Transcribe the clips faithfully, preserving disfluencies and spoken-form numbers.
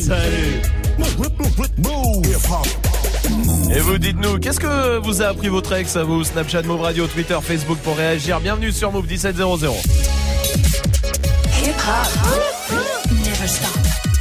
Salut. Et vous dites-nous, qu'est-ce que vous a appris votre ex à vous? Snapchat, Move Radio, Twitter, Facebook pour réagir. Bienvenue sur Move dix-sept zéro zéro. Hip hop, never stop.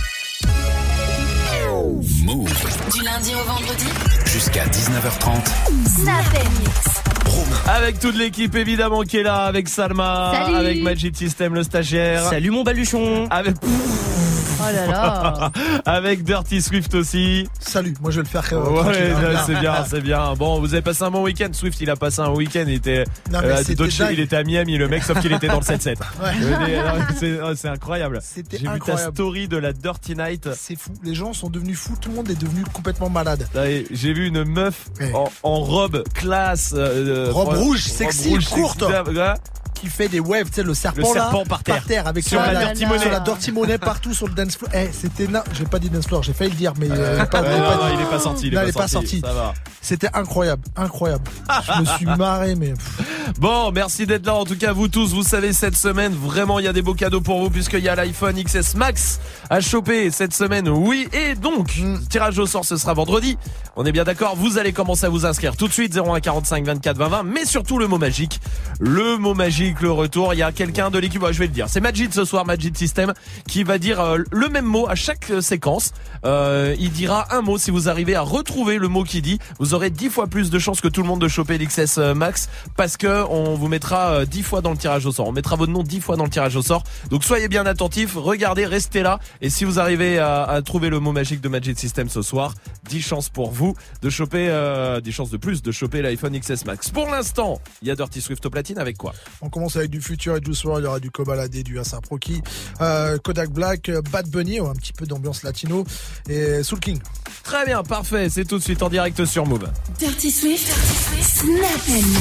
Move. Du lundi au vendredi Jusqu'à dix-neuf heures trente. Snap Mix. Avec toute l'équipe évidemment qui est là, avec Salma, Salut. avec Magic System le stagiaire. Salut mon baluchon. Avec Oh là là. avec Dirty Swift aussi. Salut, moi je vais le faire. Euh, Ouais, tranquille, hein. c'est bien, c'est bien. Bon, vous avez passé un bon week-end. Swift, il a passé un week-end. Il était, Non, mais euh, c'était d'autres choses, dingue. il était à Miami, le mec, sauf qu'il était dans le sept sept. Ouais. C'est, c'est incroyable. C'était J'ai vu ta incroyable. story de la Dirty Night. C'est fou, les gens sont devenus fous, tout le monde est devenu complètement malade. Allez, j'ai vu une meuf Ouais. en, en robe classe, euh, Robe euh, rouge, sexy, courte. sexy, ouais. Qui fait des waves, tu sais, le serpent, Le serpent là, par terre. avec Sur ça, la là, Dirty Money. sur la Dirty Money partout sur le dance floor. Eh, c'était na... j'ai pas dit dance floor, j'ai failli le dire, mais euh, pas, Ouais, pas non, dit. non, il est pas sorti. Il est Non, pas, il est pas sorti. sorti. Ça va. C'était incroyable, incroyable. Je me suis marré, mais Bon, merci d'être là. En tout cas, vous tous, vous savez, cette semaine, vraiment, il y a des beaux cadeaux pour vous puisqu'il y a l'iPhone X S Max à choper cette semaine. Oui, et donc, Mm. tirage au sort, ce sera vendredi. On est bien d'accord. Vous allez commencer à vous inscrire tout de suite. zéro un quarante-cinq vingt-quatre vingt vingt. Mais surtout, le mot magique. Le mot magique, le retour. Il y a quelqu'un de l'équipe. Ouais, je vais le dire. C'est Majid ce soir, Majid System, qui va dire euh, le même mot à chaque euh, séquence. Euh, il dira un mot. Si vous arrivez à retrouver le mot qu'il dit, vous aurez dix fois plus de chances que tout le monde de choper l'X S Max parce que on vous mettra euh, dix fois dans le tirage au sort. On mettra votre nom dix fois dans le tirage au sort. Donc soyez bien attentifs, regardez, restez là. Et si vous arrivez à, à trouver le mot magique de Magic System ce soir, dix chances pour vous de choper, euh, dix chances de plus de choper l'iPhone X S Max. Pour l'instant, il y a Dirty Swift au platine avec quoi? on commence avec du Future et du Soir, il y aura du Kobalade, du A$AP Rocky, euh, Kodak Black, euh, Bad Bunny, un petit peu d'ambiance latino, et Soul King. Très bien, parfait. C'est tout de suite en direct sur Move. Dirty Swift, Snap Mix.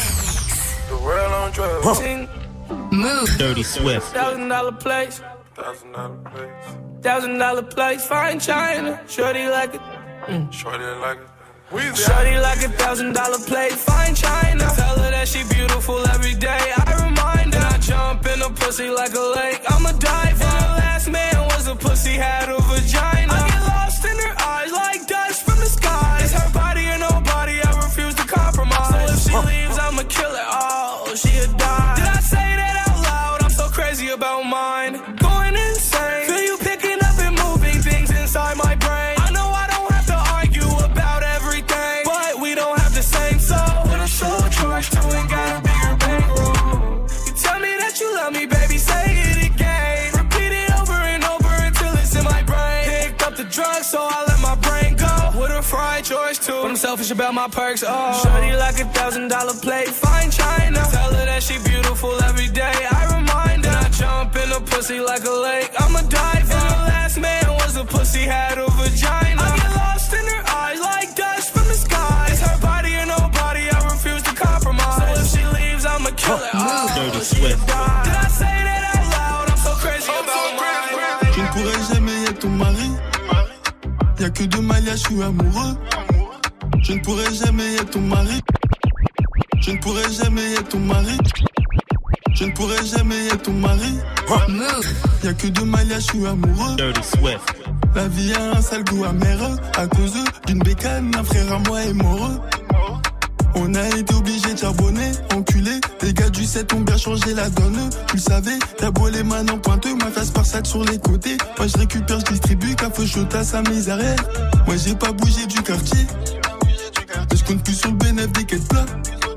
Move. Dirty Swift. Thousand dollar place. Thousand dollar place. Thousand dollar place. Fine China. Shorty like it. Mm. Shorty like it. Shorty like a thousand dollar plate. Fine China. Tell her that she beautiful every day. I remind her. I jump in a pussy like a lake. I'm a diver. And the last man was a pussy, had a vagina. I get lost in her eyes like dust from the sky. It's her body or nobody. I refuse to compromise. So if she leaves, I'ma kill her. Oh, she a die. Did I say that out loud? I'm so crazy about mine. Going insane. Feel you picking up and moving things inside my brain. I know I don't have to argue about everything, but we don't have the same soul. With a soul charge too and got a bigger bankroll. You tell me that you love me, baby, say it again. Repeat it over and over until it's in my brain. Picked up the drugs, so I let my brain go. With a fried choice too, but I'm selfish about my perks. Oh, shorty like a thousand dollar plate, fine China. Tell her that she beautiful every day. I remind her. And I jump in a pussy like a lake. I'm a diver. And the last man was a pussy, had a vagina. I get lost in her eyes like dust from the sky. It's her body or nobody. I refuse to compromise. So if she leaves, I'ma kill her. Oh, Dirty she Swift. died. Did I say that out loud? I'm so crazy about mine. Je ne pourrai jamais être ton mari. Y'a que de Malia, je suis amoureux. Je ne pourrai jamais être ton mari. Je ne pourrai jamais être ton mari. Je ne pourrai jamais être ton mari. Y'a que de Malia, je suis amoureux. Dirty Swift. La vie a un sale goût amer. À cause d'une bécane, un frère à moi est mort. On a été obligé de charbonner, enculé. Les gars du sept ont bien changé la donne. Tu le savais, t'as beau les mains en pointeux, ma face par sac sur les côtés. Moi je récupère, je distribue, café chaud à sa misère. Moi j'ai pas bougé du quartier. Mais je compte plus sur le bénéfice des quêtes plats.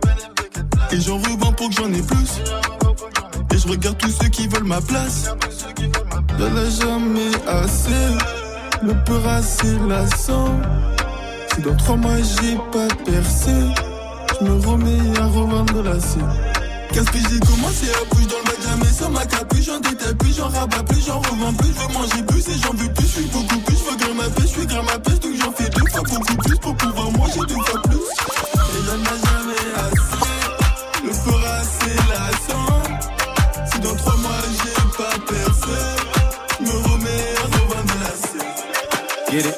Et j'en revends pour que j'en ai plus. Et je regarde tous ceux qui veulent ma place. Y'en a jamais assez. Le peur assez lassant. Si dans trois mois j'ai pas percé, je me remets à revendre la scène. Qu'est-ce que j'ai commencé à bouger dans le bac, jamais sans ma capuche. J'en détaille plus, j'en rabats plus, j'en revends plus. Je veux manger plus et j'en veux plus, je suis beaucoup plus. Je veux grimper ma pêche, je suis grimper ma pêche. Donc j'en fais deux fois beaucoup plus pour pouvoir manger deux fois plus. Et y'en a jamais assez. Le feu assez lassant. Si dans trois mois j'ai pas percé, je me remets à revendre la scène. Get it.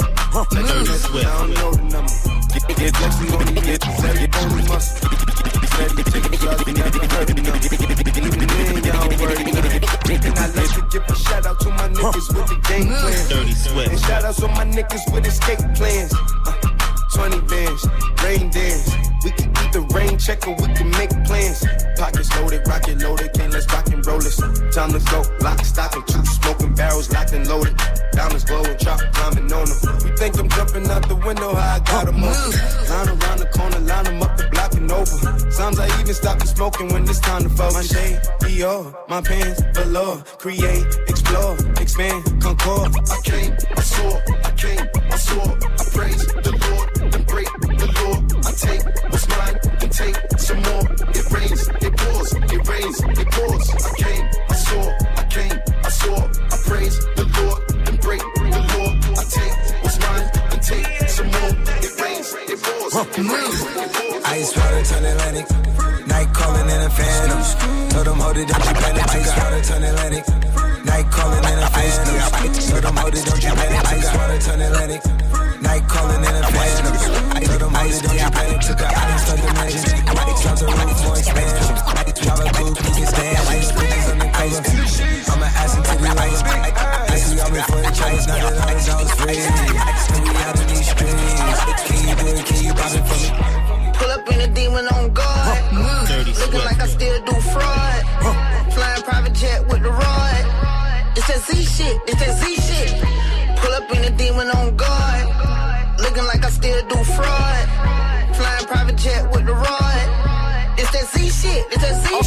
Dirty Swift. Get, get, get, get, get, get, get, get, steady, taking shots, we never hurting them. Even then, y'all don't worry nothing. And I like to give a shout out to my niggas with the game plan. Dirty Swift. And shout outs to my niggas with escape plans. Uh, twenty bands, rain dance. We can either rain check or we can make plans. Pockets loaded, rocket loaded, can't let's rock and roll this. Time to go, lock, stock, and two smoking barrels locked and loaded. Diamonds glowing, chop climbing on them. You think I'm jumping out the window, how I got them open. Line around the corner, line them up the block and over. Sometimes I even stop the smoking when it's time to focus. My shade, Dior, my pants, velour. Create, explore, expand, concord. I came, I saw, I came, I saw. I praise the Lord, then break the law. I take what's mine, then take some more. It rains, it pours, it rains, it pours. I came, I saw, I came, I saw. I praise the Lord, then break the law. I take what's mine, then take some more. It rains, it pours, it rains, it pours. Ice water turn Atlantic, night calling in a phantom. Told them hold it, don't you panic. Ice water turn Atlantic, night calling in a phantom. Told them hold it, don't you panic. Ice water turn Atlantic, night calling in a phantom. Told them hold it, don't you panic. Took a island, stuck the mansion. Jump the roof for expansion. Drive a coupe, you can stand. Ice bridges undercover. I'm an ass into the lover. I see y'all before the chase. Now that I was, I was free. And we out in these streets. Can you do it? Can you pop it for me? Pull up in a demon on guard. Looking like I still do fraud. Flying private jet with the rod. It's that Z shit. It's that Z shit. Pull up in a demon on guard. Looking like I still do fraud. Flying private jet with the rod. It's that Z shit. It's that Z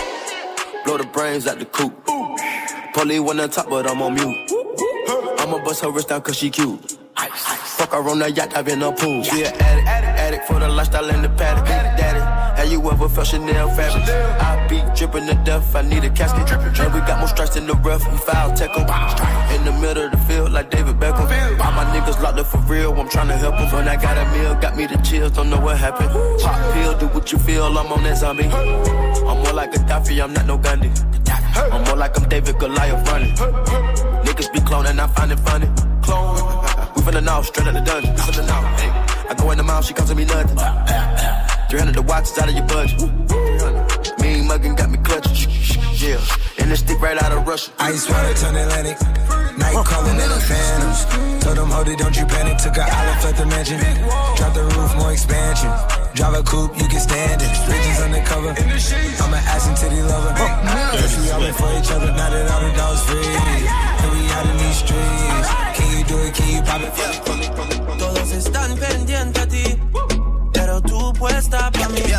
shit. Blow the brains out the coop. Polly one on top, but I'm on mute. I'ma bust her wrist down cause she cute. Fuck her on the yacht, I've been a pool. She an addict, addict, addict for the lifestyle and the paddock. Daddy, have you ever felt Chanel fabric? I be dripping to death, I need a casket. And we got more strikes in the rough, we foul tech em. In the middle of the field like David Beckham. All my niggas locked up for real, I'm tryna help them. When I got a meal, got me the chills, don't know what happened. Pop pill, do what you feel, I'm on that zombie. I'm more like Gaddafi, I'm not no Gandhi. I'm more like I'm David Goliath running. Niggas be cloning, I find it funny. Clone. We finna know, straight out the dungeon. Listen to now, hey. I go in the mouth, she comes to me nothing. three hundred the watch is out of your budget. Mean muggin' got me clutching. Yeah, and this stick right out of Russia. Ice water turn Atlantic, night calling in a phantom. Told them hold it, don't you panic. Took a island, left the mansion. Drop the roof, more expansion. Drive a coupe, you can stand it. Bridges undercover. I'm an ass and titty lover. Guess we all been for each other. Now that all the dogs free, and we out in these streets. Can you do it? Can you pop it for me? Todos están pendientes a ti, pero tú puesta pa' mí,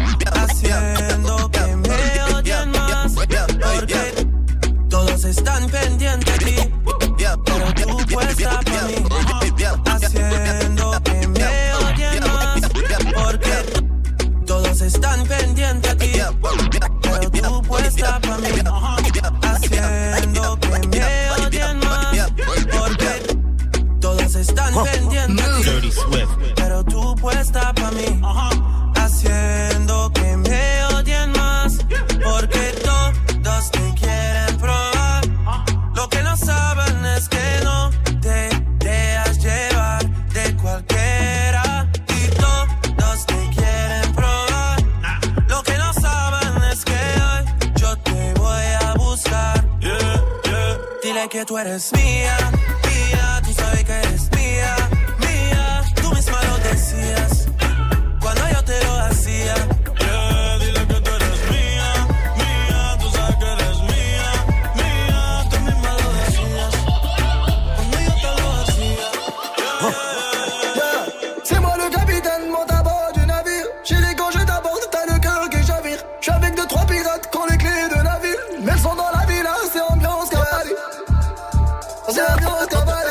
haciendo que me odien más. Porque todos están pendientes a ti, pero tú puesta pa' mí, haciendo que me odien más. Porque todos están pendientes a ti, pero tú puesta pa' mí, haciendo que me odien más. Porque todos están pendientes a ti, pero tú puesta pa' mí, haciendo que me odien más. Porque todos te quieren probar. Lo que no saben es que no te dejas llevar de cualquiera. Y todos te quieren probar. Lo que no saben es que hoy yo te voy a buscar. Dile que tú eres mía, mía, tú sabes que eres mía, mía. Tú misma lo decías cuando yo te lo hacía. Yeah, dile que tú eres mía, mía, tú sabes que eres mía, mía. Tú misma lo decías cuando yo te lo hacía. Yeah. Yeah. C'est moi le capitaine, monte à bord du navire. J'ai les gants, je t'aborde, t'as le cœur qui chavire. J'suis avec deux, trois pirates qui ont les clés de la ville. Mais elles sont dans la villa, c'est ambiance cavalier. C'est ambiance cavalier.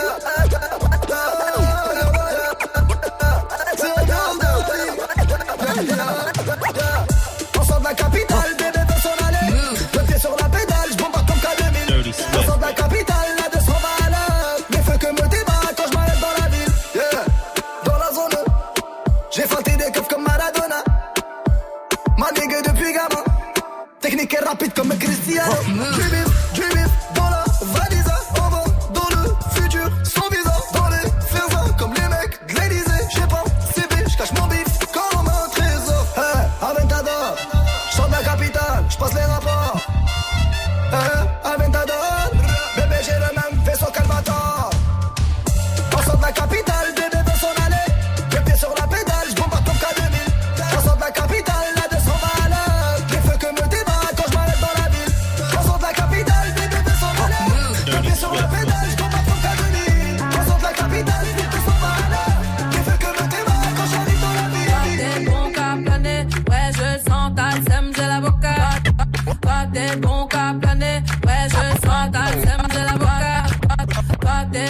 On sort de la capitale, bébé veut s'en aller. Le pied sur la pédale, j'bombe pas comme K deux mille. On sort de la capitale, la deux cents va à l'heure. Les feux que me débat quand j'm'arrête dans la ville. Yeah, dans la zone, j'ai feinté des keufs comme Maradona. Manigue depuis gamin. Technique et rapide comme Cristiano. Du bif, du bif, dans la valise. On va dans le futur, sans visa. Dans les faisans, comme les mecs de l'Elysée. J'ai pas C B, j'cache mon bif comme un trésor. Hey, Aventador,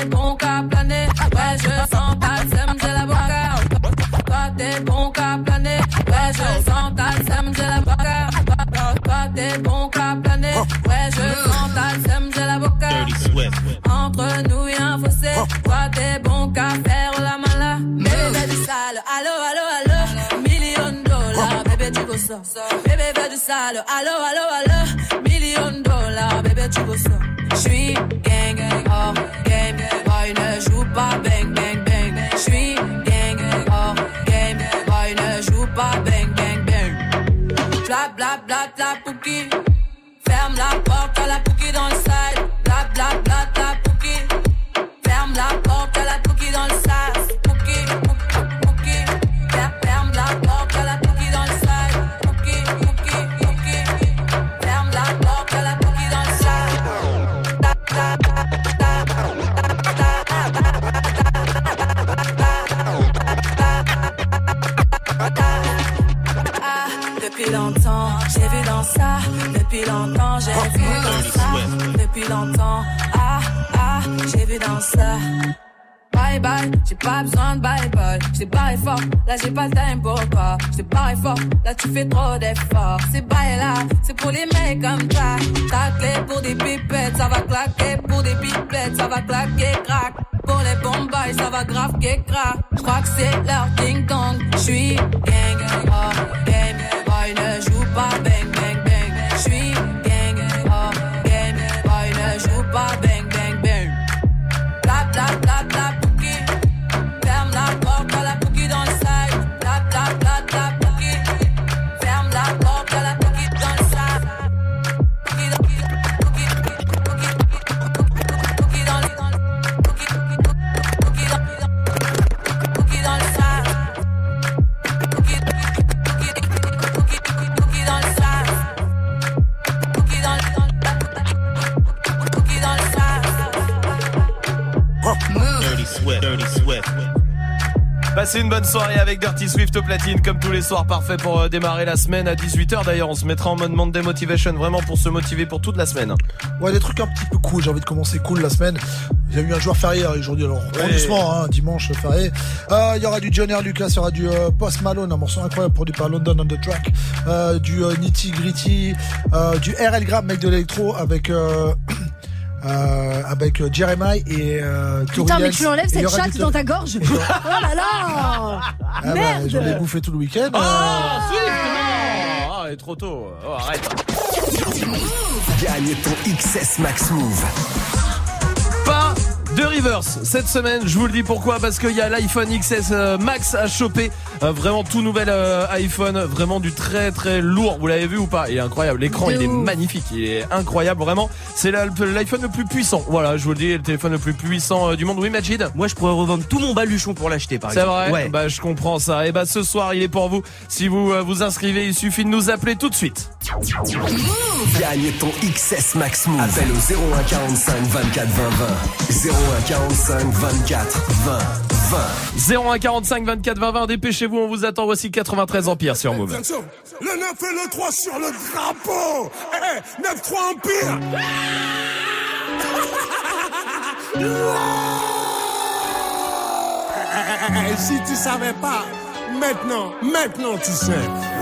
bon qu'à planer. Ouais, je sens ta sème, j'ai la boca. Toi, t'es bon qu'à planer. Ouais, je sens ta sème, j'ai la boca. Toi, t'es bon qu'à planer. Ouais, je sens ta sème, j'ai la boca. Entre nous, y'a un fossé. Toi, t'es bon qu'à faire la mala. Bébé, fais du sale. Allo, allo, allo. Million dollars, bébé, tu veux ça. Bébé, fais du sale. Allo, allo, allo. Million dollars, bébé, tu veux ça. J'suis gang, hors game. Boy, ne joue pas bang, bang, bang. J'suis gang, hors game. Boy, ne joue pas bang, bang, bang. Bla, bla, bla, bla, pouki. Ferme la porte à la pouki dans le side. Bla, bla, bla, bla, pouki. Ferme la porte à la pouki dans le sas. Pouki, pouki, pouki. Ferme la porte à la pouki dans le side. Pouki, pouki, pouki. Ferme la porte à la pouki dans le sas. Ah, depuis longtemps, j'ai vu dans ça. Depuis longtemps, j'ai vu dans ça. Depuis longtemps, ah, ah, j'ai vu dans ça. Bye bye, j'ai pas besoin de bye bye. J't'ai barré fort, là j'ai pas le time pour toi. J't'ai barré fort, là tu fais trop d'efforts. C'est bye là, c'est pour les mecs comme ça. Ta clé pour des pipettes, ça va claquer. Pour des pipettes, ça va claquer, crack. Pour les bombes, ça va grave crack. J'crois que c'est leur ding dong. J'suis gang, oh game. Boy ne joue pas bang bang bang. J'suis gang, oh game. Boy ne joue pas bang bang bang. Bla bla bla bla. Ferme la porte à la pouki dans le side. Bla bla bla bla pouki. Ferme la porte à la pouki dans le side. Pouki dans pouki pouki pouki pouki dans le pouki pouki dans pouki dans le side. Pouki pouki pouki pouki dans le side. Pouki dans le pouki dans le side. Dirty Swift, Dirty Swift. Passez une bonne soirée avec Dirty Swift au platine comme tous les soirs, parfait pour euh, démarrer la semaine à dix-huit heures. D'ailleurs on se mettra en mode Monday Motivation vraiment pour se motiver pour toute la semaine. Ouais, des trucs un petit peu cool, j'ai envie de commencer cool la semaine. Il y a eu un jour férié aujourd'hui, alors prends ouais. doucement, hein, dimanche férié. Euh, il y aura du Johnny Lucas, il y aura du euh, Post Malone, un morceau incroyable produit par London on the Track, euh, du euh, Nitty Gritty, euh, du R L Graham, mec de l'électro avec... Euh, Euh, avec euh, Jeremiah et euh, Putain, mais tu enlèves cette chatte dans ta gorge. Oh là là. Ah merde bah, j'en ai bouffé tout le week-end. Oh, euh... Swift, non. Ah, il est trop tôt. Oh, arrête. Gagne ton X S Max Move. Pas de reverse cette semaine, je vous le dis pourquoi, parce qu'il y a l'iPhone X S Max à choper, euh, vraiment tout nouvel euh, iPhone, vraiment du très très lourd, vous l'avez vu ou pas? Il est incroyable, l'écran il est magnifique, il est incroyable vraiment, c'est l'iPhone le plus puissant, voilà je vous le dis, le téléphone le plus puissant euh, du monde. Oui Majid? Moi je pourrais revendre tout mon baluchon pour l'acheter par exemple. C'est vrai? Ouais. Bah je comprends ça, et bah ce soir il est pour vous, si vous euh, vous inscrivez il suffit de nous appeler tout de suite. Gagne ton X S Max Move. Appelle au zéro un quarante-cinq vingt-quatre vingt vingt. zéro un quarante-cinq vingt-quatre vingt vingt. zéro un quarante-cinq vingt-quatre vingt vingt. Dépêchez-vous, on vous attend. Voici quatre-vingt-treize Empire sur Move. Le neuf et le trois sur le drapeau. Eh, eh, neuf trois Empire. Si tu savais pas, maintenant, maintenant tu sais.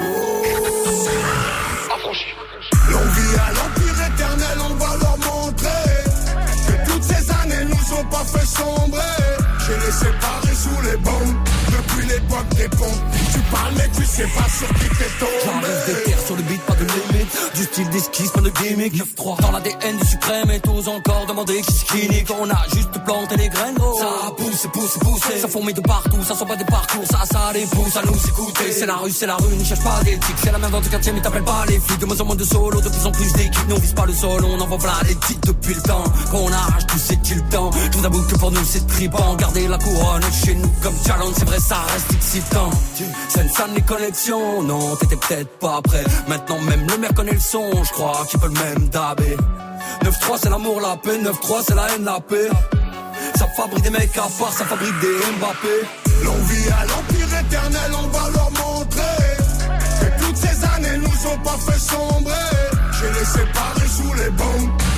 L'on vit à l'empire éternel, on va leur montrer que toutes ces années nous ont pas fait sombrer. J'ai les séparés sous les bombes depuis l'époque des pompes. Tu parles mais tu sais pas sur qui t'es tombé. J'arrive des terres sur le beat, pas de limite. Du style d'esquisse, pas de gimmick. neuf trois dans l'A D N du suprême et t'oses encore demander qui skinny. Quand on a juste planté les graines, oh. Ça pousse, pousse, pousse. Ça fourmille de partout, ça sent pas des parcours. Ça, ça les pousse à nous écouter. C'est la rue, c'est la rue, ne cherche pas d'éthique. C'est la même dans le quartier mais t'appelles pas les flics. De moins en moins de solo, de plus en plus d'équipes. Nous on vise pas le sol, on envoie plein les titres depuis le temps. Quand on arrache tout c'est-il le temps. Tout d'abord que pour nous c'est tripant. Garder la couronne chez nous comme challenge, c'est vrai ça reste excitant. C'est une salle les connexions, non t'étais peut-être pas prêt. Maintenant même le maire connaît le son, je crois qu'il peut le même dabé. neuf trois c'est l'amour, la paix, neuf trois c'est la haine, la paix. Ça fabrique des mecs à part, ça fabrique des Mbappé. L'on vit à l'empire éternel, on va leur montrer que toutes ces années nous ont pas fait sombrer. J'ai les séparés sous les bombes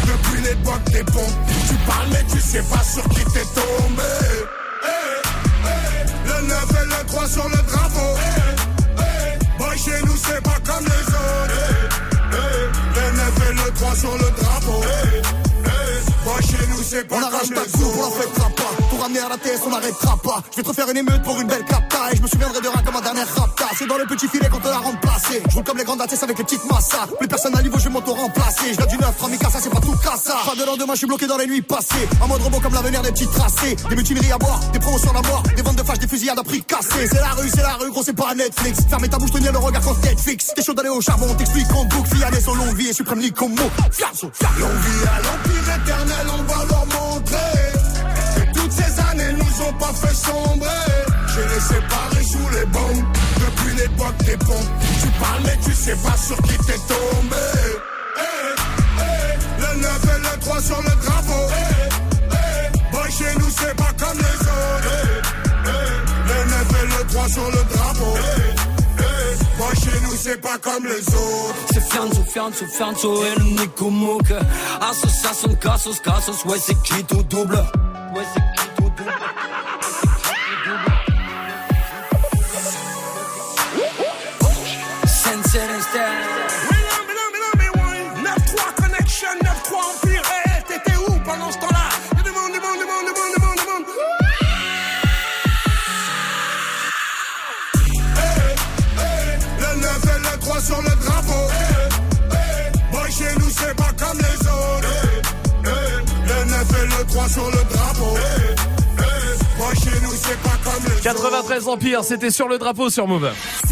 depuis l'époque des ponts. Tu parles mais tu sais pas sur qui t'es tombé. Hey, hey, le neuf et le trois sur le drapeau. Hey, hey, boy chez nous c'est pas comme les autres. Hey, hey, le neuf et le trois sur le drapeau. Hey, hey, boy chez nous c'est pas on comme les autres. On la fêtera pas. Pour ramener à la T S on n'arrêtera pas. Je vais te refaire une émeute pour une belle capta. Et je me souviendrai de rien comme un dernier rapta. C'est dans le petit filet qu'on te l'a remplacé. Je roule comme les grandes A T S avec les petites massas. Plus personne à niveau je vais m'auto-remplacer. Je viens du neuf, Ramikasa c'est pas tout cassa. Pas de lendemain je suis bloqué dans les nuits passées. En mode robot comme l'avenir des petits tracés. Des mutineries à boire, des promotions à mort. Des ventes de fâches, des fusillades à prix cassés. C'est la rue, c'est la rue, gros c'est pas Netflix. Fermez ta bouche, tenir le regard quand tête fixe. T'es chaud d'aller au charbon, t'explique en boucle. Fiané son longue vie et suprême ligue comme mot. Fiasso, fiasso. Longue vie à l'empire éternel, on va leur montrer. Toutes ces années nous ont pas fait sombrer. J'ai les séparés sous les bombes depuis l'époque des ponts. Tu parles mais tu sais pas sur qui t'es tombé. Hey, hey, le neuf et le trois sur le drapeau. Hey, hey, boy chez nous c'est pas comme les autres. Hey, hey, le neuf et le trois sur le drapeau. Hey, hey, boy chez nous c'est pas comme les autres. C'est fianzo, fianzo, fianzo et le Nico Mouk. Association, casos, casos, ouais c'est qui tout double. Ouais c'est qui tout double. Sensei Instead. neuf trois Connection, neuf trois Empire. Hey, t'étais où pendant ce temps-là? Y'a du monde, du monde, du monde, du monde, du monde, du monde. Hey, hey, le neuf et le trois sur le drapeau. Hey, hey, boy chez nous c'est pas comme les autres. Hey, hey, le neuf et le trois sur le drapeau. Hey, hey, boy chez nous c'est pas comme les autres. quatre-vingt-treize Empire, c'était sur le drapeau sur Move.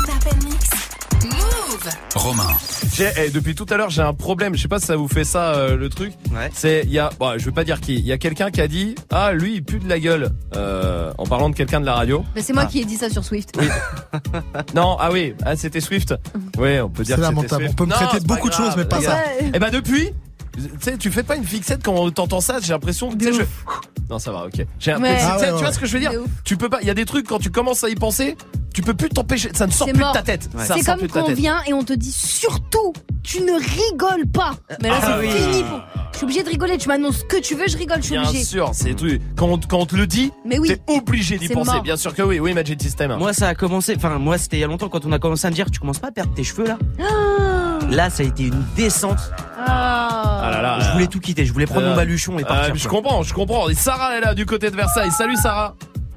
Romain. J'ai, eh, depuis tout à l'heure, j'ai un problème. Je sais pas si ça vous fait ça, euh, le truc. Ouais. C'est, il y a, bon, je veux pas dire qui. Il y a quelqu'un qui a dit, ah, lui, il pue de la gueule, euh, en parlant de quelqu'un de la radio. Mais c'est moi ah. qui ai dit ça sur Swift. Oui. Non, ah oui, ah, c'était Swift. Oui, on peut dire C'est que c'était lamentable. Swift. On peut me Non, traiter de c'est pas beaucoup de grave, choses, mais pas les ça. gars. Eh ben, depuis, tu sais, tu fais pas une fixette quand t'entends ça, j'ai l'impression que, tu sais, je... Non, ça va, ok. J'ai Ouais. l'impression, Ah tu sais, ouais, tu vois ouais. ce que je veux dire? C'est ouf. Tu peux pas, il y a des trucs, quand tu commences à y penser, tu peux plus t'empêcher, ça ne sort C'est plus mort. de ta tête. Ouais. Ça C'est sort comme plus de ta quand on tête. vient et on te dit surtout, tu ne rigoles pas. Mais là, Ah c'est oui. fini. Pour... Je suis obligée de rigoler. Tu m'annonces ce que tu veux, je rigole, je suis Bien obligée. sûr, c'est tout. Quand on, quand on te le dit, Mais oui. t'es obligé d'y C'est penser. mort. Bien sûr que oui, oui, Magic System. Moi, ça a commencé, enfin, moi, c'était il y a longtemps quand on a commencé à me dire, tu commences pas à perdre tes cheveux là. Ah, Là, ça a été une descente. Ah là là. Je voulais tout quitter, je voulais prendre Euh, mon baluchon et euh, partir. je quoi. comprends, je comprends. Et Sarah est là du côté de Versailles. Salut Sarah.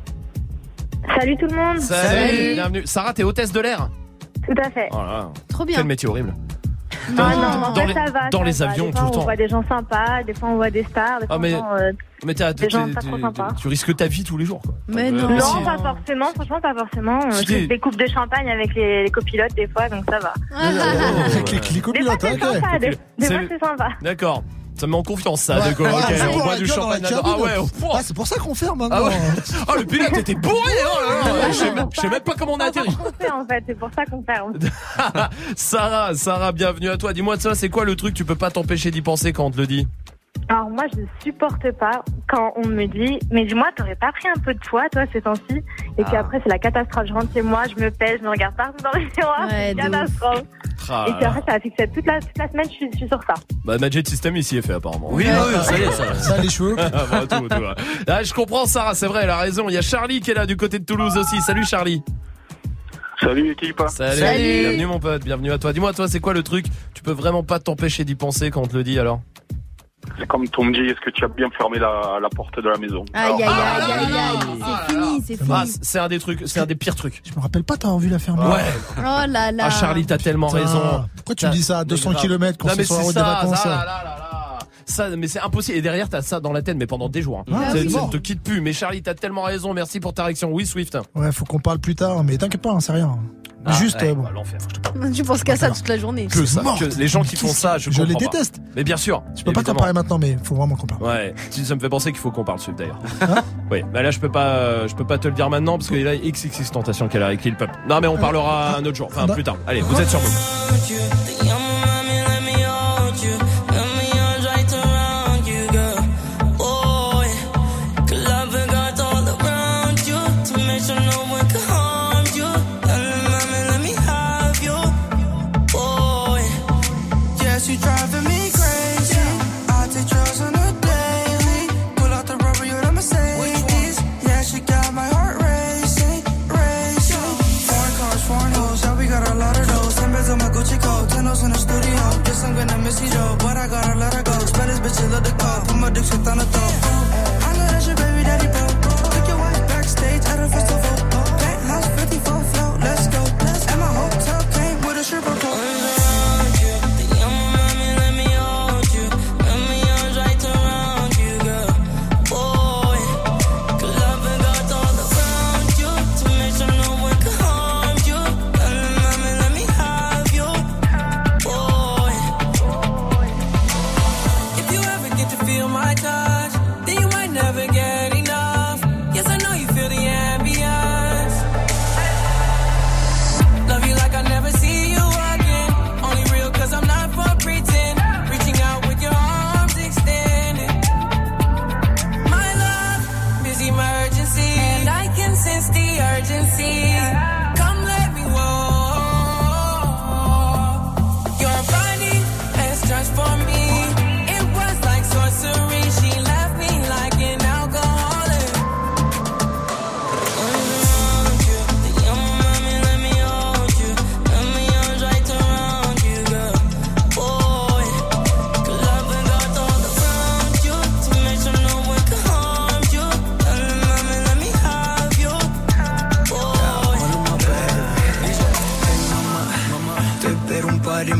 Salut tout le monde. Salut. Bienvenue. Sarah, t'es hôtesse de l'air. Tout à fait. Oh là là. trop bien. Quel métier horrible. Non, non, en dans fait, les, ça va. dans ça les va. avions Des tout fois, le temps. on voit des gens sympas, des fois on voit des stars, des Ah, fois mais- on voit, euh, Mais t'as, des gens t'es- pas tu- trop sympas. tu risques ta vie tous les jours, quoi. Mais Euh, non. mais Non, si. pas forcément, franchement, pas forcément. Euh, Si Je t'es- fais des coupes de champagne avec les, les copilotes des fois, donc ça va. Avec les, les Des fois copilotes, c'est ok. sympa, des, des C'est- fois c'est sympa. D'accord. Ça me met en confiance, ça. Ouais. de quoi. Ah, Ok, c'est on pour boit la du gueule dans champagne. la là-dedans. Ah cabine. ouais. oh, Ah, c'est pour ça qu'on ferme Ah maintenant. ouais. Oh, le pilote était bourré. Oh là là. Je sais même- je sais même pas comment on a atterri. On fait en fait, c'est pour ça qu'on ferme. Sarah, Sarah, bienvenue à toi. Dis-moi de ça, c'est quoi le truc? Tu peux pas t'empêcher d'y penser quand on te le dit. Alors moi, je ne supporte pas quand on me dit, mais dis-moi, t'aurais pas pris un peu de poids, toi, ces temps-ci? Et puis Ah. après, c'est la catastrophe. Je rentre chez moi, je me pèse, je me regarde partout dans le miroir, Ouais, c'est de une catastrophe. Ah Et là puis là. après, ça a fixé toute la, toute la semaine, je suis, je suis sur ça. Bah, Magic System ici est fait apparemment. Oui, Ouais. oui, ça y est, ça. Ça, les cheveux. Ah, bah, tout, tout, ouais. Ah, je comprends Sarah, c'est vrai, elle a raison. Il y a Charlie qui est là du côté de Toulouse aussi. Salut Charlie. Salut équipe. Salut. Salut. Bienvenue mon pote, bienvenue à toi. Dis-moi toi, c'est quoi le truc? Tu peux vraiment pas t'empêcher d'y penser quand on te le dit alors? C'est comme ton me dit, est-ce que tu as bien fermé la, la porte de la maison? Aïe, aïe, Alors, aïe, aïe, aïe. C'est fini, c'est Ah, fini. c'est un des trucs, c'est un des pires trucs. Je me rappelle pas t'avoir vu la fermer. Ouais. Oh là là. Ah Charlie, t'as tellement Putain. raison. Pourquoi tu me dis ça à deux cents grave. kilomètres quand Non, c'est mais sur la c'est route des ça, vacances? ça, là, là, là, là. Ça, mais c'est impossible. Et derrière, t'as ça dans la tête, mais pendant des jours. hein. Ah, ça, oui. ça ne te quitte plus. Mais Charlie, t'as tellement raison. Merci pour ta réaction. Oui, Swift. Ouais, faut qu'on parle plus tard, mais t'inquiète pas, hein, c'est rien. Ah, Juste, ouais, euh, bon. bah, l'enfer. Tu penses qu'à ça toute la journée. Que ça. Morte. Que les gens qui font ça, je Je les comprends pas. déteste. Mais bien sûr. Je peux pas t'en évidemment. parler maintenant, mais faut vraiment qu'on parle. Ouais, si, ça me fait penser qu'il faut qu'on parle Swift d'ailleurs. Hein Oui, mais là je peux pas, euh, je peux pas te le dire maintenant parce qu'il y a X X X Tentation qu'elle a avec Lil Pump. Non mais on parlera un autre jour, enfin Bah. plus tard. Allez, vous êtes sur vous. Yes, you driving me crazy. I take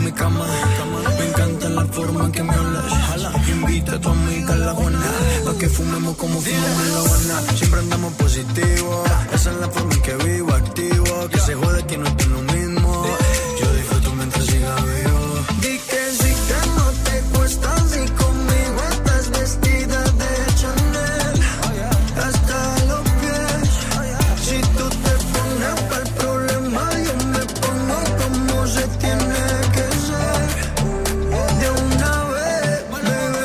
mi cama. Me encanta la forma en que me hablas. Invita a tu amiga a la Juana, pa' que fumemos como fumamos en la Habana. Siempre andamos positivos, esa es la forma en que vivo, activo. Que se jode que no estoy lo mismo. Yo disfruto mientras siga vivo. Di que sí que no te cuesta, si conmigo estás vestida de Chanel hasta los pies. Si tú te pones para el problema, yo me pongo como se tiene que ser. De una vez, bebé.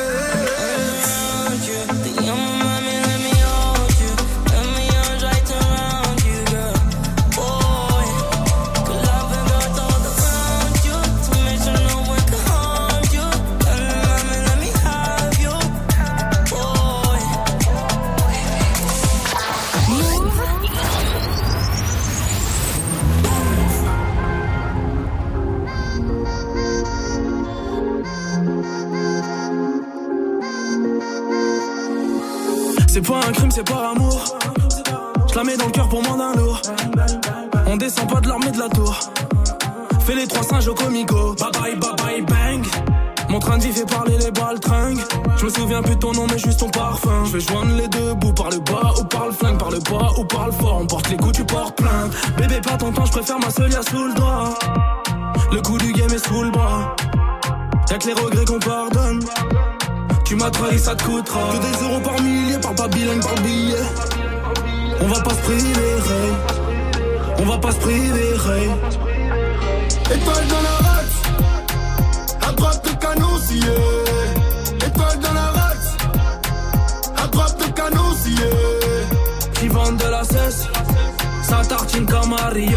Te llamo mami, let me hold you. Let me arms right around you, girl. Boy, good love and girls all around you. To make sure no one can harm you. Tell me mami, let me have you. Boy. C'est pas un crime, c'est par amour. Je la mets dans le cœur pour moins d'un lourd. On descend pas de l'armée de la tour. Fais les trois singes au comico. Bye bye, bye bye, bang. Mon train de vie fait parler les baltringues. Je me souviens plus de ton nom mais juste ton parfum. Je vais joindre les deux bouts, par le bas ou par le flingue, par le bas ou par le fort. On porte les coups, tu portes plainte. Bébé pas ton temps, je préfère ma seule, y'a sous le doigt. Le coup du game est sous le bras. Y'a que les regrets qu'on pardonne. Tu m'as trahi, ça te coûtera. Que des euros par millier, parle pas bilingue par billet. On va pas se priver, hey. On va pas se priver, hey. Étoile dans la race, à droite le canot scié. Étoile dans la race, à droite le canot scié. Qui vendent de la cesse, ça tartine comme à Rio.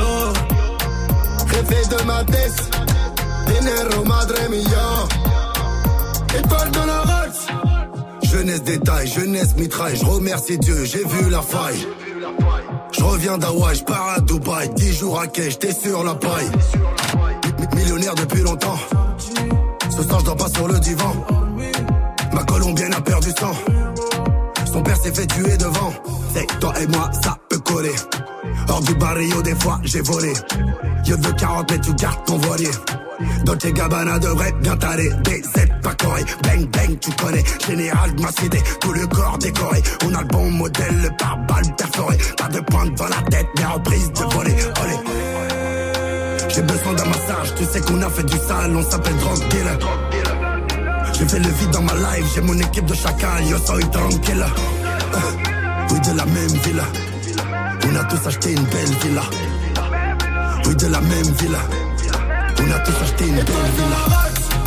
Rêver de ma tête, dinero madre mia. Étoile dans la race, Jeunesse détail, jeunesse mitraille. Je remercie Dieu, j'ai vu la faille. Je reviens d'Hawaï, je pars à Dubaï. Dix jours à quai, j'étais sur la paille. M- Millionnaire depuis longtemps. Ce soir je dors pas sur le divan. Ma colombienne a perdu sang. Son père s'est fait tuer devant. C'est toi et moi, ça peut coller. Hors du barrio, des fois j'ai volé. Yo de quarante mètres, tu gardes ton voilier. Dolce Gabbana devrait bien t'aller. D Z pas coré, bang bang tu connais. Général de ma cité, tout le corps décoré. On a le bon modèle, le pare-balles perforé. Pas de pointe dans la tête, mais reprise de voler. Olé. J'ai besoin d'un massage, tu sais qu'on a fait du sale. On s'appelle drug dealer. J'ai fait le vide dans ma life, j'ai mon équipe de chacal. Yo soy tranquille. Euh, oui de la même villa. On a tous acheté une belle villa. Oui de la même villa. On a tous acheté une belle villa.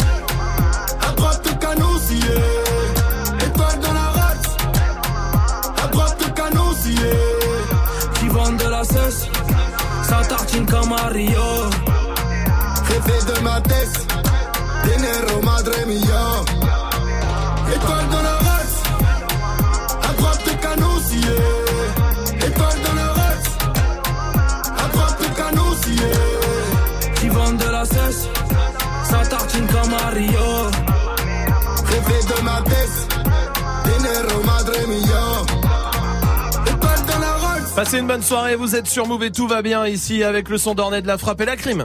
à droite le canot scié. Étoile dans la race, à droite le canot scié. Qui vendent de la cesse, ça tartine comme à Rio. Rêver de ma tête, dinero madre mia. Étoile dans la race, à droite le canot scié. Étoile dans la race, à droite le canot scié. Qui vendent de la cesse, ça tartine comme à Rio. Rêver de ma tête, dinero madre mia. Étoile dans la race. Passez une bonne soirée, vous êtes sur Move et tout va bien ici avec le son d'Ornette de la frappe et la crime.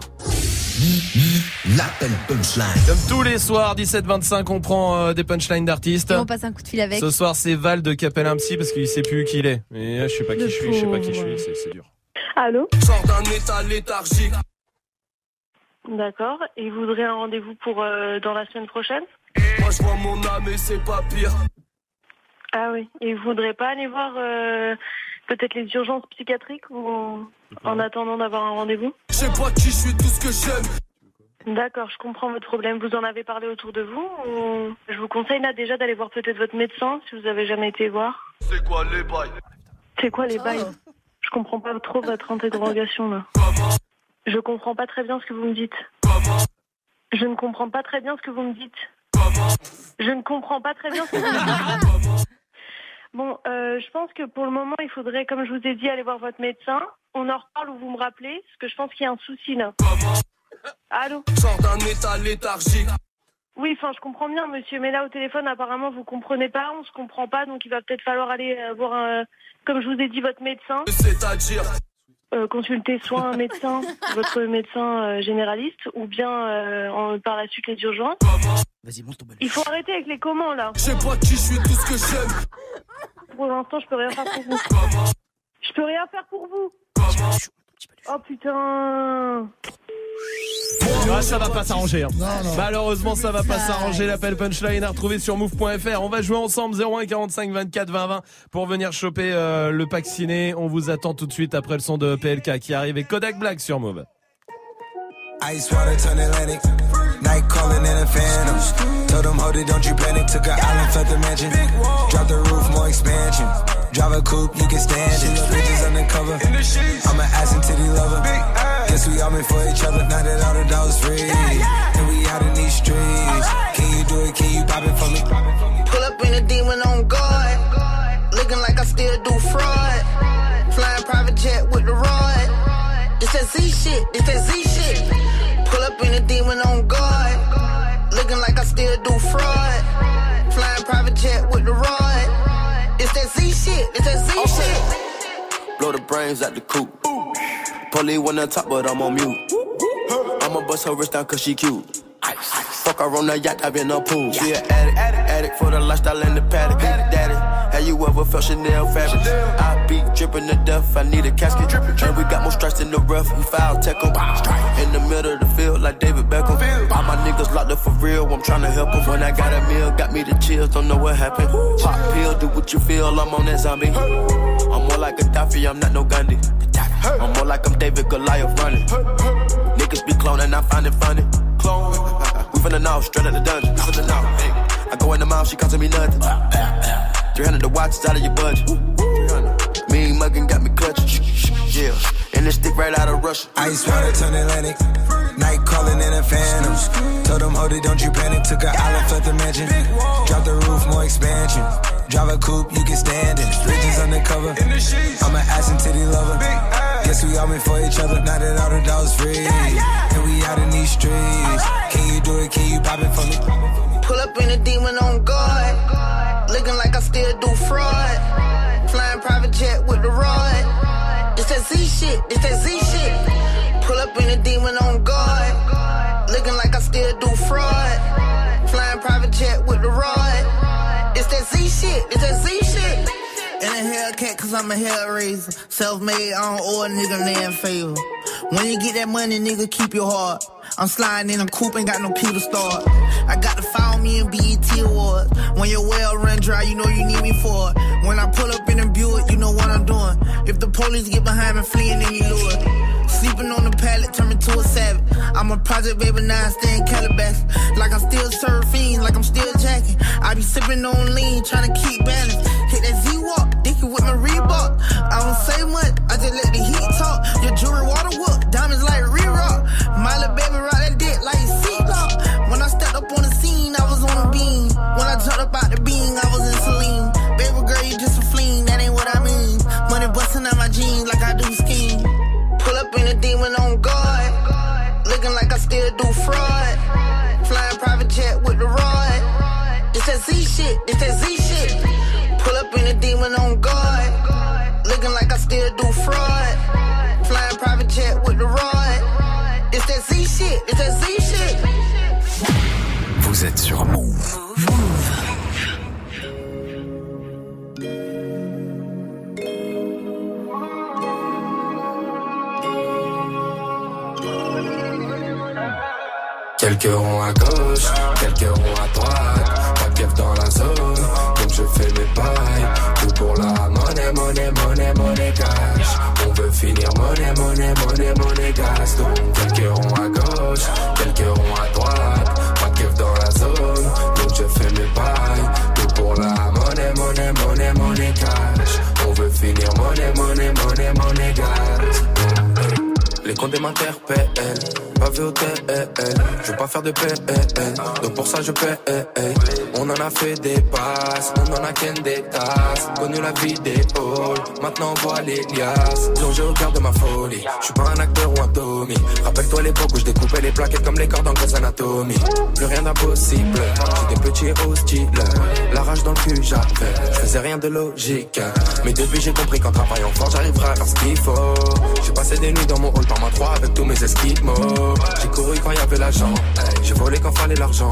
L'appel punchline. Comme tous les soirs, dix-sept vingt-cinq, on prend euh, des punchlines d'artistes. Et on passe un coup de fil avec. Ce soir, c'est Val de qui appelle un psy parce qu'il sait plus qui il est. Mais là, je sais pas qui je suis, je sais pas qui je suis, c'est, c'est dur. Allô? Sors d'un état léthargique. D'accord. Et vous voudrez un rendez-vous pour euh, dans la semaine prochaine? Moi je vois mon âme et c'est pas pire. Ah oui. Et vous voudrez pas aller voir euh, peut-être les urgences psychiatriques ou en, en attendant d'avoir un rendez-vous? Je sais pas qui je suis, tout ce que j'aime. D'accord, je comprends votre problème. Vous en avez parlé autour de vous ou... Je vous conseille là déjà d'aller voir peut-être votre médecin si vous avez jamais été voir. C'est quoi les bails? C'est quoi les bails? Je comprends pas trop votre interrogation là. Comment? Je comprends pas très bien ce que vous me dites. Comment? Je ne comprends pas très bien ce que vous me dites. Comment? Je ne comprends pas très bien ce que vous me dites. Bon, euh, je pense que pour le moment, il faudrait, comme je vous ai dit, aller voir votre médecin. On en reparle ou vous me rappelez, parce que je pense qu'il y a un souci là. Comment? Allô? Sors d'un état léthargique. Oui, enfin, je comprends bien, monsieur, mais là, au téléphone, apparemment, vous comprenez pas, on se comprend pas, donc il va peut-être falloir aller euh, voir, un, comme je vous ai dit, votre médecin. C'est-à-dire? euh, consulter soit un médecin, votre médecin euh, généraliste, ou bien euh, en, par la suite les urgences. Vas-y, monte ton balai. Il faut arrêter avec les comment là. Je sais pas qui je suis, tout ce que j'aime. Pour l'instant, je peux rien faire pour vous. Je peux rien faire pour vous. Oh putain. Ah, ça va pas s'arranger. Hein. Non, non. Malheureusement, ça va pas s'arranger. L'appel punchline à retrouver sur move point f r. On va jouer ensemble zéro un quarante-cinq vingt-quatre vingt vingt pour venir choper euh, le pack ciné. On vous attend tout de suite après le son de P L K qui arrive et Kodak Black sur Move. Ice water turn Atlantic. Night calling in a phantom. Told them, hold it, don't you panic. Took an island, felt the mansion. Drop the roof, more expansion. Drive a coupe, you can stand it. Bridges undercover. I'm an ass and titty lover. Guess we all meant for each other. Now that all the dogs free. And we out in these streets. Can you do it? Can you pop it for me? Pull up in a demon on guard. Looking like I still do fraud. Flying private jet with the rod. It's that Z shit. It's that Z shit. Pull up in a demon on guard. Looking like I still do fraud. Flying private jet with the rod. It's that Z shit. It's that Z okay. shit. Blow the brains out the coop. Polly wanna talk, but I'm on mute. I'ma bust her wrist down cause she cute. Ice. Fuck her on the yacht, I've been a pool. She an addict, addict, addict for the lifestyle and the paddock. Daddy, have you ever felt Chanel fabric? I be dripping to death, I need a casket. And we got more strikes in the rough, we foul tech em. In the middle of the field like David Beckham. All my niggas locked up for real, I'm tryna help them. When I got a meal, got me the chills, don't know what happened. Pop pill, do what you feel, I'm on that zombie. I'm more like Gaddafi, I'm not no Gandhi. I'm more like I'm David Goliath running. Niggas be cloning, I find it funny. Clone. We finna know, straight out the dungeon. Finna know. Hey. I go in the mouth, she costing me nothing. three hundred the watch is out of your budget. Mean muggin' got me clutching. Yeah, and this stick right out of Russia. Ice water turn Atlantic. Night calling in a phantom. Told them, hold it, don't you panic. Took an island, felt the mansion. Drop the roof, more expansion. Drive a coupe, you can stand it. Bridges undercover. I'm an ass and titty lover. Guess we all meant for each other. Now that all the dogs free. And we out in these streets. Can you do it? Can you pop it for me? Pull up in a demon on guard. Looking like I still do fraud. Flying private jet with the rod. It's that Z shit. It's that Z shit. Pull up in a demon on guard. Looking like I still do fraud. Flying private jet with the rod. It's that Z shit. It's that Z shit. In a Hellcat, cause I'm a hell raiser. Self-made, I don't owe a nigga land favor. When you get that money, nigga, keep your heart. I'm sliding in a coupe, ain't got no key to start. I got to follow me in B E T Awards. When your well run dry, you know you need me for it. When I pull up in a Buick, you know what I'm doing. If the police get behind me, fleeing, then you lure. Sleeping on the pallet, turn me to a savage. I'm a project baby, now I stay in Calabasas. Like I'm still surfing, like I'm still jacking. I be sipping on lean, trying to keep balance. Hit that Z-Walk, dicky with my Reebok. I don't say much, I just let the heat talk. Your jewelry water whoop, diamonds like re-rock. My little baby rock that dick like seatlock. When I stepped up on the scene, I was on a beam. When I jumped up out the beam, I was in Celine. Baby girl, you just a fleen, that ain't what I mean. Money busting out my jeans like I do skiing. Pull up in a demon on guard. Looking like I still do fraud. Flying private jet with the rod. It's that Z shit, it's that Z shit. Pull up in a demon on guard. Looking like I still do fraud. Flying private jet with the rod. It's that Z shit, it's that Z shit. Vous êtes sur Move. Quelques ronds à gauche, quelques ronds à droite. Pas de keuf dans la zone, donc je fais mes pailles. Tout pour la monnaie, monnaie, monnaie, monnaie cash. On veut finir monnaie, monnaie, monnaie, monnaie gas. Donc quelques ronds à gauche, quelques ronds à droite. Pas de keuf dans la zone, donc je fais mes pailles. Tout pour la monnaie, monnaie, monnaie, monnaie cash. On veut finir monnaie, monnaie, monnaie, monnaie gas. Les comptes m'interpellent. Pas vu au T L, je veux pas faire de P L. Donc pour ça je paie. On en a fait des passes, on en a qu'un des tasses. Connu la vie des halls, maintenant on voit les liasses. Plongé au cœur de ma folie, je suis pas un acteur ou un Tommy. Rappelle-toi l'époque où je découpais les plaquettes comme les cordes en Grey's Anatomy. Plus rien d'impossible, j'étais petit et hostile. La rage dans le cul j'avais, je faisais rien de logique. Mais depuis j'ai compris qu'en travaillant fort j'arriverai à faire ce qu'il faut. J'ai passé des nuits dans mon hall par ma trois avec tous mes esquimaux. J'ai couru quand y avait l'argent, j'ai volé quand fallait l'argent.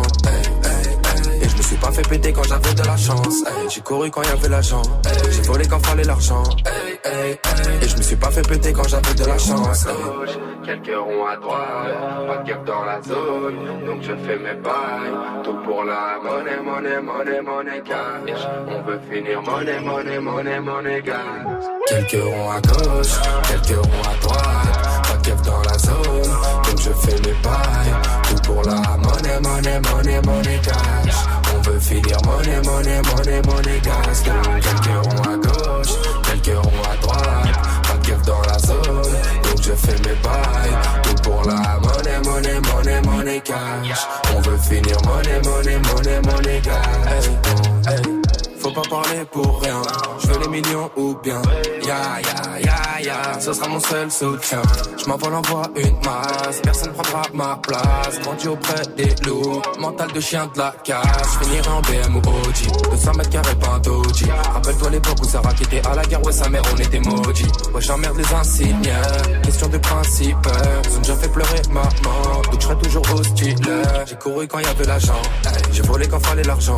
Et je me suis pas fait péter quand j'avais de la chance. J'ai couru quand y avait l'argent, j'ai volé quand fallait l'argent. Et je me suis pas fait péter quand j'avais de la chance. Quelques ronds à droite, pas de keuf dans la zone. Donc je fais mes bails, tout pour la monnaie, monnaie, monnaie, monnaie cash. On veut finir monnaie, monnaie, monnaie, monnaie cash. Quelques ronds à gauche, quelques ronds à droite, pas de keuf dans la zone. Donc je fais mes bails, tout pour la monnaie, monnaie, monnaie, monnaie cash. On veut finir monnaie, monnaie, monnaie, monnaie cash. Quelques ronds à gauche, quelques ronds à droite, pas de keuf dans la zone. Donc je fais mes bails, tout pour la monnaie, monnaie, monnaie, monnaie cash. On veut finir monnaie, monnaie, monnaie, monnaie cash. Hey, hey. Faut pas parler pour rien, je veux les millions ou bien ya ya ya ya, ce sera mon seul soutien. Je m'envole, envoie une masse, personne prendra ma place. Grandi auprès des loups, mental de chien de la casse. Je finirai en B M ou O G, deux cents mètres carrés pas un doji. Rappelle-toi l'époque où Sarah qui était à la guerre, ouais sa mère on était maudits. Ouais j'emmerde les insignes, question de principe. Ils ont déjà fait pleurer maman, donc je serai toujours hostile. J'ai couru quand y avait l'argent, j'ai volé quand fallait l'argent.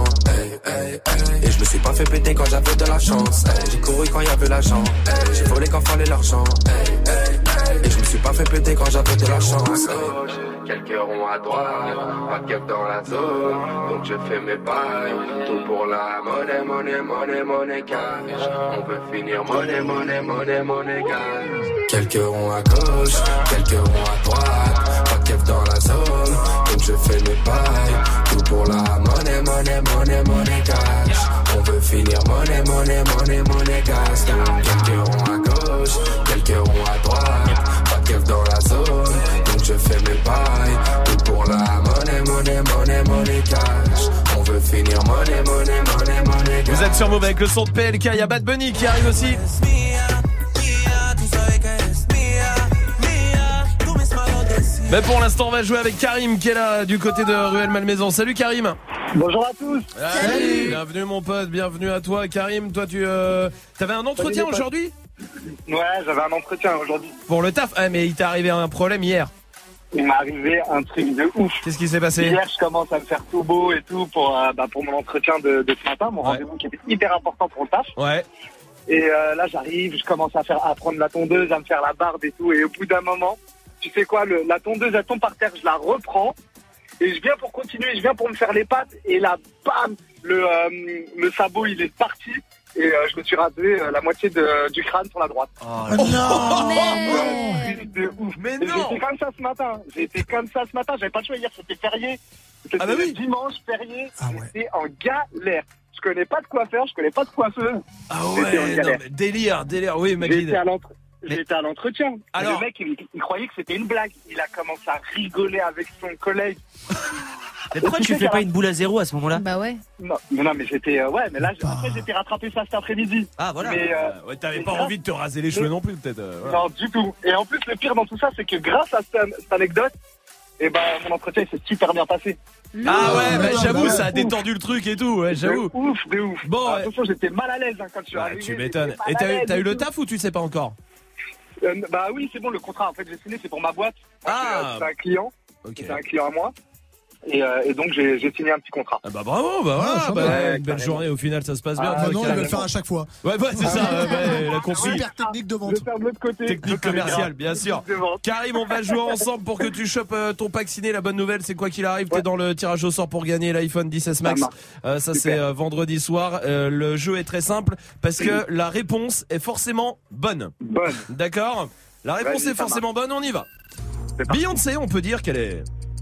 Et je me suis pas fait péter quand j'avais de la chance. J'ai couru quand y avait l'argent, j'ai volé quand fallait l'argent. Et je me suis pas fait péter quand j'avais de la chance. Quelques ronds à droite, pas de keuf dans la zone. Donc je fais mes bails, tout pour la monnaie, monnaie, monnaie, monnaie cash. On veut finir monnaie, monnaie, monnaie, monnaie cash. Quelques ronds à gauche, quelques ronds à droite, pas de keuf dans la zone. Donc je fais mes bails, tout pour la monnaie, monnaie, monnaie, monnaie cash. On veut finir monnaie, monnaie, monnaie, monnaie cash. Quelques ronds à gauche, quelques ronds à droite, pas de keuf dans la zone. Donc je fais mes bails, tout pour la monnaie, monnaie, monnaie, monnaie cash. On veut finir monnaie, monnaie, monnaie, monnaie cash. Vous êtes sur Move avec le son de P L K, il y a Bad Bunny qui arrive aussi. Mais pour l'instant on va jouer avec Karim qui est là du côté de Ruelle Malmaison. Salut Karim. Bonjour à tous. Salut. Bienvenue mon pote, bienvenue à toi Karim. Toi tu euh, t'avais un entretien Salut, aujourd'hui? Ouais, j'avais un entretien aujourd'hui. Pour le taf? Ah mais il t'est arrivé un problème hier. Il m'est arrivé un truc de ouf. Qu'est-ce qui s'est passé? Hier je commence à me faire tout beau et tout pour, euh, bah, pour mon entretien de, de ce matin, mon ouais. rendez-vous qui était hyper important pour le taf. Ouais. Et euh, là j'arrive, je commence à faire à prendre la tondeuse, à me faire la barbe et tout, et au bout d'un moment, tu sais quoi, le, la tondeuse elle tombe par terre, je la reprends et je viens pour continuer, je viens pour me faire les pattes et là bam, le, euh, le sabot il est parti et euh, je me suis rasé euh, la moitié de, du crâne sur la droite. Oh, non, non mais... de ouf. Mais et non. J'étais comme ça ce matin, j'étais comme ça ce matin, j'avais pas le choix hier, c'était férié, c'était ah bah oui. dimanche férié, ah ouais. J'étais en galère. Je connais pas de quoi faire, je connais pas de coiffeuse. Ah ouais, non, mais délire, délire, oui Magid. J'étais à l'entre... Mais... J'étais à l'entretien. Alors... Le mec, il, il croyait que c'était une blague. Il a commencé à rigoler avec son collègue. Mais pourquoi tu fais pas une boule à zéro à ce moment-là? Bah ouais. Non, mais non, mais j'étais... Euh, ouais, mais là, après, j'étais rattrapé ça cet après-midi. Ah, voilà. Mais, euh, ouais, t'avais pas ça... envie de te raser les cheveux mais... non plus, peut-être. Euh, voilà. Non, du tout. Et en plus, le pire dans tout ça, c'est que grâce à cette, cette anecdote, eh ben, mon entretien, il s'est super bien passé. Non, ah ouais, bah, j'avoue, ça a détendu le truc et tout, ouais, j'avoue. De ouf, de ouf. Bon, ouais. Attention, j'étais mal à l'aise hein, quand tu suis bah, arrivé. Tu m'étonnes. Et t'as eu, t'as eu le taf ou tu sais pas encore? euh, Bah oui, c'est bon, le contrat, en fait, j'ai signé, c'est pour ma boîte. Ah. C'est un client. Okay. C'est un client à moi. Et, euh, et donc j'ai, j'ai signé un petit contrat. Ah bah bravo, bah voilà, ah, bah, ouais, une belle journée au final, ça se passe bien. Ah non, ils veulent le faire à chaque fois. Ouais, ouais, c'est ah, ça, ouais, ouais, la consigne. Super technique de vente. Je vais faire de l'autre côté. Technique commerciale, bien sûr. Karim, on va jouer ensemble pour que tu chopes euh, ton pack ciné. La bonne nouvelle, c'est quoi qu'il arrive, ouais. T'es dans le tirage au sort pour gagner l'iPhone dix S Max. Euh, ça c'est euh, vendredi soir. Euh, le jeu est très simple parce que la réponse est forcément bonne. Bonne. D'accord. La réponse ouais, est forcément bonne, on y va. Beyoncé, on peut dire qu'elle est...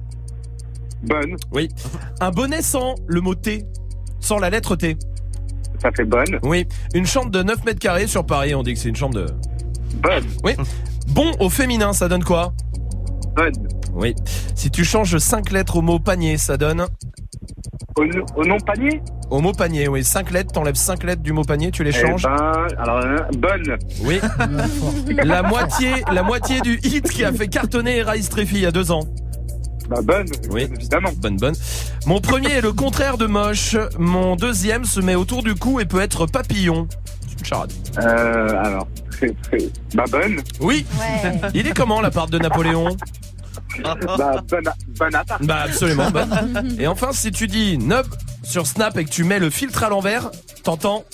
Bonne. Oui. Un bonnet sans le mot T, sans la lettre T. Ça fait bonne. Oui. Une chambre de neuf mètres carrés sur Paris, on dit que c'est une chambre de... Bonne. Oui. Bon au féminin, ça donne quoi? Bonne. Oui. Si tu changes cinq lettres au mot panier, ça donne? Au, au nom panier? Au mot panier, oui. cinq lettres, t'enlèves cinq lettres du mot panier, tu les changes? Eh ben, alors, euh, bonne. Oui. la moitié, la moitié du hit qui a fait cartonner Rise Treffy il y a deux ans. Bah bonne, oui, évidemment. Bonne, bonne. Mon premier est le contraire de moche. Mon deuxième se met autour du cou et peut être papillon. C'est une charade. Euh, alors, c'est, c'est... Bah bonne. Oui. Ouais. Il est comment l'appart de Napoléon? Bah bonne, bonne appart. Bah absolument bonne. Et enfin, si tu dis Nub sur Snap et que tu mets le filtre à l'envers, t'entends?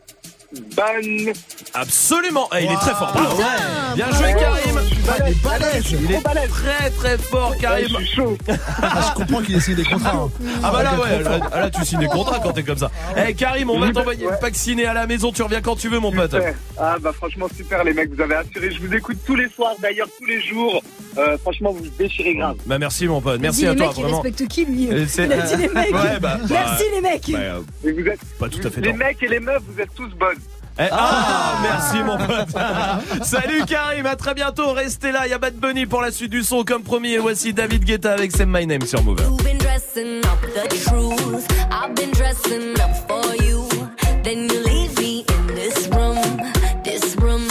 Bonne. Absolument. Eh, il est Wow. très fort. Bravo. Ouais. Bien joué, Karim. Il est balèze. Il est très très fort, Karim. Je suis chaud. Ah, je comprends qu'il essaye des contrats. Hein. Ah bah là ouais, là, là tu signes des contrats quand t'es comme ça. Eh hey, Karim, on va t'envoyer ouais. vacciner à la maison, tu reviens quand tu veux mon pote. Super. Ah bah franchement super les mecs, vous avez assuré. Je vous écoute tous les soirs, d'ailleurs tous les jours. Euh, franchement vous déchirez grave. Bah merci mon pote, merci il à dit toi les mecs, vraiment. Il respecte qui lui? Et c'est- Il a dit les mecs. Ouais, bah, bah, Merci les mecs. Bah, euh, Et vous êtes pas tout à fait les tort. mecs et les meufs, vous êtes tous bonnes. Eh, ah, merci mon pote. Salut Karim, à très bientôt. Restez là, il y a Bad Bunny pour la suite du son comme promis. Et voici David Guetta avec Say My Name sur Move. You've been dressing up the truth. I've been dressing up for you. Then you leave me in this room, this room.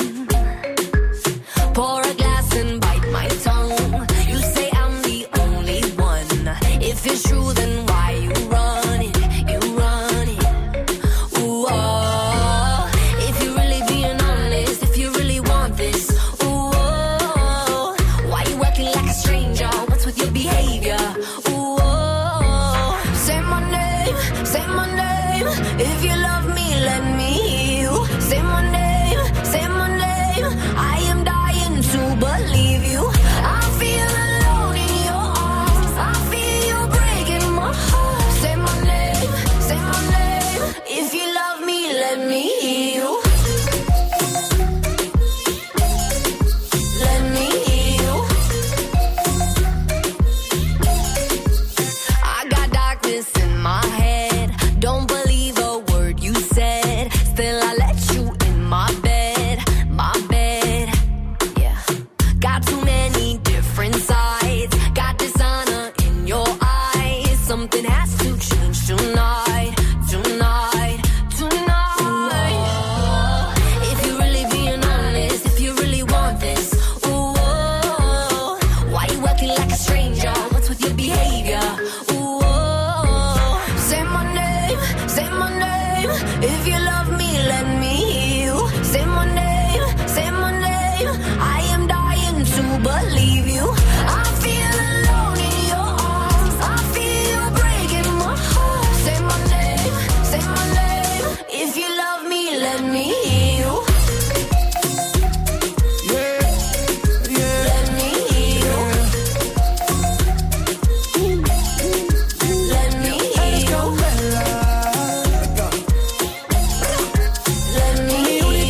Pour a glass and bite my tongue. You say I'm the only one. If it's true, then why you run it? You run it. Ooh, oh. If you really being honest, if you really want this, ooh, oh. Why you acting like a stranger? What's with your behavior? Ooh, oh. Say my name, say my name. If you love me, let me hear you. Say my name, say my name. I am dying to believe you. I feel alone in your arms. I feel you breaking my heart. Say my name, say my name. If you love me, let me hear you. Let me hear you. I got darkness in my head. Don't believe a word you said. Still I let you in my bed, my bed. Yeah. Got too many different sides. Got dishonor in your eyes. Something has to change tonight, tonight, tonight. Ooh, if you really being honest, if you really want this, ooh, oh, why you acting like a stranger? What's with your behavior? Ooh, oh, say my name, say my name. If you love me, let me hear you. Say my name, say my name. I am dying to believe you. I feel alone in your arms. I feel you breaking my heart. Say my name, say my name. If you love me, let me hear you. Let me hear you. Let me hear you. Let me hear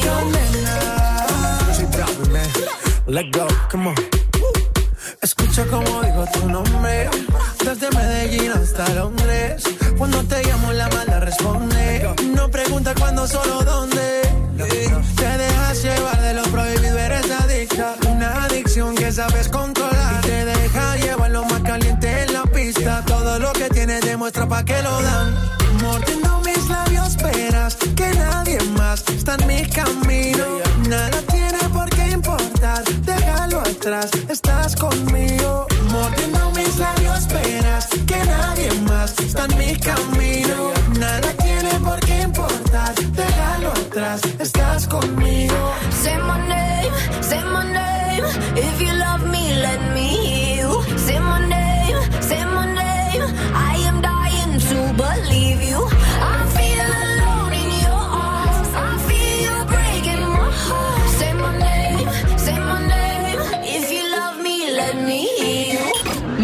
you. Let go, come on. Escucha como digo tu nombre. Desde Medellín hasta Londres. Cuando te llamo la mala responde. No pregunta cuándo, solo dónde. Te dejas llevar de lo prohibido, eres adicta. Una adicción que sabes controlar. Y te deja llevar lo más caliente en la pista. Todo lo que tienes demuestra pa' que lo dan. Mordiendo mis labios, verás que nadie más está en mi camino. Nada tiene por qué importar, déjalo atrás, estás conmigo. Mordiendo mis labios, verás que nadie más está en mi camino. Nada tiene por qué importar, déjalo atrás, estás conmigo. Say my name, say my name. If you love me, let me hear you. Say my name, say my name. I am dying to believe you. I feel alone in your arms. I feel you breaking my heart. Say my name, say my name. If you love me, let me hear you.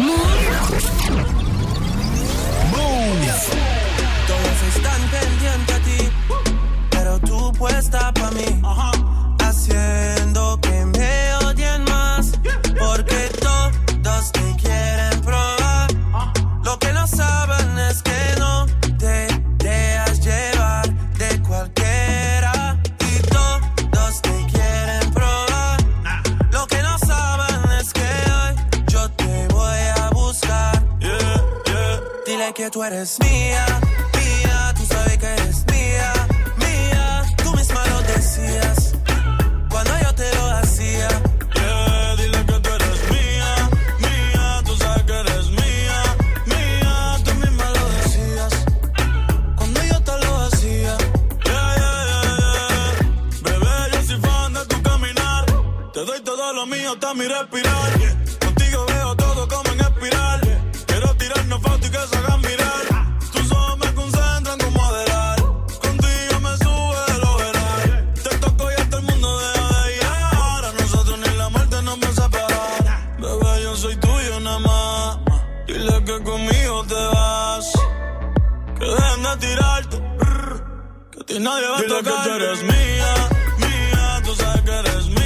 Todos están pendientes a ti, pero tú puesta pa' mí, haciendo que me que tú eres mía, mía, tú sabes que eres mía, mía, tú misma lo decías cuando yo te lo hacía. Yeah, dile que tú eres mía, mía, tú sabes que eres mía, mía, tú misma lo decías cuando yo te lo hacía. Yeah, yeah, yeah, yeah. Bebé, yo soy fan de tu caminar, te doy todo lo mío hasta mi respirar. Contigo veo todo como en espiral. Quiero tirarnos fotos y que se hagan mirar. Tus ojos me concentran como adelar. Contigo me sube el overall. Te toco y hasta el mundo deja de llegar. A nosotros ni la muerte nos va a separar. Bebé, yo soy tuyo nada más. Dile que conmigo te vas. Que dejen de tirarte. Que a ti nadie va a tocar. Dile que tú eres mía, mía. Tú sabes que eres mía.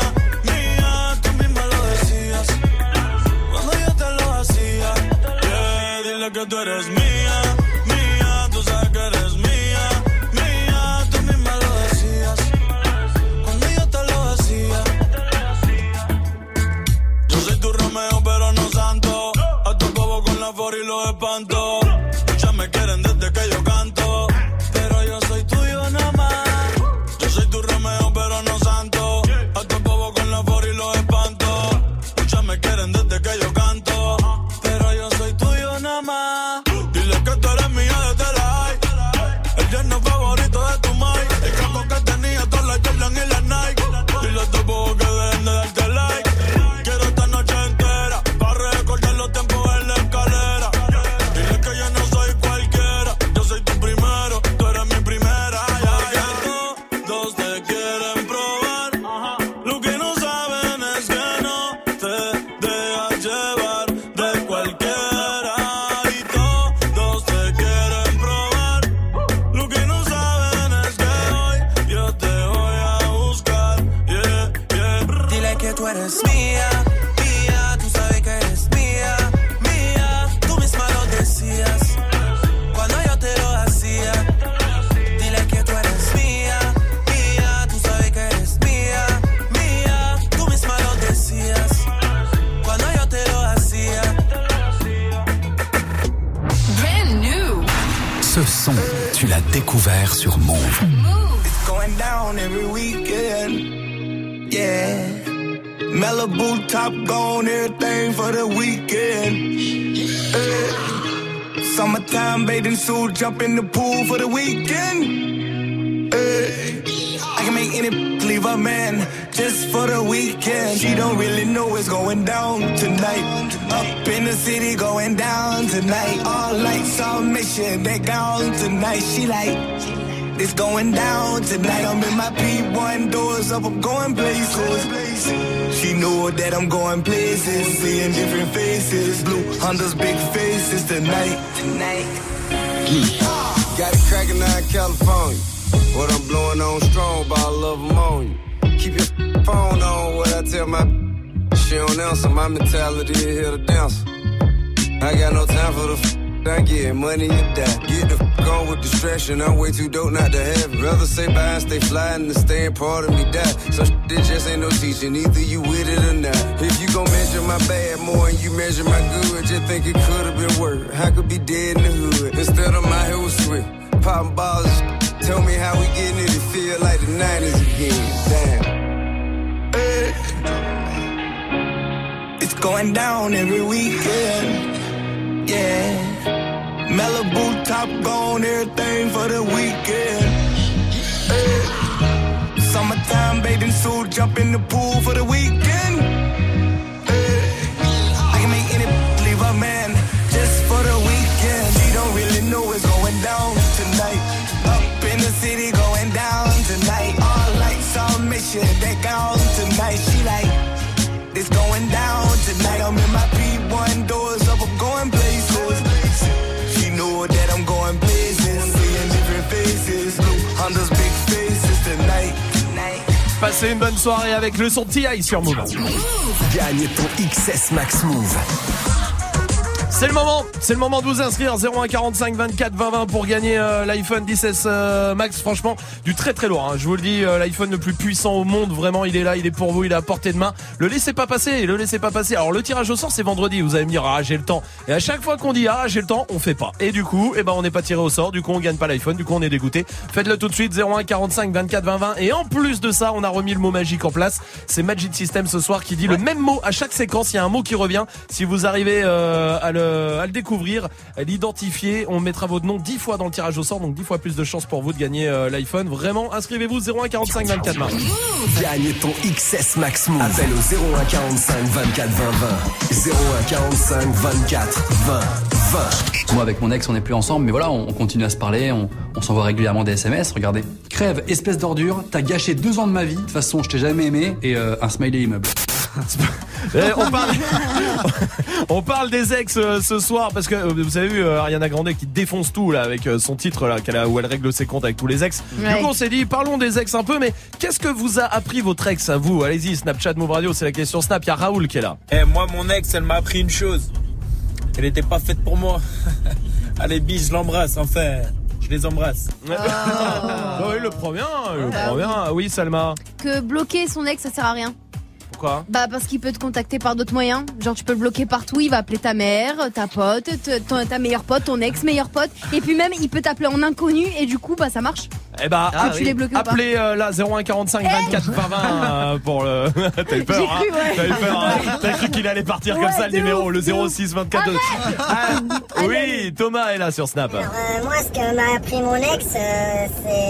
Que tú eres mía, mía, tú sabes que eres mía, mía, tú misma lo decías cuando yo te lo hacía. Yo soy tu Romeo pero no santo, a tu bobo con la for y los espanto. Muchas me quieren desde que yo canto, pero yo soy tuyo nada más. Yo soy tu Romeo pero no santo, a tu bobo con la for y los espanto. Muchas me quieren desde que yo canto, pero yo soy tuyo nada más. Dile que tú eres mía desde la high. El yerno favorito de tu mai. El campo que tenía todas las Jordan y las Nike. Dile a tu bobo que dejen de darte like. Quiero esta noche entera para recordar los tiempos en la escalera. Dile que yo no soy cualquiera. Yo soy tu primero, tú eres mi primera. Ya, ya. Todos te quieren probar. Lo que no saben es que no te dejas llevar de cualquiera. Tú eres mía, mía, tú sabes que eres mía, mía, tú misma lo decías cuando yo te lo hacía. Dile que tú eres mía, mía, tú sabes que eres mía, mía, tú misma lo decías cuando yo te lo hacía. Brand new. Ce son, tu l'as découvert sur Move. It's going down every weekend, yeah. Malibu top gone, everything for the weekend. Hey. Summertime bathing suit, jump in the pool for the weekend. Hey. I can make any leave a man just for the weekend. She don't really know what's going down tonight. Up in the city, going down tonight. All lights on, make sure they gone tonight. She like, it's going down tonight. I'm in my P one, doors up, I'm going places. She know that I'm going places, seeing different faces. Blue Honda's big faces tonight. Tonight. Got it cracking out in California. What I'm blowing on strong, but I love them on you. Keep your phone on, what I tell my she don't answer. My mentality is here to dance. I got no time for the f- I get money, you die. Get the f*** on with distraction. I'm way too dope not to have it. Rather say bye and stay fly and the staying part of me die. So shit just ain't no teaching. Either you with it or not. If you gon' measure my bad more and you measure my good, just think it could've been worse. I could be dead in the hood. Instead I'm out here with Swift. Poppin' balls. Tell me how we getting it. It feel like the nineties again. Damn. Hey. It's going down every weekend. Yeah. Malibu top gone, everything for the weekend. Hey. Summertime bathing suit, jump in the pool for the weekend. Hey. I can make any leave a man just for the weekend. She don't really know what's going down tonight. Up in the city, going down tonight. All lights on, make sure they gone tonight. She like, it's going down tonight. I'm in my P one, doors up, I'm going places. She know that I'm going places, seeing different faces. Blue Honda's big faces tonight. Passez une bonne soirée avec le son de T I sur Move. Gagne ton X S Max Move. C'est le moment, c'est le moment de vous inscrire zéro un quarante-cinq vingt-quatre vingt vingt pour gagner euh, l'iPhone dix S euh, Max. Franchement, du très très lourd. Hein. Je vous le dis, euh, l'iPhone le plus puissant au monde. Vraiment, il est là, il est pour vous, il est à portée de main. Le laissez pas passer, le laissez pas passer. Alors le tirage au sort, c'est vendredi. Vous allez me dire, ah j'ai le temps. Et à chaque fois qu'on dit ah j'ai le temps, on fait pas. Et du coup, eh ben on n'est pas tiré au sort. Du coup, on gagne pas l'iPhone. Du coup, on est dégoûté. Faites-le tout de suite zéro un quarante-cinq vingt-quatre vingt vingt. Et en plus de ça, on a remis le mot magique en place. C'est Magic System ce soir qui dit ouais. le même mot à chaque séquence. Il y a un mot qui revient. Si vous arrivez euh, à le à le découvrir, à l'identifier, on mettra votre nom dix fois dans le tirage au sort, donc dix fois plus de chances pour vous de gagner euh, l'iPhone. Vraiment, inscrivez-vous zéro un quarante-cinq vingt-quatre vingt. Gagne ton X S Max Move. Appelle au zéro un quarante-cinq vingt-quatre vingt vingt. zéro un quarante-cinq vingt-quatre vingt vingt. Moi avec mon ex on n'est plus ensemble, mais voilà, on, on continue à se parler, on, on s'envoie régulièrement des S M S. Regardez, crève, espèce d'ordure, t'as gâché deux ans de ma vie. De toute façon, je t'ai jamais aimé. Et euh, un smiley immeuble. on, parle... on parle des ex euh, ce soir parce que euh, vous avez vu euh, Ariana Grande qui défonce tout là avec euh, son titre là qu'elle a, où elle règle ses comptes avec tous les ex. Ouais. Du coup on s'est dit parlons des ex un peu, mais qu'est-ce que vous a appris votre ex à vous? Allez-y, Snapchat Move Radio, c'est la question Snap. Il y a Raoul qui est là. Eh hey, moi mon ex elle m'a appris une chose. Elle était pas faite pour moi. Allez bis, je l'embrasse enfin. Je les embrasse. Oh. Oui, le prend bien, le bah, prend oui. bien. Oui, Salma. Que bloquer son ex, ça sert à rien. Pourquoi? Bah parce qu'il peut te contacter par d'autres moyens. Genre tu peux le bloquer partout, il va appeler ta mère, ta pote, te, ton, ta meilleure pote, ton ex meilleure pote. Et puis même il peut t'appeler en inconnu et du coup bah ça marche. Eh bah ah, tu oui. les bloques ou pas. Appelez euh, là zéro un quarante-cinq vingt-quatre vingt vingt euh, pour le. T'as eu peur, hein cru, ouais. T'as eu peur, hein T'as cru qu'il allait partir ouais, comme ça le numéro, ouf, le zéro six vingt-quatre deux. Ah, oui, Thomas est là sur Snap. Alors euh, moi ce que m'a appris mon ex euh,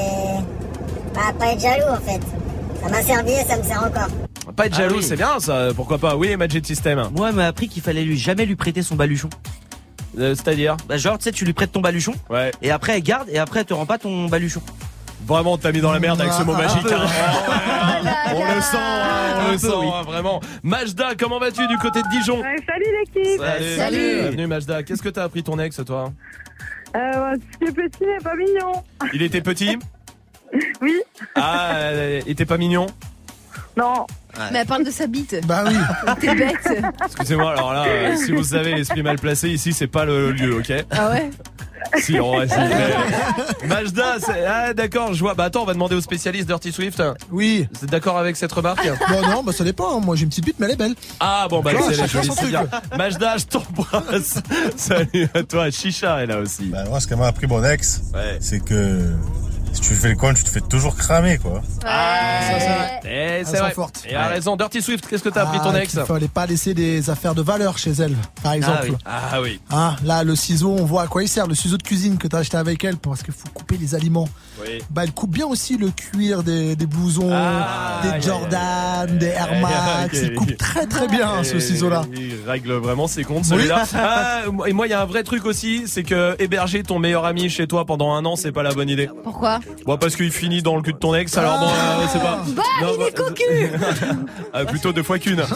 c'est bah, pas être jaloux en fait. Ça m'a servi et ça me sert encore. Pas être jaloux, ah oui. c'est bien ça, pourquoi pas. Oui, Magic System. Moi, elle m'a appris qu'il fallait lui jamais lui prêter son baluchon. Euh, c'est-à-dire bah, genre, tu sais, tu lui prêtes ton baluchon. Ouais. Et après, elle garde, et après, elle te rend pas ton baluchon. Vraiment, t'as mis dans la merde avec ce mot magique. Hein. Ah, on le sent, hein, on le sent, oui. hein, vraiment. Majda, comment vas-tu du côté de Dijon? ouais, Salut l'équipe. Salut. Salut. Bienvenue Majda. Qu'est-ce que t'as appris ton ex, toi? Euh, ce qui est petit n'est pas mignon. Il était petit? Oui. Ah, il était pas mignon? Non. Ouais. Mais elle parle de sa bite. Bah oui. T'es bête. Excusez-moi, alors là, euh, si vous avez l'esprit mal placé, ici, c'est pas le lieu, ok? Ah ouais? Si, on va si, mais... Majda, c'est... Ah d'accord, je vois. Bah attends, on va demander au spécialiste Dirty Swift. Oui. Vous êtes d'accord avec cette remarque? Bon non, bah ça dépend, moi j'ai une petite bite mais elle est belle. Ah bon bah oh, c'est joli, c'est bien. Majda, je t'embrasse. Salut à toi, Chicha est là aussi. Bah moi ce qu'elle m'a appris mon ex, ouais. c'est que... si tu fais le con, tu te fais toujours cramer, quoi. Ah, ça, ça. Et c'est vrai. Forte. Et a raison. Dirty Swift, qu'est-ce que t'as appris ah, ton ex? Il fallait pas laisser des affaires de valeur chez elle, par exemple. Ah oui. Ah, oui. Ah, là, le ciseau, on voit à quoi il sert. Le ciseau de cuisine que t'as acheté avec elle parce qu'il faut couper les aliments. Oui. Bah, elle coupe bien aussi le cuir des, des blousons, ah, des yeah, Jordan, yeah. des Air Max. Okay. Il coupe très très bien, ce ciseau-là. Il règle vraiment ses comptes, celui-là. Oui. Ah, et moi, il y a un vrai truc aussi, c'est que héberger ton meilleur ami chez toi pendant un an, c'est pas la bonne idée. Pourquoi? Bon, parce qu'il finit dans le cul de ton ex, alors bon, euh, c'est pas. Bah, non, il bah, est cocu. ah, plutôt deux fois qu'une.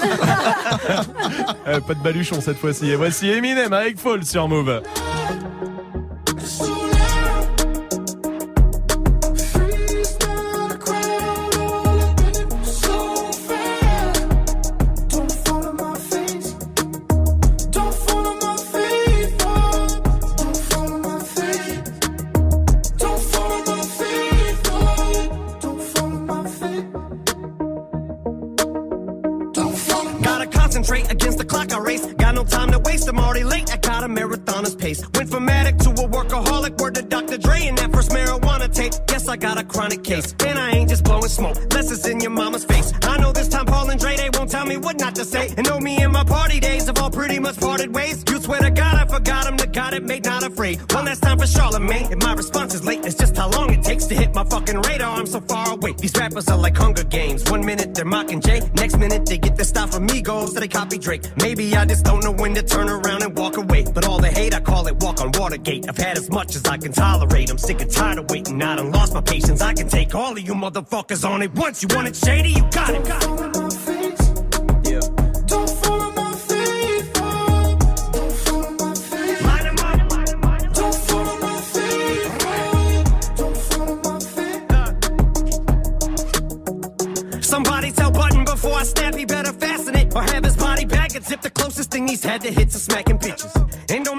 euh, pas de baluchon cette fois-ci. Et voici Eminem avec Fall sur Move. Against the clock I race, got no time to waste, I'm already late, I got a marathoner's pace. Went from addict to a workaholic, word to Doctor Dre and that first marijuana tape. Guess I got a chronic case, and I ain't just blowing smoke, less it's in your mama's face. I know this time Paul and Dre, they won't tell me what not to say. And know me and my party days have all pretty much parted ways. You swear to God I forgot him, the God it made not afraid. One last time for Charlemagne, and my response is late, it's just how long it takes to hit my fucking radar, I'm so far away. These rappers are like Hunger Games, one minute they're mocking Jay, next minute they get their style from Migos, so they copy Drake. Maybe I just don't know when to turn around and walk away. But all the hate, I call it walk on Watergate. I've had as much as I can tolerate. I'm sick and tired of waiting. I done lost my patience. I can take all of you motherfuckers on it once. You want it shady? You got it. Got it. Yeah. Don't follow my feet. Don't follow my feet. Line 'em up. Don't follow my feet. Don't follow my feet. Somebody tell Button before I snap, he better fasten it or have his body back and zip. The closest thing he's had to hits are smacking bitches. And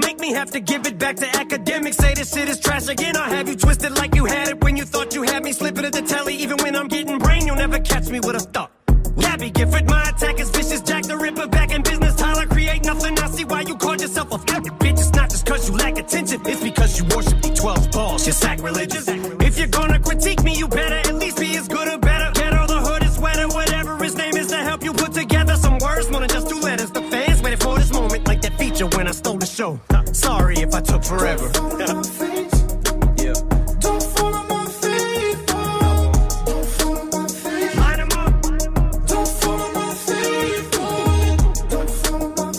have to give it back to academics. Say this shit is trash again. I'll have you twisted like you had it when you thought you had me. Slipping at the telly, even when I'm getting brain, you'll never catch me with a thought. Gabby Gifford, my attack is vicious. Jack the Ripper back in business. Tyler, create nothing. I see why you called yourself a fucking bitch. It's not just cause you lack attention. It's because you worship the twelve balls. You're sacrilegious. If you're gonna critique me, you better at least be as good or better. Get all the hood is sweater, whatever his name is, to help you put together some words. More than just two letters. The fans waited for this moment like that feature when I stole the show. Sorry if I took forever. Yeah. Don't follow my feet. Don't follow my feet. Line 'em up. Don't follow my feet. Don't follow my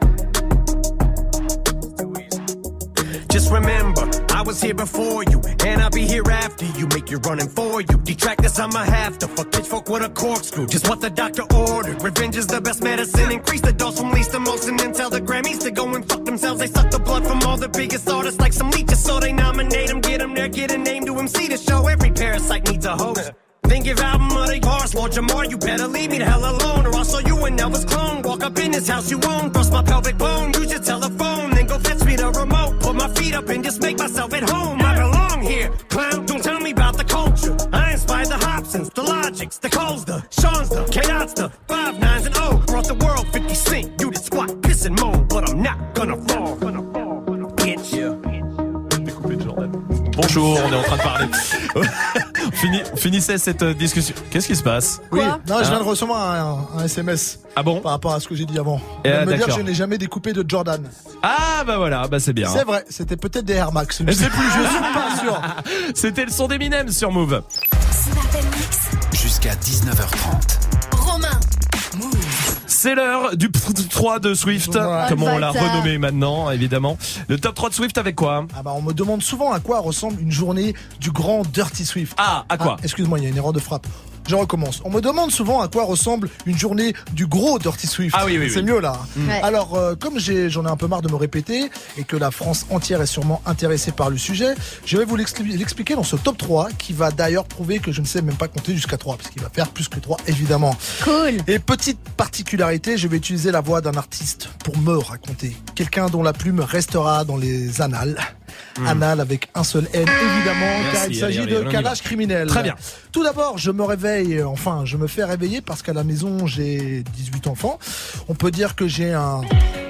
feet. Just remember, I was here before you, and I'll be here after you. Make you running for you. Detractors, I'ma have to fuck pitchfork with a corkscrew. Just what the doctor ordered. Revenge is the best medicine. Increase the dose from least to most, and then tell the Grammys to go and fuck themselves. They suck the blood from all the biggest artists like some leeches, so they nominate them, get them there, get a name to M C to show. Every parasite needs a host. Then give album of the bars, Lord Jamar, you better leave me the hell alone, or I'll show you an Elvis clone. Walk up in this house you own, bust my pelvic bone, use your telephone, then go fetch me the remote. Put my feet up and just make myself at home. I belong here, clown, don't tell me about the culture. I inspired the Hobsons, the Logics, the Coles, the Sean's, the K-Dots, the five nines and O. Brought the world fifty cent, you did squat, piss and moan, but I'm not gonna fall. Bitch. Yeah. Bonjour, on est en train de parler. on, finit, on finissait cette discussion. Qu'est-ce qui se passe? Oui, Quoi non, je viens Hein de recevoir un, un S M S. Ah bon? Par rapport à ce que j'ai dit avant. Eh, Il vient de me d'accord. dire que je n'ai jamais découpé de Jordan. Ah bah voilà, bah c'est bien. C'est vrai, c'était peut-être des Air Max. Je ne sais plus, je suis pas sûr. C'était le son d'Eminem sur Move. Jusqu'à dix-neuf heures trente. Romain. Move. C'est l'heure du top trois de Swift, Ouais. comme on l'a Bâtard. renommé maintenant, évidemment. Le top trois de Swift avec quoi? Ah bah on me demande souvent à quoi ressemble une journée du grand Dirty Swift. Ah, à quoi? Excuse-moi, il y a une erreur de frappe. Je recommence. On me demande souvent à quoi ressemble une journée du gros Dirty Swift. Ah oui, oui, C'est oui. mieux là. Ouais. Alors, euh, comme j'ai, j'en ai un peu marre de me répéter et que la France entière est sûrement intéressée par le sujet, je vais vous l'expli- l'expliquer dans ce top trois qui va d'ailleurs prouver que je ne sais même pas compter jusqu'à trois parce qu'il va faire plus que trois évidemment. Cool. Et petite particularité, je vais utiliser la voix d'un artiste pour me raconter. Quelqu'un dont la plume restera dans les annales. Annales avec un seul N évidemment, Merci, car il s'agit allez, allez, on de y calage va. criminel. Très bien. Tout d'abord, je me réveille, enfin, je me fais réveiller parce qu'à la maison, j'ai dix-huit enfants. On peut dire que j'ai un...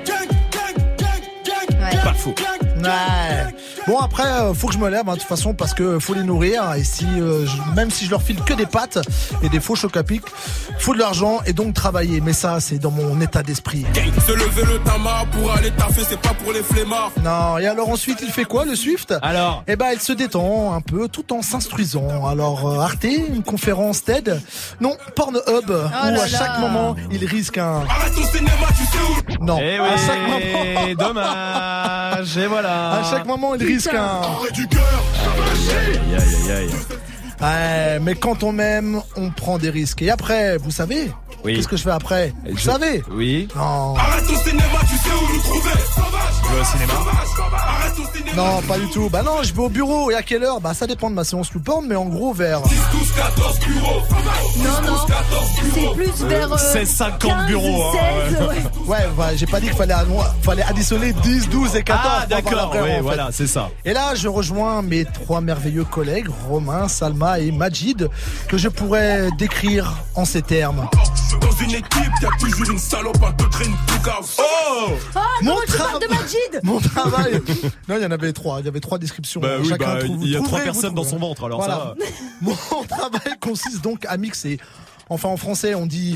Ouais. Pas faux. Ouais. Bon après, euh, faut que je me lève hein, de toute façon parce que faut les nourrir et si euh, je- même si je leur file que des pâtes et des faux chocs à pic, faut de l'argent et donc travailler. Mais ça, c'est dans mon état d'esprit. Se lever le tama pour aller taffer, c'est pas pour les flemmards. Non. Et alors ensuite, il fait quoi le Swift? Alors? Eh ben, il se détend un peu tout en s'instruisant. Alors euh, Arte, une conférence TED? Non, Pornhub où là à chaque là. moment il risque un. Arrête ton cinéma, tu sais où? Non. Eh à chaque moment. oui, dommage, et voilà. À chaque moment, il risque un. Arrête du cœur, Aïe, aïe, aïe, aïe. Ouais, mais quand on m'aime, on prend des risques. Et après, vous savez, Oui. qu'est-ce que je fais après? Vous Je- savez? Oui. Non. arrête ton cinéma, tu sais où nous trouver. Sauvage, Je vais au cinéma. arrête ton cinéma. Non, pas du tout. Bah non, je vais au bureau. Et à quelle heure? Bah ça dépend de ma séance YouPorn, mais en gros vers. dix, douze, quatorze bureaux. Non, non. C'est plus vers. euh, seize cinquante quinze, bureaux, hein. seize, ouais. Ouais, ouais, j'ai pas dit qu'il fallait, anno- fallait additionner dix, douze et quatorze. Ah pour avoir d'accord, la vraie, oui, en fait. voilà, c'est ça. Et là, je rejoins mes trois merveilleux collègues, Romain, Salma et Majid, que je pourrais décrire en ces termes. Dans une équipe, y'a toujours une salope à te traîner tout chaos. Oh! Ah, Mon comment tu tra- parles de Majid? Mon travail. Non, il y en avait trois. Il y avait trois descriptions. Bah oui, Chacun bah, trouve- il y a vous trois trouverez, vous personnes dans son trouverez. ventre, alors Voilà. ça. Mon travail consiste donc à mixer. Enfin, en français, on dit.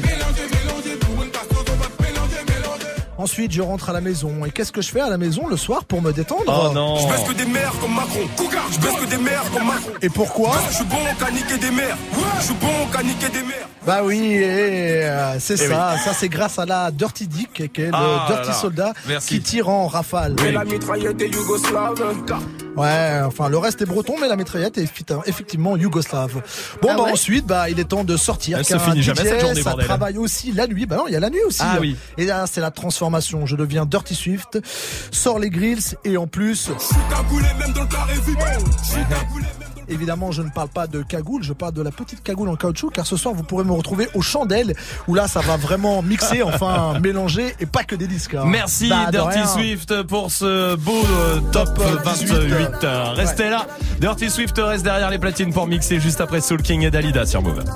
Ensuite, je rentre à la maison. Et qu'est-ce que je fais à la maison le soir pour me détendre? Oh non. Je baisse que des mères comme Macron. Cougar, je baisse que des mères comme Macron. Et pourquoi? Je suis bon qu'à niquer des mères. Je suis bon qu'à niquer des mères. Bah oui, et, euh, c'est Eh ça. Ça, c'est grâce à la Dirty Dick, qui est le Ah là Dirty là. Soldat, Merci. qui tire en rafale. Et la mitraillette est yougoslave. Ouais, enfin, le reste est breton, mais la mitraillette est effi- effectivement yougoslave. Bon, Ah bah ouais ensuite, bah, il est temps de sortir. Elle se car un finit jamais, D J, cette journée, ça bordel. travaille aussi la nuit. Bah non, il y a la nuit aussi. Ah oui. Et là, c'est la transformation. Je deviens Dirty Swift, sors les grills, et en plus, Je suis cagoulé même dans le carré vide. Je suis cagoulé même dans le évidemment, je ne parle pas de cagoule, je parle de la petite cagoule en caoutchouc, car ce soir, vous pourrez me retrouver aux chandelles, où là, ça va vraiment mixer, enfin, mélanger, et pas que des disques. Hein. Merci bah, Dirty rien. Swift pour ce beau euh, top vingt-huit. Restez ouais. là. Dirty Swift reste derrière les platines pour mixer juste après Soul King et Dalida sur Move.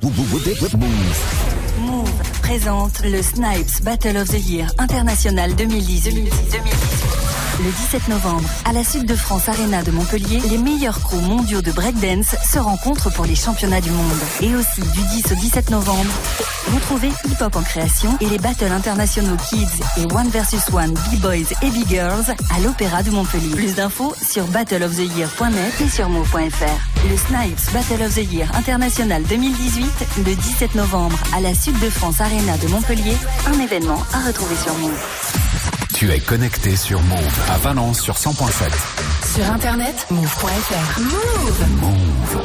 Move présente le Snipes Battle of the Year International deux mille dix-huit. Le dix-sept novembre, à la Sud de France Arena de Montpellier, les meilleurs crews mondiaux de breakdance se rencontrent pour les championnats du monde. Et aussi, du dix au dix-sept novembre, retrouvez Hip Hop en création et les battles internationaux Kids et One versus One B-Boys et B-Girls à l'Opéra de Montpellier. Plus d'infos sur battle of the year point net et sur move point f r. Le Snipes Battle of the Year International deux mille dix-huit, le dix-sept novembre, à la Sud de France Arena de Montpellier, un événement à retrouver sur Move. Tu es connecté sur Move à Valence sur cent point sept. Sur internet, move point f r. Move. Move.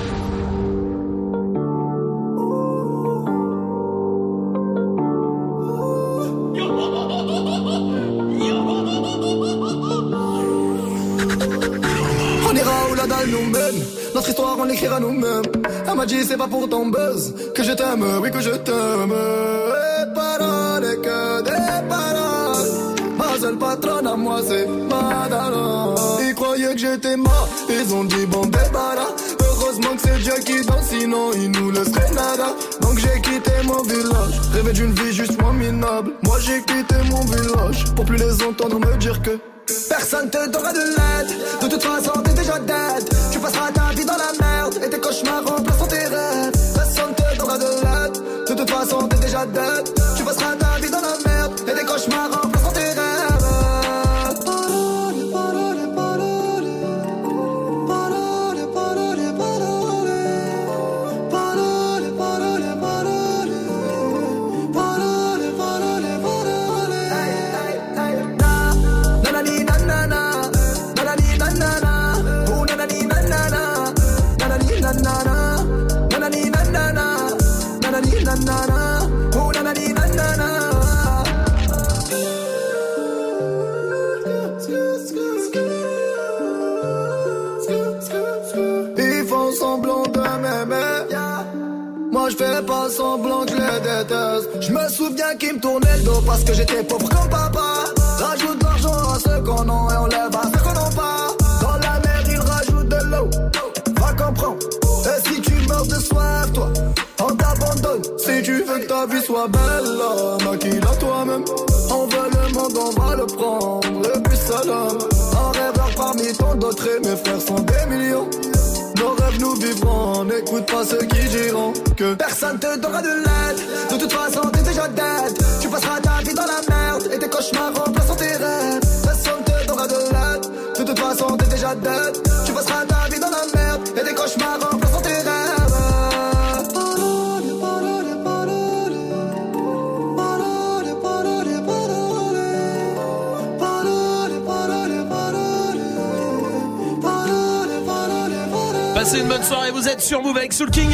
On ira où la dalle nous mène. Notre histoire on l'écrira nous-mêmes. Elle m'a dit c'est pas pour ton buzz que je t'aime, oui que je t'aime. Et paroles et que des paroles. Ma seule patronne à moi c'est Madara. Ils croyaient que j'étais mort, ils ont dit bon débarras. Heureusement que c'est Dieu qui danse, sinon il nous laisserait nada. Donc j'ai quitté mon village, rêvé d'une vie juste moins minable. Moi j'ai quitté mon village, pour plus les entendre me dire que personne te donnera de l'aide. De toute façon t'es déjà dead. Tu passeras ta vie dans la merde et tes cauchemars remplaceront tes rêves. Personne te donnera de l'aide. De toute façon t'es déjà dead. Tu passeras ta vie dans la merde et tes cauchemars remplaceront tes rêves. Ils font semblant de m'aimer. Moi je fais pas semblant que je les déteste. Je me souviens qu'ils me tournaient le dos parce que j'étais pauvre comme papa. Rajoute de l'argent à ceux qu'on a et on lève à ceux qu'on n'a pas. Dans la mer ils rajoutent de l'eau. Va comprendre. Et si tu meurs de soif, toi, on t'abandonne. Si tu veux que ta vie soit belle, maquille-la toi-même. On veut le monde, on va le prendre. Le plus seul homme. Un rêveur parmi tant d'autres et mes frères sont des millions. Nos rêves nous vivrons, n'écoute pas ceux qui diront que personne te donnera de l'aide. De toute façon t'es déjà dead. Tu passeras ta vie dans la merde et tes cauchemars remplaceront tes rêves. Personne te donnera de l'aide. De toute façon t'es déjà dead. Tu passeras ta vie dans la merde et tes cauchemars remplaceront tes rêves. Passez une bonne soirée, vous êtes sur Move avec Soul King.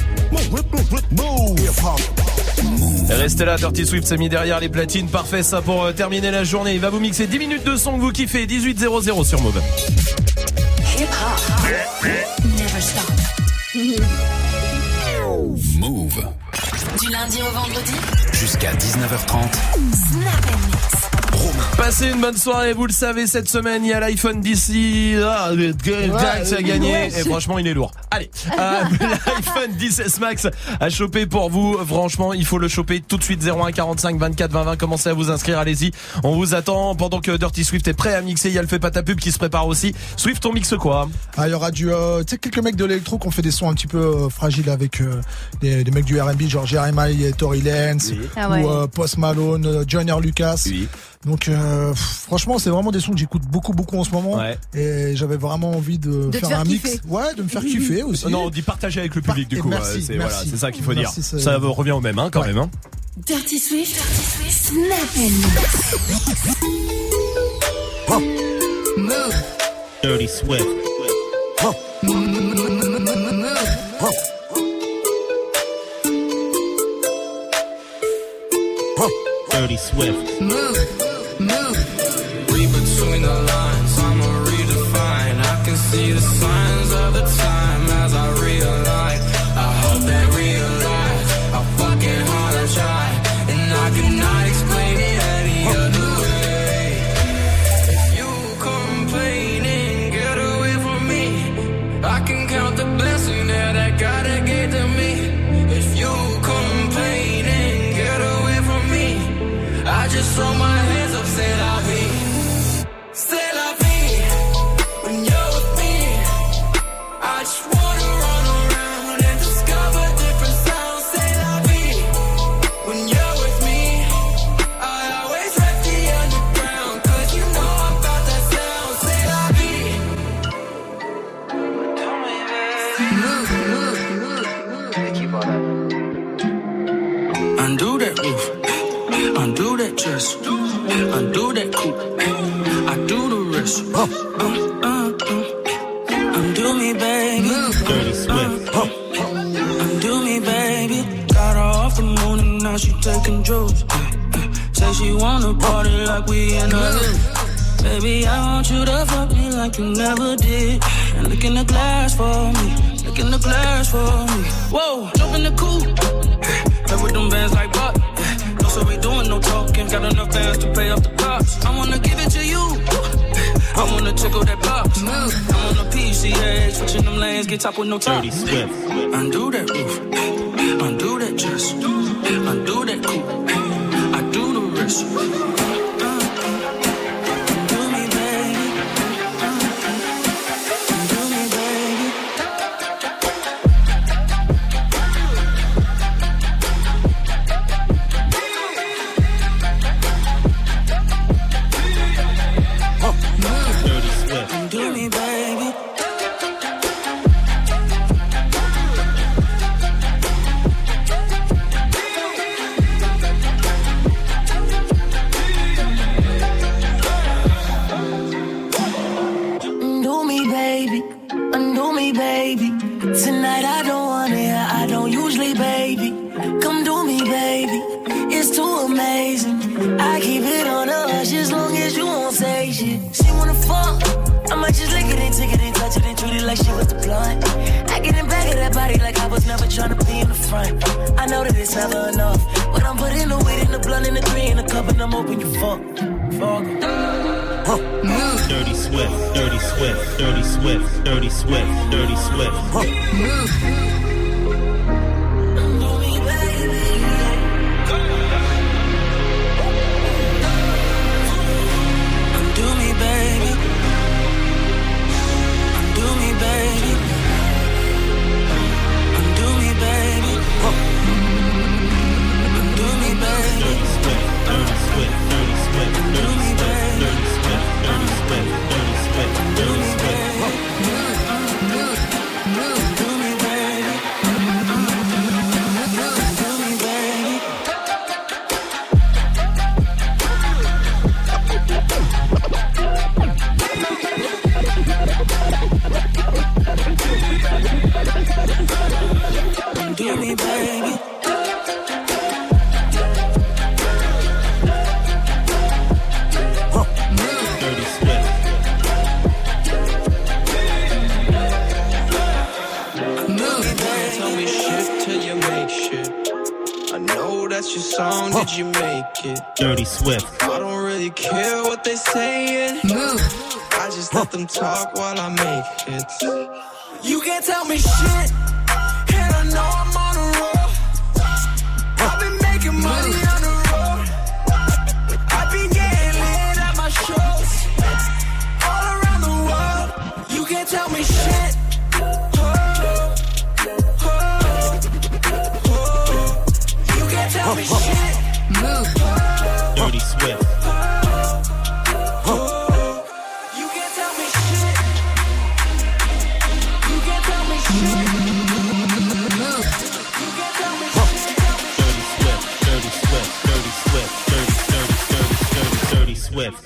Et restez là, Dirty Swift s'est mis derrière les platines. Parfait ça pour euh, terminer la journée. Il va vous mixer dix minutes de son que vous kiffez. dix-huit zéro zéro sur Move. Hip hop. Never stop. Move. Du lundi au vendredi jusqu'à dix-neuf heures trente. Snap and mix. Passez une bonne soirée, vous le savez, cette semaine il y a l'iPhone d'ici ah, ouais, à gagner ouais, et franchement il est lourd. Allez, euh, l'iPhone dix S Max à choper pour vous. Franchement il faut le choper tout de suite. Zéro un quarante-cinq vingt-quatre vingt vingt. Commencez à vous inscrire, allez-y. On vous attend pendant que Dirty Swift est prêt à mixer. Il y a le fait pas ta pub qui se prépare aussi. Swift, on mixe quoi? Ah, il y aura du euh, tu sais quelques mecs de l'électro qui ont fait des sons un petit peu euh, fragiles avec euh, des, des mecs du R and B genre Jeremiah et Tory Lanez oui. ah ouais. ou euh, Post Malone, euh, Joyner Lucas. Oui. Donc euh, pff, franchement c'est vraiment des sons que j'écoute beaucoup beaucoup en ce moment ouais. et j'avais vraiment envie de, de faire un kiffer. mix, ouais, de me faire kiffer aussi. Non, on dit partager avec le public Par- du coup. Merci, ouais, c'est merci. Voilà, c'est ça qu'il faut merci, dire. Ça, ça revient au même hein, quand ouais. même. Hein. Dirty Swift, Dirty Swift, Snap and oh. Move. Dirty Swift. Oh. Oh. Oh. Dirty Swift. Move. Move. Read between the lines, I'ma redefine. I can see the signs of the time throw my hands up, c'est la vie. C'est la vie. When you're with me, I just wanna run around and discover different sounds. C'est la vie. When you're with me, I always rep the underground, cause you know about that sound. C'est la vie. Undo that roof, undo that dress, undo that coupe. I do the rest. Uh, uh, uh. Undo me, baby. Dirty Swift. Uh, undo me, baby. Got her off the moon and now she taking drugs. Uh, uh. Say she wanna party like we in a hood. Baby, I want you to fuck me like you never did. And look in the glass for me. Look in the glass for me. Whoa, jump in the coupe. Play with them bands like butt. No, so we doing no talking. Got enough bands to pay off the cops. I wanna give it to you. I wanna tickle that box. I'm on a P C A, switching them lanes, get top with no top. Dirty Swift. Undo that roof, undo that dress, undo that coupe. I do the rest. Dirty Swift. I don't really care what they saying. I just let them talk while I make hits. You can't tell me shit, and I know I'm on a roll. I've been making money on the road. I've been getting lit at my shows all around the world. You can't tell me shit. Oh, oh, oh. You can't tell me shit. Dirty Swift. You can't tell me shit. You can't tell me shit. You can't tell me shit. Dirty Swift, Dirty Swift, Dirty Swift, Dirty, dirty, dirty, dirty, dirty Swift.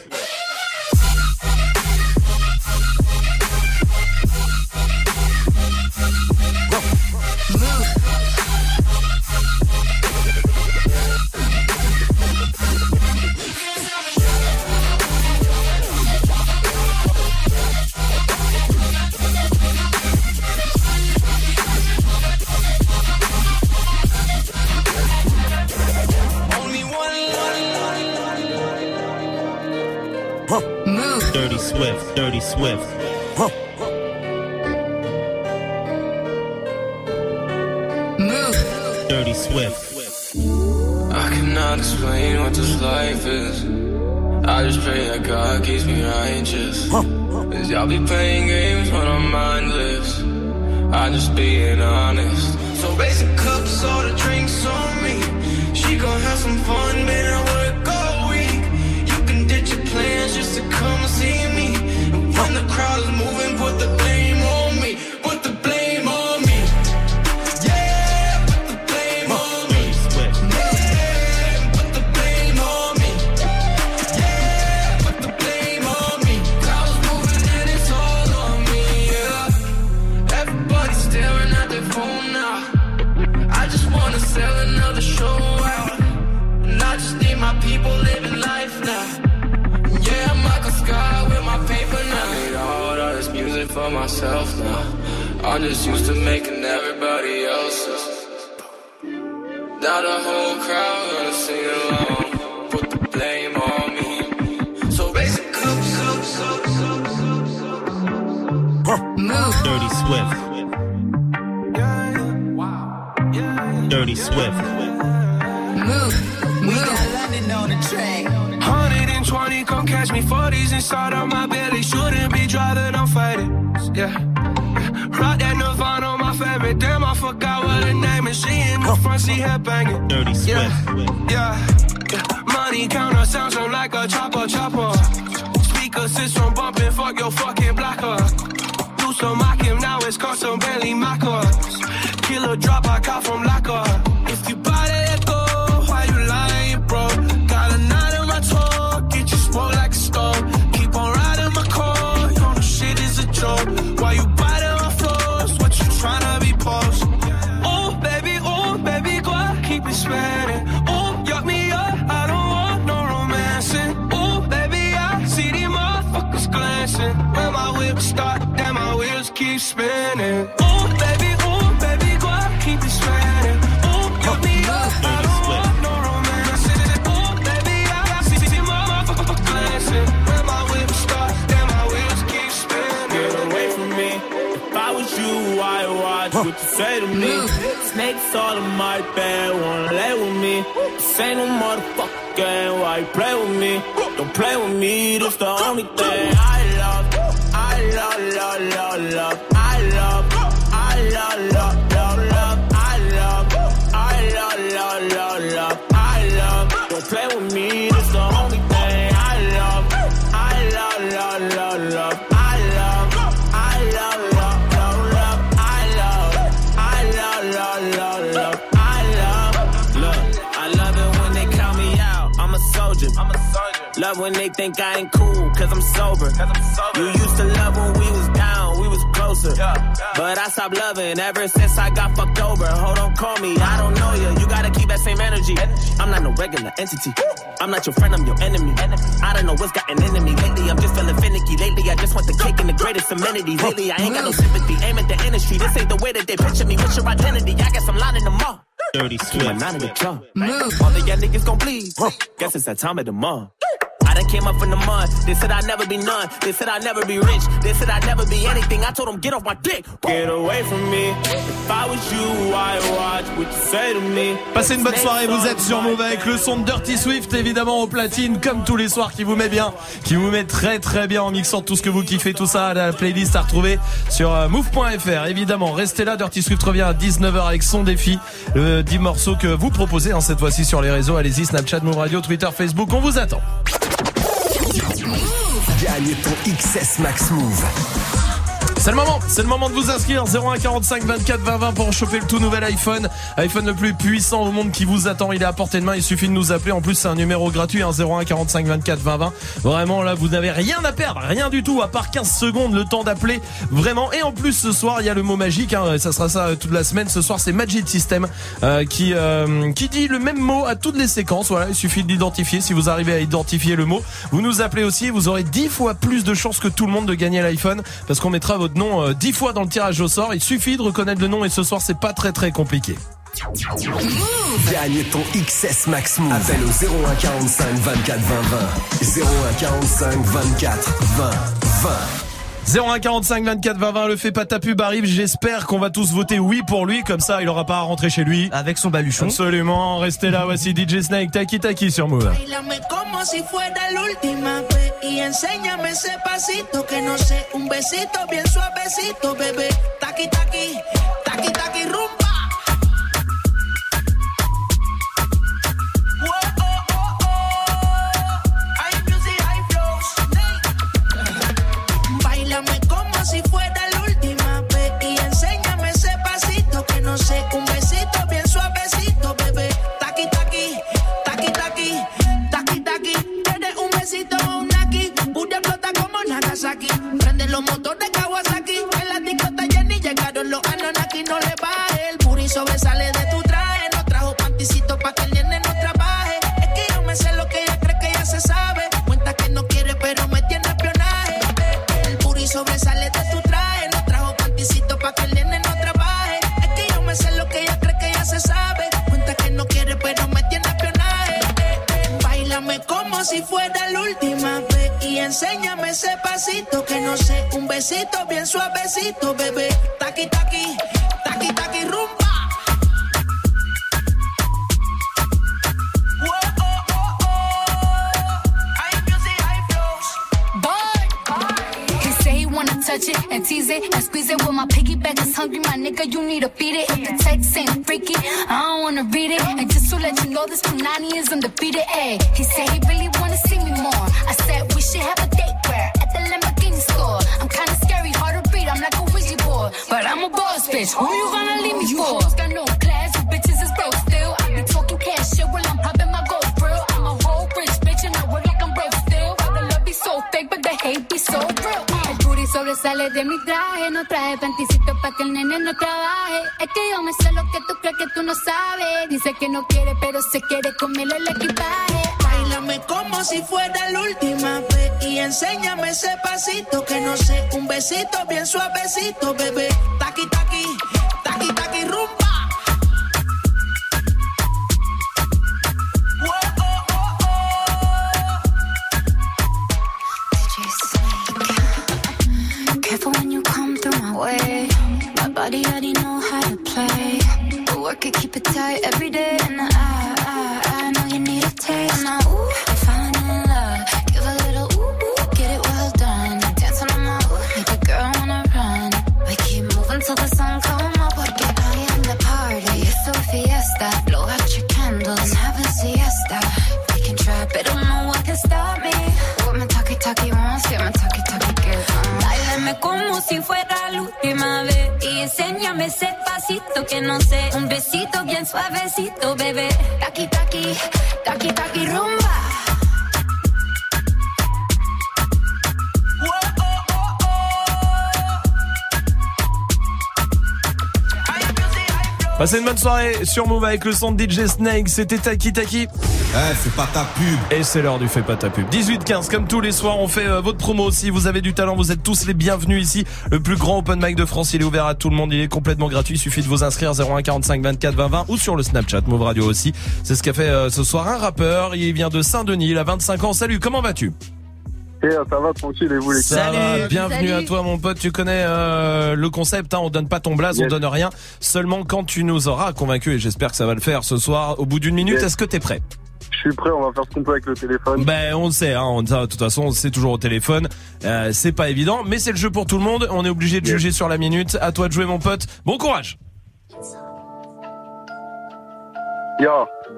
Dirty Swift, Dirty Swift. Huh. Dirty Swift. I cannot explain what this life is. I just pray that God keeps me righteous. Cause y'all be playing games when I'm mindless. I'm just being honest. So raise the cups, all the drinks on me. She gon' have some fun, man, I work all week. You can ditch your plans just to come see me. And when the crowd is moving, put the blame on me. Put the blame on me. Yeah, put the blame on me. Yeah, put the blame on me. Yeah, put the blame on me. Crowd's moving and it's all on me, yeah. Everybody's staring at their phone now. I just wanna sell another show out. And I just need my people living life now. Yeah, I'm Michael Scott with my paper now. I made all of this music for myself now. I'm just used to making everybody else's. Now the whole crowd gonna sing along. Put the blame on me. So raise the cups, cups, cups, cups, cups. Move. Dirty Swift. Dirty Swift. Move. We got London on the track. one hundred twenty, come catch me. forties inside of my belly. Shouldn't be driving, I'm fighting. Yeah. Rock that Nirvana, my favorite. Damn, I forgot what her name is. She in the front seat, head banging. Dirty Swift. Yeah. Yeah. Yeah. Money counter sounds so like a chopper, chopper. Speaker system bumping, fuck your fucking blocker. Do some mock him, now it's custom Bentley Maccas. Killer drop, I caught from Locker. If you buy that go, why you lying, bro? Got a knot in my toe, get you smoke like a stove. Keep on riding my car, you know the shit is a joke. Why you biting my floors, what you tryna be post? Oh, baby, oh, baby, go on, keep it spinning. Oh, yuck me up, I don't want no romancing. Oh, baby, I see these motherfuckers glancing. When my whip start, then my wheels keep spinning. Oh, baby, oh, baby, go on, keep it spinning. Oh, yuck me up, I don't want no romancing. Oh, baby, I see these motherfuckers glancing. When my whip start, then my wheels keep spinning. Get away from me. If I was you, I'd watch what you say to me. Snakes all in my bed, wanna lay with me. This ain't no motherfucker game, why you play with me? Don't play with me, this the only thing I love. I love, love, love, love. I love, I love, love, love, love. I love, I love, love, love, love. I love, don't play with me, this the only thing I love. I love, love, love, love. I love, I love, love, love, love. I love, I love, love, love, love. I love, look, I love it when they count me out. I'm a soldier. I'm a soldier. Love when they think I ain't cool, cause I'm sober. Cause I'm sober. You used to love when we was down, we was closer. Yeah, yeah. But I stopped loving ever since I got fucked over. Hold on, call me, I don't know you. You gotta keep that same energy. I'm not no regular entity. I'm not your friend, I'm your enemy. I don't know what's gotten into me lately. I'm just feeling finicky. Lately, I just want the cake and the greatest amenities. Lately, I ain't got no sympathy. Aim at the industry. This ain't the way that they picture me. What's your identity? I guess I'm lining them up. Dirty Swift. All the young niggas gon' please. Guess it's that time of the month. I done came up from the mud. They said I'd never be none. They said I'd never be rich. They said I'd never be anything. I told them get off my dick. Get away from me. If I was you, I'd watch what you say to me. Passez une bonne soirée, vous êtes sur Move avec le son de Dirty Swift, évidemment au platine, comme tous les soirs, qui vous met bien, qui vous met très très bien en mixant tout ce que vous kiffez, tout ça, la playlist à retrouver sur move point f r. Évidemment, restez là, Dirty Swift revient à dix-neuf heures avec son défi, le dix morceaux que vous proposez, hein, cette fois-ci sur les réseaux. Allez-y, Snapchat, Move Radio, Twitter, Facebook, on vous attend. Gagne ton X S Max Move. C'est le moment, c'est le moment de vous inscrire. Zéro un quarante-cinq vingt-quatre vingt vingt pour choper le tout nouvel iPhone. iPhone le plus puissant au monde qui vous attend. Il est à portée de main, il suffit de nous appeler. En plus, c'est un numéro gratuit, hein, zéro un quarante-cinq vingt-quatre vingt vingt. Vraiment, là, vous n'avez rien à perdre, rien du tout, à part quinze secondes, le temps d'appeler. Vraiment. Et en plus, ce soir, il y a le mot magique, hein, ça sera ça toute la semaine. Ce soir, c'est Magic System euh, qui euh, qui dit le même mot à toutes les séquences. Voilà, il suffit de l'identifier. Si vous arrivez à identifier le mot, vous nous appelez aussi. Vous aurez dix fois plus de chances que tout le monde de gagner l'iPhone, parce qu'on mettra votre nom euh, dix fois dans le tirage au sort. Il suffit de reconnaître le nom et ce soir, c'est pas très très compliqué. Gagne ton X S Max Move. Appelle au zéro un quarante-cinq vingt-quatre vingt vingt. zéro un quarante-cinq vingt-quatre vingt vingt. zéro un quarante-cinq vingt-quatre vingt vingt, le fait pas ta pub arrive. J'espère qu'on va tous voter oui pour lui, comme ça il aura pas à rentrer chez lui avec son baluchon. Absolument, restez là, voici D J Snake, Taki Taki sur Move. Bailame como si fuera la última vez y enséñame ese pasito que no sé, un besito bien suavecito, bebé. Taki taki, taki taki rumba. Si fuera la última vez y enséñame ese pasito que no sé, un besito bien suavecito, bebé. Taki taki, taki taki, taki taki. Tienes un besito o un aquí, pura flota como Nagasaki. Prende los motores Kawasaki, en la discota Jenny llegaron los Anunnaki. No le baje, el booty sobresale de tu traje. No trajo panticito pa' que el nene no trabaje. Es que yo me sé lo que ella cree que ya se sabe. Cuenta que no quiere pero me tiene espionaje. El booty sobresale de tu traje. No trajo panticito pa' que el nene no trabaje. Es que yo me sé lo que ella cree que ya se sabe. Cuenta que no quiere pero me tiene espionaje. Báilame como si fuera la última vez y enséñame ese pasito que no sé, un besito bien suavecito, bebé. Taki taki, taki taki rumba. Touch it and tease it and squeeze it. When my piggyback is hungry, my nigga, you need to feed it. If the text ain't freaky, I don't wanna read it. And just to let you know, this Punani is undefeated. Ayy, he said he really wanna see me more. I said we should have a date where at the Lamborghini store. I'm kinda scary, hard to read. I'm like a Ouija board, but I'm a boss bitch. Who you gonna leave me for? You got no class, you bitches is broke still. I be talking cash shit while I'm popping my gold grill. I'm a whole rich bitch and I work like I'm broke still. But the love be so fake, but the hate be so real. Sobresale de mi traje, no traje panticito pa' que el nene no trabaje. Es que yo me sé lo que tú crees que tú no sabes. Dice que no quiere, pero se quiere comerle el equipaje. Báilame como si fuera la última vez y enséñame ese pasito que no sé, un besito bien suavecito, bebé. Taki taki, taki taki rumba. When you come through my way, my body already know how to play. But work it, keep it tight every day. And I, I, I know you need a taste. Now, ooh, I'm falling in love. Give a little ooh, ooh, get it well done. Dancing on my ooh, make a girl wanna run. We keep moving till the sun come up. Porque I am the party. It's a fiesta. Blow out your candles and have a siesta. We can try, but don't know what can stop me. What my talkie talkie wants, get my talkie talkie gives. Báilame como si fuera la última vez y enséñame ese pasito que no sé, un besito bien suavecito, bebé. Taki taki, taki taki rumba. Passez une bonne soirée sur Move avec le son de D J Snake, c'était Taki Taki. Eh, fais pas ta pub. Et c'est l'heure du fais pas ta pub. dix-huit quinze, comme tous les soirs, on fait euh, votre promo. Si vous avez du talent, vous êtes tous les bienvenus ici. Le plus grand open mic de France, il est ouvert à tout le monde, il est complètement gratuit. Il suffit de vous inscrire zéro un quarante-cinq vingt-quatre vingt vingt ou sur le Snapchat Move Radio aussi. C'est ce qu'a fait euh, ce soir un rappeur. Il vient de Saint-Denis, il a vingt-cinq ans. Salut, comment vas-tu? Et ça va tranquille et vous les Ça va, bienvenue Salut. À toi mon pote, tu connais euh, le concept, hein, on donne pas ton blaze, yes. On donne rien, seulement quand tu nous auras convaincu, et j'espère que ça va le faire ce soir, au bout d'une minute, yes. Est-ce que t'es prêt? Je suis prêt, on va faire ce qu'on peut avec le téléphone. Ben on le sait, hein, on, de toute façon c'est toujours au téléphone, euh, c'est pas évident, mais c'est le jeu pour tout le monde, on est obligé de yes. juger sur la minute, à toi de jouer mon pote, bon courage. Yo.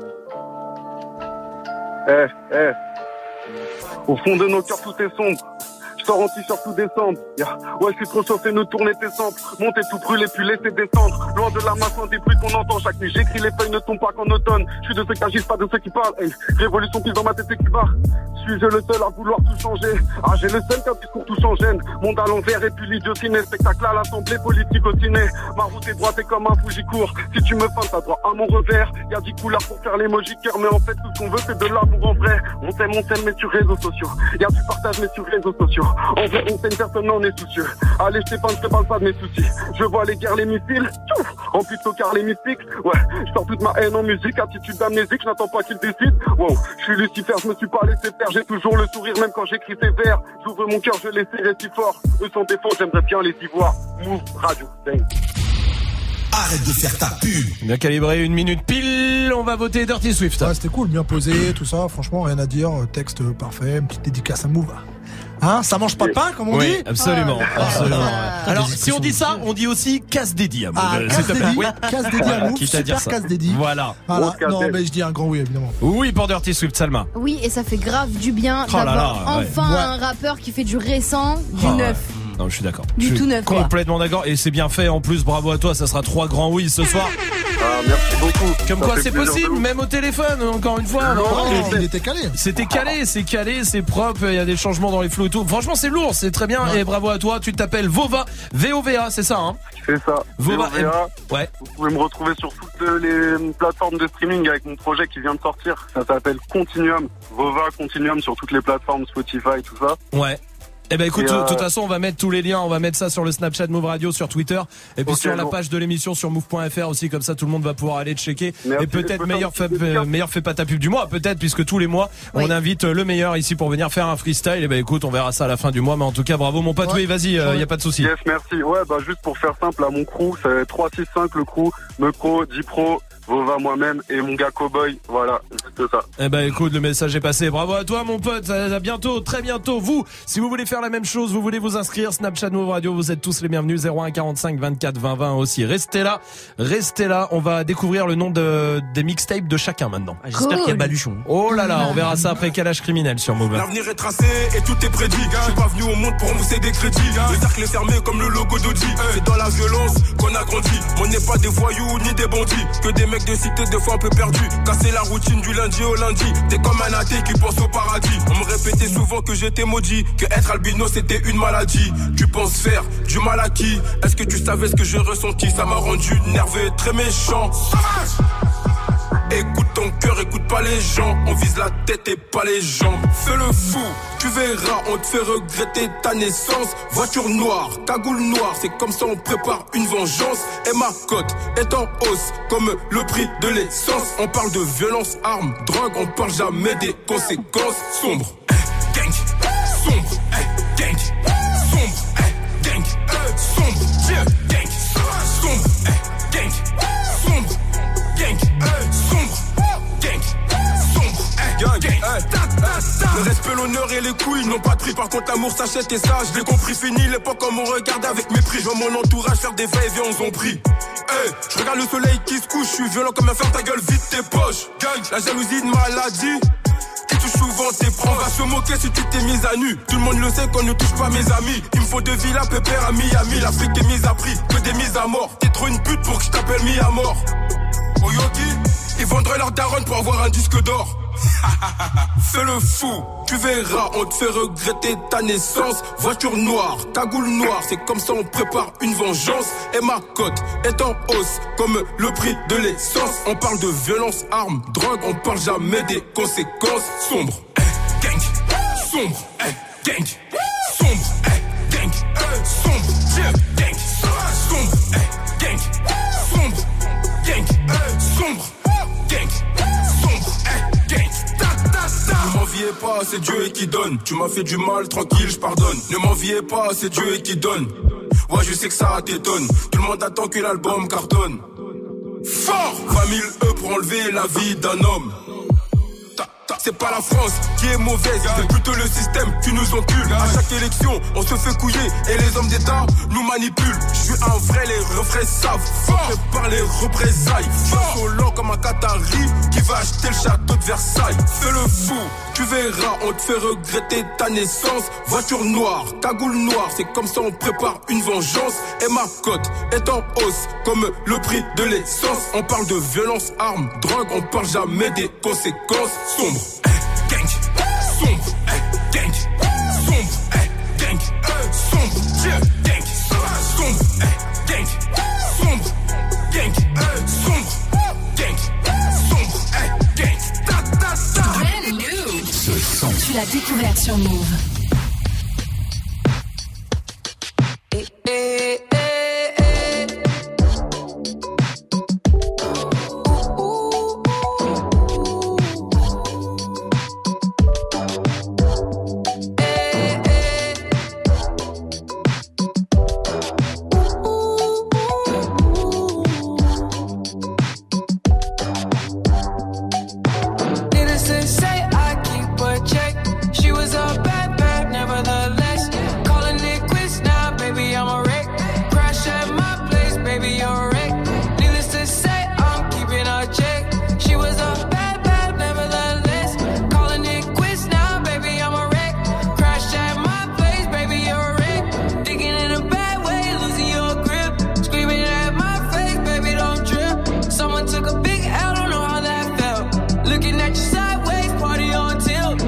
Eh, eh. Au fond de nos cœurs tout est sombre. Je sors en t-shirt tout décembre. Yeah. Ouais, je suis trop chauffé, ne tournez tes cendres. Montez tout brûler, puis laissez descendre. Loin de la masse, des bruits qu'on entend chaque nuit. J'écris les feuilles ne tombent pas qu'en automne. Je suis de ceux qui agissent, pas de ceux qui parlent. Hey. Révolution pile dans ma tête et qui barre. Suis-je le seul à vouloir tout changer? Ah, j'ai le seul qu'un discours tout change. Monde à l'envers et puis l'idiotiné. Spectacle à l'assemblée, politique au ciné. Ma route est droite et comme un fou j'y cours. Si tu me feintes, t'as droit à mon revers. Y'a dix couleurs pour faire l'emoji cœur, mais en fait tout ce qu'on veut c'est de l'amour en vrai. On s'aime, on s'aime, mais sur réseaux sociaux. Y'a du partage, mais sur réseaux sociaux. En vrai, on s'aime, personne n'en est soucieux. Allez, je t'épargne, je te parle pas de mes soucis. Je vois les guerres, les missiles, tchouf, remplis de tocards, les mystiques. Ouais, je sors toute ma haine en musique, attitude d'amnésique, je n'attends pas qu'ils décident. Wow, je suis Lucifer, je me suis pas laissé faire, j'ai toujours le sourire, même quand j'écris ces vers. J'ouvre mon cœur, je les serre si fort. Eux sont défauts, j'aimerais bien les y voir. Move, radio, dang. Arrête de faire ta pub. Bien calibré, une minute pile, on va voter Dirty Swift. Ouais, c'était cool, bien posé, tout ça, franchement, rien à dire, texte parfait, une petite dédicace à Move. Hein, ça mange pas de pain, comme on oui, dit. Absolument, ah, absolument. ah, Alors, si on dit ça, on dit aussi casse dédié à Move. Ah, casse dédié, oui. casse dédié à Move, Quitte à dire super ça. casse dédié. Voilà. voilà. Non, mais je dis un grand oui, évidemment. Oui, pour Dirty Swift, Salma. Oui, et ça fait grave du bien Oh là d'avoir là, ouais. enfin Ouais. un rappeur qui fait du récent, du Ah, neuf. Non, je suis d'accord. Du Je suis tout neuf, quoi. Complètement d'accord. Et c'est bien fait. En plus, bravo à toi. Ça sera trois grands oui ce soir. Ah, merci beaucoup. Comme Ça quoi, fait c'est plaisir de possible, ouf. même au téléphone. Encore une fois. Non, non, il, était, il était calé. C'était calé, c'est calé, c'est propre. Il y a des changements dans les flots et tout. Franchement, c'est lourd, c'est très bien. Ouais. Et bravo à toi. Tu t'appelles Vova, V O V A, c'est ça, hein? C'est ça. Vova. V O V A. Ouais. Vous pouvez me retrouver sur toutes les plateformes de streaming avec mon projet qui vient de sortir. Ça s'appelle Continuum. Vova Continuum sur toutes les plateformes, Spotify, tout ça. Ouais. Eh ben écoute, Et de euh... toute façon, on va mettre tous les liens, on va mettre ça sur le Snapchat Move Radio, sur Twitter, et puis Okay, sur la bon. page de l'émission sur move point f r aussi, comme ça tout le monde va pouvoir aller checker. Merci. Et peut-être Je peux meilleur faire fait, un petit euh, meilleur fait pas ta pub du mois, peut-être, puisque tous les mois, Oui. on invite le meilleur ici pour venir faire un freestyle. Et ben écoute, on verra ça à la fin du mois, mais en tout cas, bravo mon pote, Ouais. oui, vas-y, il Ouais. y a pas de souci. Yes, merci. Ouais, bah juste pour faire simple, à mon crew, c'est trois six cinq le crew, Mepro, Dipro, Vova moi-même et mon gars Cowboy. Voilà, c'est ça. Eh ben écoute, le message est passé. Bravo à toi mon pote. À bientôt, très bientôt. Vous, si vous voulez faire la même chose, vous voulez vous inscrire Snapchat Move Radio, vous êtes tous les bienvenus. zéro un quarante-cinq vingt-quatre vingt vingt aussi. Restez là, restez là. On va découvrir le nom de des mixtapes de chacun maintenant. Ah, J'espère Cool. qu'il y a Baluchon. Oh là là, on verra ça après Calage Criminel sur Move. L'avenir est tracé et tout est prédit. Je suis pas venu au monde pour mousser des crédits. Le cercle est fermé comme le logo d'Audi. C'est dans la violence qu'on a grandi. On n'est pas des voyous ni des bandits. Que des mecs de cité, des fois un peu perdus. Casser la routine du lundi au lundi. T'es comme un athée qui pense au paradis. On me répétait souvent que j'étais maudit. Que être albino c'était une maladie. Tu penses faire du mal à qui? Est-ce que tu savais ce que j'ai ressenti? Ça m'a rendu nerveux, très méchant. Sauvage! Écoute ton cœur, écoute pas les gens. On vise la tête et pas les jambes. Fais le fou, tu verras, on te fait regretter ta naissance. Voiture noire, cagoule noire, c'est comme ça on prépare une vengeance. Et ma cote est en hausse, comme le prix de l'essence. On parle de violence, armes, drogue, on parle jamais des conséquences. Sombre, eh, gang, sombre, eh, gang, sombre, eh, gang, eh, sombre, yeah, gang, sombre, eh, gang, sombre, gang, eh, sombre, gang, sombre, eh, gang, gang, ta, ta, ta. Le respect, l'honneur et les couilles n'ont pas de prix. Par contre l'amour s'achète et ça, je l'ai compris. Fini l'époque comme on regarde avec mépris. Je vois mon entourage faire des va-et-vient, on s'en prie. Hey, je regarde le soleil qui se couche, je suis violent comme un fer, ta gueule, vide tes poches. Gang, la jalousie de maladie qui touche souvent tes proches. On va se moquer si tu t'es mise à nu. Tout le monde le sait qu'on ne touche pas mes amis. Il me faut deux villas pépère à Miami. L'Afrique est mise à prix, que des mises à mort. T'es trop une pute pour que je t'appelle mis à mort. Oyoki, ils vendraient leur daronne pour avoir un disque d'or. Fais le fou, tu verras, on te fait regretter ta naissance. Voiture noire, cagoule noire, c'est comme ça on prépare une vengeance. Et ma cote est en hausse, comme le prix de l'essence. On parle de violence, armes, drogue, on parle jamais des conséquences. Sombre, eh, gang, sombre, eh, gang, sombre, eh, gang, eh, sombre, yeah, gang, sombre, eh, gang, sombre, gang, eh, sombre, gang, sombre, eh, gang, ta, ta, ta. Ne m'enviez pas, c'est Dieu qui donne. Tu m'as fait du mal, tranquille, je pardonne. Ne m'enviez pas, c'est Dieu qui donne. Ouais, je sais que ça t'étonne. Tout le monde attend que l'album cartonne. Fort, vingt mille E pour enlever la vie d'un homme. C'est pas la France qui est mauvaise, c'est plutôt le système qui nous encule. À chaque élection, on se fait couiller et les hommes d'État nous manipulent. Je suis un vrai, les refrains savent. Fort par les représailles. Fort lent comme un Qatari qui va acheter le château de Versailles. Fais le fou, tu verras, on te fait regretter ta naissance. Voiture noire, cagoule noire, c'est comme ça on prépare une vengeance. Et ma cote est en hausse, comme le prix de l'essence. On parle de violence, armes, drogue, on parle jamais des conséquences. Sombre, eh, gang, sombre, eh, gang, sombre, eh, gang, eh, sombre, yeah, gang, sombre, eh, gang, sombre, gang, eh, sombre, gang, sombre, eh, gang, ta, ta, ta. Brand new. Ce tu l'as découvert sur Move. Eh, eh, eh, eh. Needless to say, I keep a check. She was a bad, bad, nevertheless. Calling it quits now, baby, I'm a wreck. Crash at my place, baby, you're a wreck. Needless to say, I'm keeping a check. She was a bad, bad, nevertheless. Calling it quits now, baby, I'm a wreck. Crash at my place, baby, you're a wreck. Thinking in a bad way, losing your grip. Screaming at my face, baby, don't trip. Someone took a big L, don't know how that felt. Looking at you sideways, party on tilt.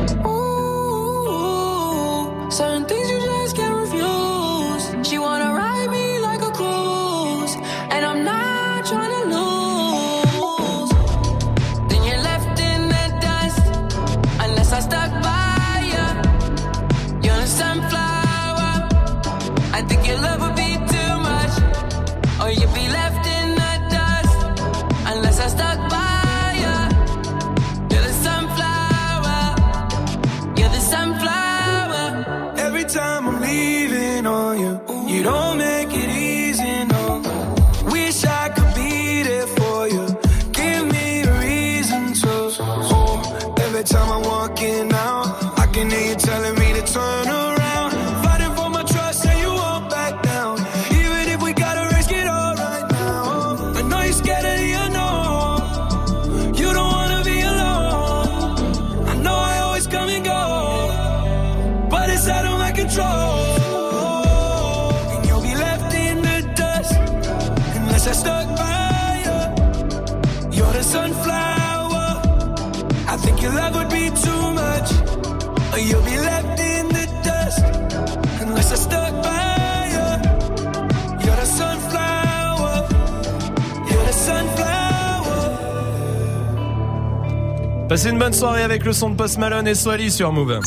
Ooh, certain things you just can't refuse. She wanna ride me like a cruise, and I'm not trying to lose. Then you're left in the dust, unless I stuck by you. You're a sunflower. I think your love would be too much, or you'd be left in the dust, unless I stuck by you. You're the sunflower. You're the sunflower. Every time I'm leaving on you, you don't make it easy, no. Wish I could be there for you. Give me a reason to. Oh, every time I'm walking out, I can hear you telling me to turn around. Fighting for my trust and you won't back down. Even if we gotta risk it all right now. I know you're scared of the unknown. You don't wanna be alone. I know I always come and go, but it's out of my control. And you'll be left in the dust unless I stuck by you. You're the sunflower. I think your love would be too much, or you'll be left in the dust unless I stuck by you. You're the sunflower. You're the sunflower. Passez une bonne soirée avec le son de Post Malone et Swally sur Move.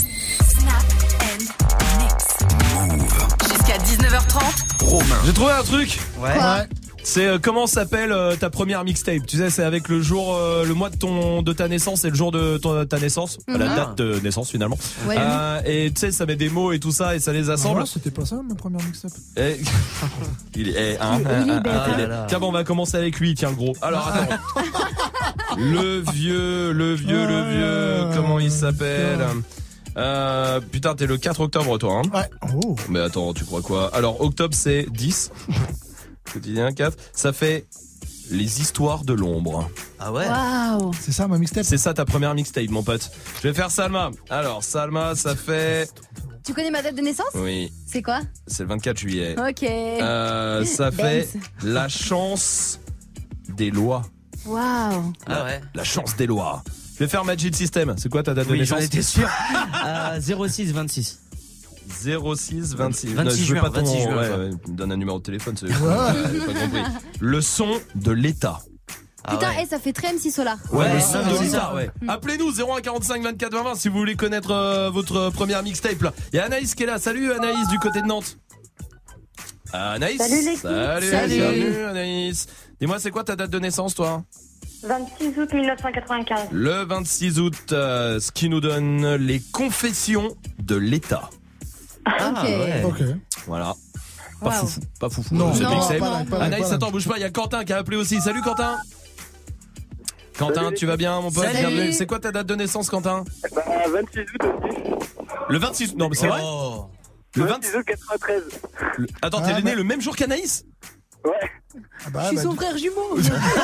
Jusqu'à dix-neuf heures trente. Romain. J'ai trouvé un truc. Ouais. Ouais. C'est euh, comment s'appelle euh, ta première mixtape. Tu sais, c'est avec le jour, euh, le mois de ton de ta naissance et le jour de ton, ta naissance, Mhm. la date de naissance finalement. Ouais. Euh, et tu sais, ça met des mots et tout ça et ça les assemble. Ah ouais, c'était pas ça ma première mixtape. Et... il est, eh, hein, Il est hein, bête, hein, hein. il est- Tiens, bon, on va commencer avec lui. Tiens, le gros. Alors, attends. le vieux, le vieux, le vieux. Comment il s'appelle? Euh, putain, t'es le quatre octobre, toi, hein? Ouais. Oh. Mais attends, tu crois quoi? Alors, octobre, c'est dix. Quotidien quatre. Ça fait les histoires de l'ombre. Ah ouais? Waouh. C'est ça ma mixtape? C'est ça ta première mixtape, mon pote. Je vais faire Salma. Alors, Salma, ça fait... Tu connais ma date de naissance? Oui, C'est quoi? c'est le vingt-quatre juillet. Ok. Euh, ça fait la chance des lois. Waouh. Ah ouais. La chance des lois. Je vais faire Magic System. C'est quoi ta date de Oui, naissance? j'en étais sûr. Euh, zéro six vingt-six. zéro six vingt-six. vingt-six Non, je veux juin, pas ton... vingt-six juin, ouais, quoi. ouais, me donne un numéro de téléphone. C'est... Ouais. J'ai pas compris. Le son de l'État. Putain, eh, ça fait très M six Solar. Ouais, Ouais, le son non, de c'est l'État, ça. ouais. Appelez-nous zéro un quarante-cinq vingt-quatre vingt si vous voulez connaître euh, votre première mixtape là. Il y a Anaïs qui est là. Salut Anaïs du côté de Nantes. Anaïs. Salut, l'équipe. Salut, Salut. bienvenue Anaïs. Dis-moi, c'est quoi ta date de naissance toi? vingt-six août mille neuf cent quatre-vingt-quinze. Le vingt-six août, euh, ce qui nous donne les confessions de l'État. Ah, ok. ouais. Ok. Voilà. Pas Wow. foufou, pas foufou. Non, cette non, mixtape. pas là, pas là, Anaïs, pas là. attends, bouge pas, il y a Quentin qui a appelé aussi. Salut Quentin. Quentin, Salut. tu vas bien mon pote? Salut. Bienvenue. C'est quoi ta date de naissance Quentin? Bah, vingt-six août aussi. Le vingt-six août, non mais c'est vrai? Oh. Le vingt-six août quatre-vingt-treize. Le- Attends, t'es Ah, né bah. le même jour qu'Anaïs? Ouais. Ah bah, Je suis bah, son du- frère jumeau.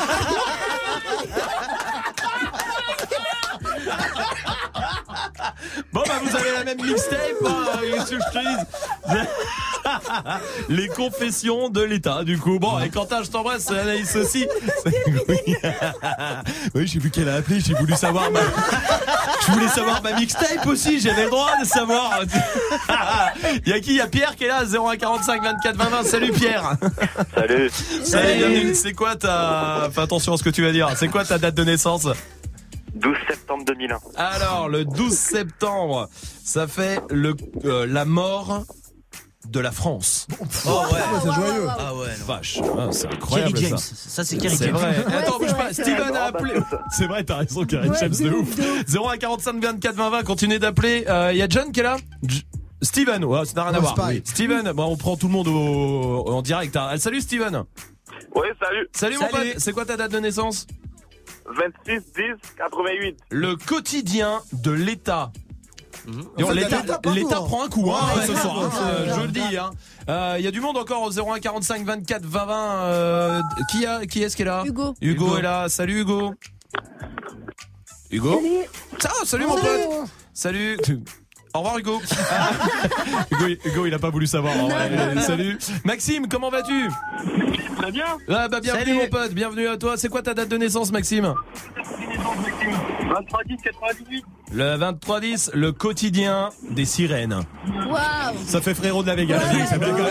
Bon bah vous avez la même mixtape, hein, qu'est-ce que je te dis? Les confessions de l'État du coup. Bon et Quentin je t'embrasse, Anaïs aussi. Oui, oui j'ai vu qu'elle a appelé, j'ai voulu savoir ma... Je voulais savoir ma mixtape aussi, j'avais le droit de savoir. Il y a qui? Il y a Pierre qui est là, zéro un quarante-cinq vingt-quatre vingt vingt. Salut Pierre. Salut. Salut, bienvenue. C'est quoi ta... Fais attention à ce que tu vas dire. C'est quoi ta date de naissance? douze septembre deux mille un. Alors, le douze septembre, ça fait le euh, la mort de la France. Oh ouais, c'est joyeux. Ah ouais. Vache, ah, c'est incroyable. Kerry James. Ça, ça c'est Kerry c'est James. vrai. Ouais, Attends, c'est bouge vrai, pas. c'est Steven vrai. a appelé. C'est vrai, t'as raison, Kerry Ouais, James de de ouf. ouf, de ouf. zéro un quarante-cinq vingt-quatre vingt vingt, continuez d'appeler. Il euh, y a John qui est là. J- Steven, ouais, ça n'a rien à Ouais, voir. c'est pareil. Steven, bon, on prend tout le monde au, en direct. Hein. Salut Steven. Ouais, salut. Salut, mon Salut. pote. C'est quoi ta date de naissance? vingt-six dix quatre-vingt-huit. Le quotidien de l'État. En Et on- fait, L'État, l'État, pardon. l'État prend un coup hein, Ouais, ce ouais, soir, ouais, hein, ouais, euh, je ouais. le dis. Il hein. euh, y a du monde encore au zéro un quarante-cinq vingt-quatre vingt vingt. Euh, qui, a, qui est-ce qui est là? Hugo. Hugo. Hugo est là. Salut Hugo. Hugo. Salut. Ah, salut mon Salut. pote. Salut. Au revoir Hugo. Ah. Hugo, Hugo, il a pas voulu savoir. en vrai. Euh, Salut. Maxime, comment vas-tu? Très bien. Ah bah bienvenue Salut. mon pote, bienvenue à toi. C'est quoi ta date de naissance Maxime? vingt-trois dix quatre-vingt-dix-huit. Le vingt-trois dix, le quotidien des sirènes. Waouh. Ça fait frérot de la Vega. Ouais. Ça fait quand même-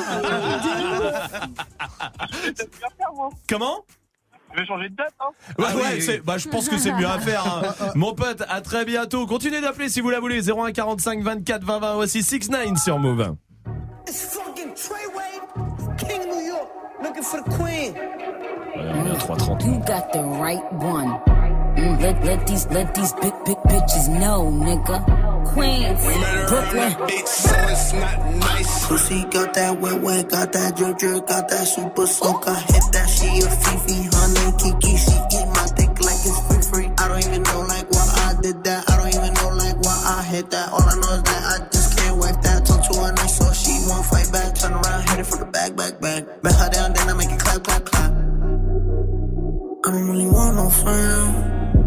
C'est bien faire, moi. Comment? Je vais changer de date, hein. Ouais, Ah ouais, oui, c'est, oui. bah, je pense que c'est mieux à faire, hein. Mon pote, à très bientôt. Continuez d'appeler si vous la voulez. zéro un quarante-cinq vingt-quatre vingt vingt. Voici six neuf sur Move. It's fucking Treyway, King New York, looking for the queen. Ouais, trois trente. You got the right one. Mm, let, let these let these big big bitches know, nigga. Queens, Brooklyn. Bitch, so it's not nice. Pussy got that wet wet, got that drip drip, got that super soak. I hit that, she a Fifi, honey Kiki. She eat my dick like it's free free. I don't even know like why I did that. I don't even know like why I hit that. All I know is that I just can't wipe that. Talk to her nice so she won't fight back. Turn around, hit it from the back, back, back. Bet her down, then I make it clap, clap, clap. I don't really want no friends.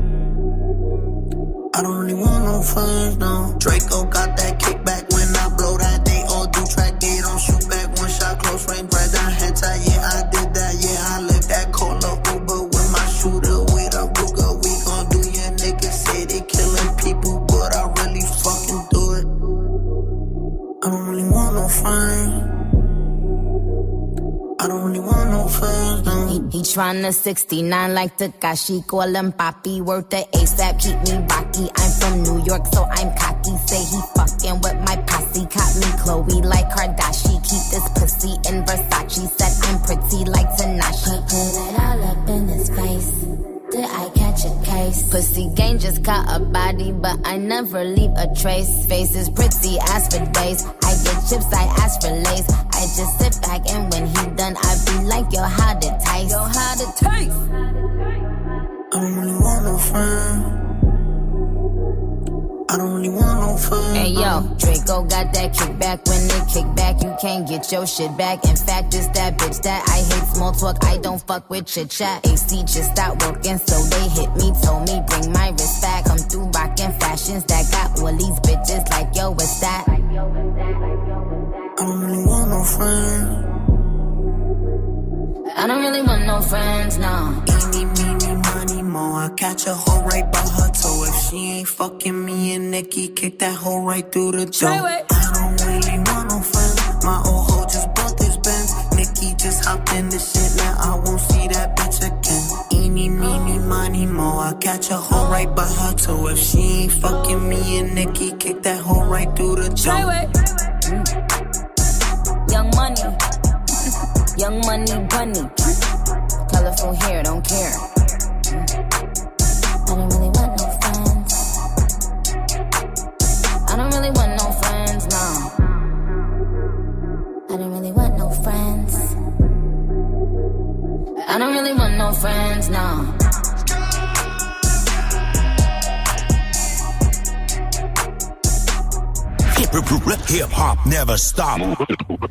I don't really want no friends, no. Draco got that kickback when I blow that. They all do track, they don't shoot back. One shot, close range, right down head tie. Yeah, I did that, yeah, I lived that. Call up Uber with my shooter, with a Ruger. We gon' do your niggas say they killing people, but I really fucking do it. I don't really want no friends. I don't really want no friends, no. He, he tryna sixty-nine like Takashi, call him Papi, worth the ASAP, keep me rocky. I'm from New York, so I'm cocky. Say he fucking with my posse, caught me Chloe like Kardashian. Keep this pussy in Versace, said I'm pretty like Tanashi. Put it all up in his face. Did I catch a case? Pussy gang just caught a body, but I never leave a trace. Face is pretty as for days. I get chips, I ask for lace. I just sit back and when he done, I be like, yo, how to taste? Yo, how to taste? I don't really want no friends. I don't really want no friends. Hey yo, Draco got that kickback. When they kick back, you can't get your shit back. In fact, it's that bitch that I hate small talk. I don't fuck with chit chat. A C just stopped working, so they hit me, told me bring my wrist back. Come through rockin' fashions that got all these bitches like yo, what's that? I don't really want no friends. I don't really want no friends, no. Eeny, meeny, money, mo. I catch a hoe right by her toe. If she ain't fucking me and Nikki, kick that hoe right through the door. I don't really want no friends. My old hoe just bought this Benz. Nikki just hopped in the shit, now I won't see that bitch again. Eeny, meeny, money, mo. I catch a hoe right by her toe. If she ain't fucking me and Nikki, kick that hoe right through the door. Mm. Young money, young money bunny. Colorful hair, don't care. Mm. I don't really want no friends. I don't really want no friends, no. I don't really want no friends. I don't really want no friends, no. Hip hop never stop. Move.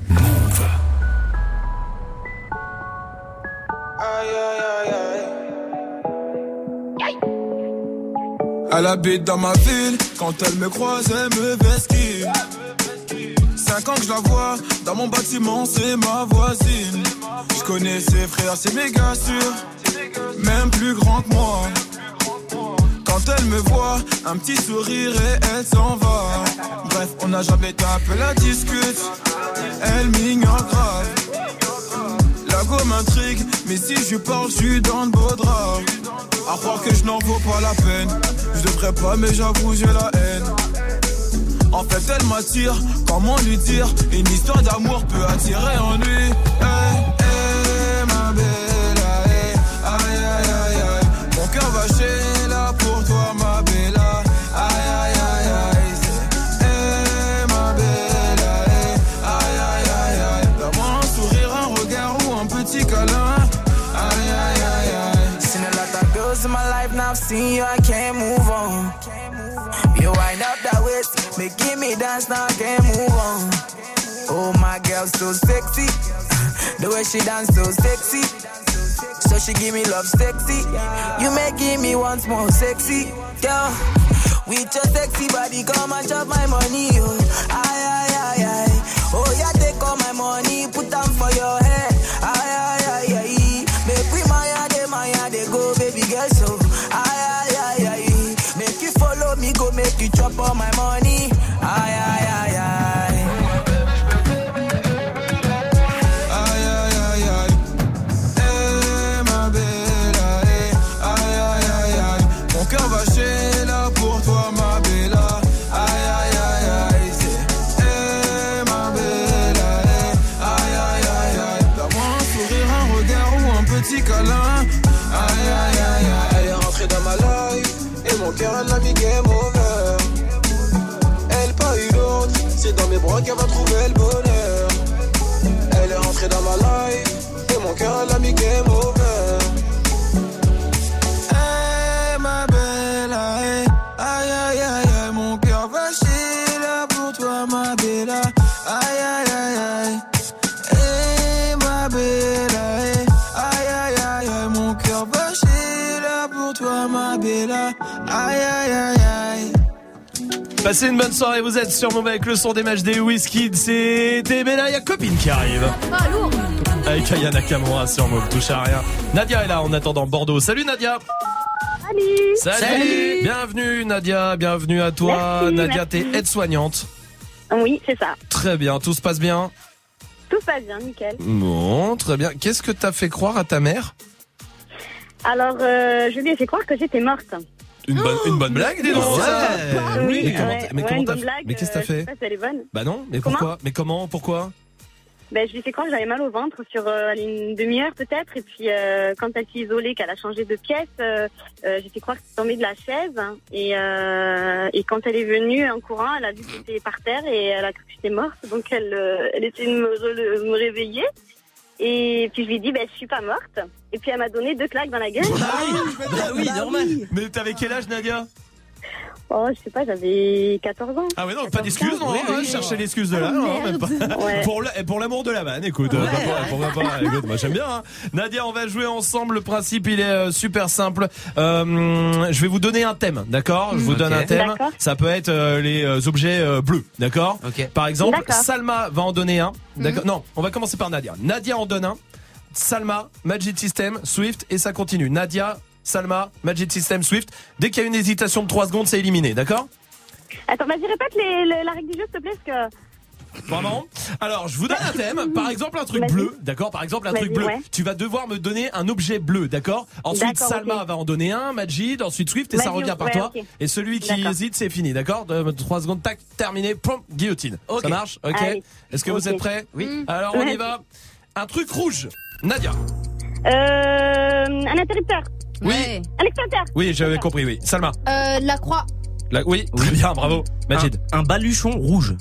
Elle habite dans ma ville, quand elle me croise, elle me vesquille. Cinq ans que je la vois, dans mon bâtiment, c'est ma voisine. Je connais ses frères, c'est méga sûr, même plus grand que moi. Quand elle me voit, un petit sourire et elle s'en va. Bref, on n'a jamais tapé la discute, elle m'ignore grave. La La go m'intrigue, mais si je parle, je suis dans le beau drap. À croire que je n'en vaux pas la peine. Je devrais pas, mais j'avoue, j'ai la haine. En fait, elle m'attire, comment lui dire? Une histoire d'amour peut attirer en lui. Hey, hey, ma bella, hey, aïe, aïe, aïe, aïe. Mon cœur va chez là pour toi, ma bella. Aïe, aïe, aïe, aïe. Hey, ma bella, hey, aïe, aïe, aïe, aïe. Donne-moi un sourire, un regard ou un petit câlin. Aïe, aïe, aïe, aïe. Seen a lot of girls in my life, now I've seen you, I can't move on. You wind up that waist, making me dance, now I can't move on. Oh, my girl, so sexy. The way she dance, so sexy. So she give me love, sexy. You making me once more sexy, girl. With your sexy body, come and chop my money, oh. Aye, aye, aye, aye. Oh, yeah, take all my money, put them for your head. Aye, aye, aye, aye. Make we maya, de maya, de go, baby girl, so. Aye, aye, aye, aye. Make you follow me, go make you chop all my money. Aye, aye, aye, aye. Aïe, aïe, aïe, aïe. Eh, ma bella, eh. Aïe, aïe, aïe, aïe. Mon cœur va chez là pour toi, ma bella. Aïe, aïe, aïe, aïe. C'est, eh, ma bella, eh. Aïe, aïe, aïe, aïe. Donne-moi un sourire, un regard ou un petit câlin. Aïe, aïe, aïe, aïe. Elle est rentrée dans ma life. Et mon cœur, elle l'a mis game over. Elle pas eu l'autre. C'est dans mes bras qu'elle va trouver le bonheur. Elle est rentrée dans ma life. Et mon cœur, elle l'a mis game over. Hey, ma bella, hey. Aïe, aïe, aïe, aïe. Mon cœur va chier là pour toi, ma bella. Aïe, aïe, aïe, aïe. Hey, ma bella, hey. Aïe, aïe, aïe, aïe. Mon cœur va chier là pour toi, ma bella. Aïe, aïe, aïe, aïe. Passez une bonne soirée, vous êtes sur Move avec le son des matchs des Wizkids. C'était Bella, il y a copine qui arrive. Ah, lourd. Avec Aya Nakamura sur Move, touche à rien. Nadia est là en attendant Bordeaux. Salut Nadia. Salut. Salut. Salut. Bienvenue Nadia, bienvenue à toi. Merci, Nadia, merci. t'es aide-soignante. Oui, c'est ça. Très bien, tout se passe bien. Tout se passe bien, nickel. Bon, très bien. Qu'est-ce que t'as fait croire à ta mère? Alors, euh, je lui ai fait croire que j'étais morte. Une bonne, une bonne blague, dis donc. Ouais. ça. Oui, mais comment, ouais, t'as- mais ouais, comment une t'as bonne fait blague, Mais qu'est-ce que t'as euh, je fait sais pas si elle est bonne. Bah non, mais Comment pourquoi? Mais comment? Pourquoi? Ben, je lui ai fait croire que j'avais mal au ventre sur euh, allez, une demi-heure peut-être. Et puis, euh, quand elle s'est isolée, qu'elle a changé de pièce, euh, euh, j'ai fait croire que c'était tombé de la chaise. Et, euh, et quand elle est venue en courant, elle a vu que j'étais par terre et elle a cru que j'étais morte. Donc, elle, euh, elle essayait de me, re- me réveiller. Et puis, je lui ai dit, ben, je suis pas morte. Et puis, elle m'a donné deux claques dans la gueule. Bah oui, normal. Mais t'avais quel âge, Nadia? Oh, je sais pas, j'avais quatorze ans. Ah ouais, non, pas d'excuses, non, Oui, hein, oui. chercher l'excuse de là, Ah, non, même pas. Ouais. Pour la- pour l'amour de la vanne, écoute, euh, pourquoi pas, pourquoi pas, écoute, moi j'aime bien, hein. Nadia, on va jouer ensemble, le principe il est euh, super simple, euh, je vais vous donner un thème, d'accord? Je vous Ok. donne un thème, D'accord. ça peut être euh, les euh, objets euh, bleus, d'accord? Ok. Par exemple, D'accord. Salma va en donner un, d'accord? Non, on va commencer par Nadia. Nadia en donne un, Salma, Magic System, Swift, et ça continue. Nadia, Salma, Magic System, Swift. Dès qu'il y a une hésitation de trois secondes, c'est éliminé, d'accord? Attends, vas-y, répète les, les- la règle du jeu, s'il te plaît, parce que... Vraiment? Alors, je vous donne un thème. Par exemple, un truc Vas-y. bleu. D'accord? Par exemple, un Vas-y, truc bleu. ouais. Tu vas devoir me donner un objet bleu. D'accord? Ensuite, D'accord, Salma ok. va en donner un, Majid, ensuite Swift, et ça Vas-y, revient par ouais, toi. ok. Et celui qui D'accord. hésite, c'est fini. D'accord? De- Trois secondes, tac, terminé, pom, guillotine. Ça marche? Ok? Allez. Est-ce que vous Ok. êtes prêts? Oui. Alors, on y Ouais. va. Un truc rouge. Nadia. Euh, un interrupteur. Oui. Un extincteur. Oui, j'avais compris, oui. Salma. Euh, la croix. La- oui, très bien, bravo. Majid. Un, un baluchon rouge.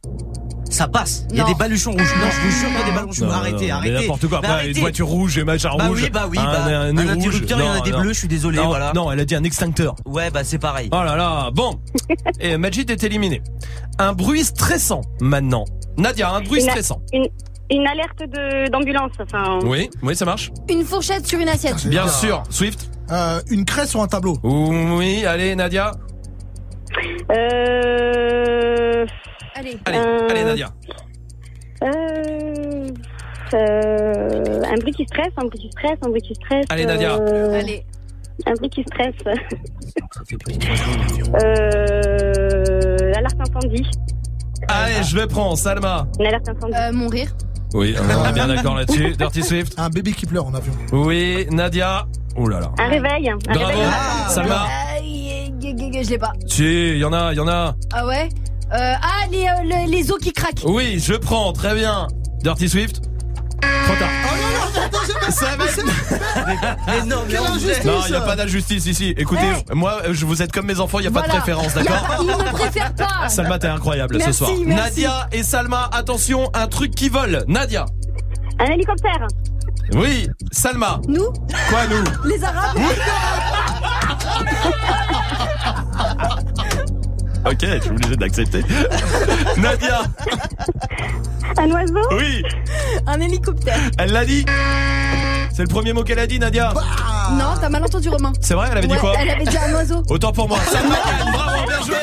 Ça passe. Il y a Non. des baluchons rouges. Non, je vous jure qu'il y a des baluchons. Non, Arrêtez, non, mais arrêtez. n'importe quoi. Mais Après, arrêtez. une voiture rouge et machin Bah rouge. oui, bah oui, un, bah, un, nez un rouge. interrupteur, il y en a Non, des non. bleus, je suis désolé, Non, voilà. Non, elle a dit un extincteur. Ouais, bah c'est pareil. Oh là là, bon. Et Majid est éliminé. Un bruit stressant maintenant. Nadia, un bruit Une- stressant. Une, une alerte de, d'ambulance, enfin... Oui, oui, ça marche. Une fourchette sur une assiette. Bien sûr. Swift. Euh, une craie sur un tableau. Oui, allez Nadia. Euh... Allez. Allez, Euh, allez Nadia. Euh... euh, Un bruit qui stresse, un bruit qui stresse, un bruit qui stresse... Allez, Nadia. euh, Allez. Un bruit qui stresse... euh... Alerte incendie. Allez, je le prends. Salma. Une alerte incendie. Euh, mon rire. Oui, on est bien d'accord là-dessus. Dirty Swift. Un bébé qui pleure en avion. Oui, Nadia. Oh là là. Un réveil. Un Bravo. réveil. Ah, Salma. Ah, y- y- y- je l'ai pas. Si, il y en a, il y en a. Ah ouais euh, Ah, les, euh, les, les os qui craquent. Oui, je prends, très bien. Dirty Swift. Trop tard. Oh non, non, attends, j'ai pas. Ça va. Mais non, mais Quelle on injustice. Non, il n'y a pas d'injustice ici. Écoutez, Hey. moi, je vous êtes comme mes enfants, il n'y a pas de Voilà. préférence, Y a- d'accord? Ils me préfèrent pas. Salma, t'es incroyable Merci, ce soir. merci. Nadia et Salma, attention, un truc qui vole. Nadia. Un hélicoptère. Oui, Salma. Nous Quoi, nous? Les Arabes. Ok, je suis obligé d'accepter. Nadia. Un oiseau. Oui, Un hélicoptère. elle l'a dit. C'est le premier mot qu'elle a dit, Nadia. Non, t'as mal entendu, Romain. C'est vrai, elle avait dit Ouais, quoi? Elle avait dit un oiseau. Autant pour moi. Salma gagne, bravo, bien joué.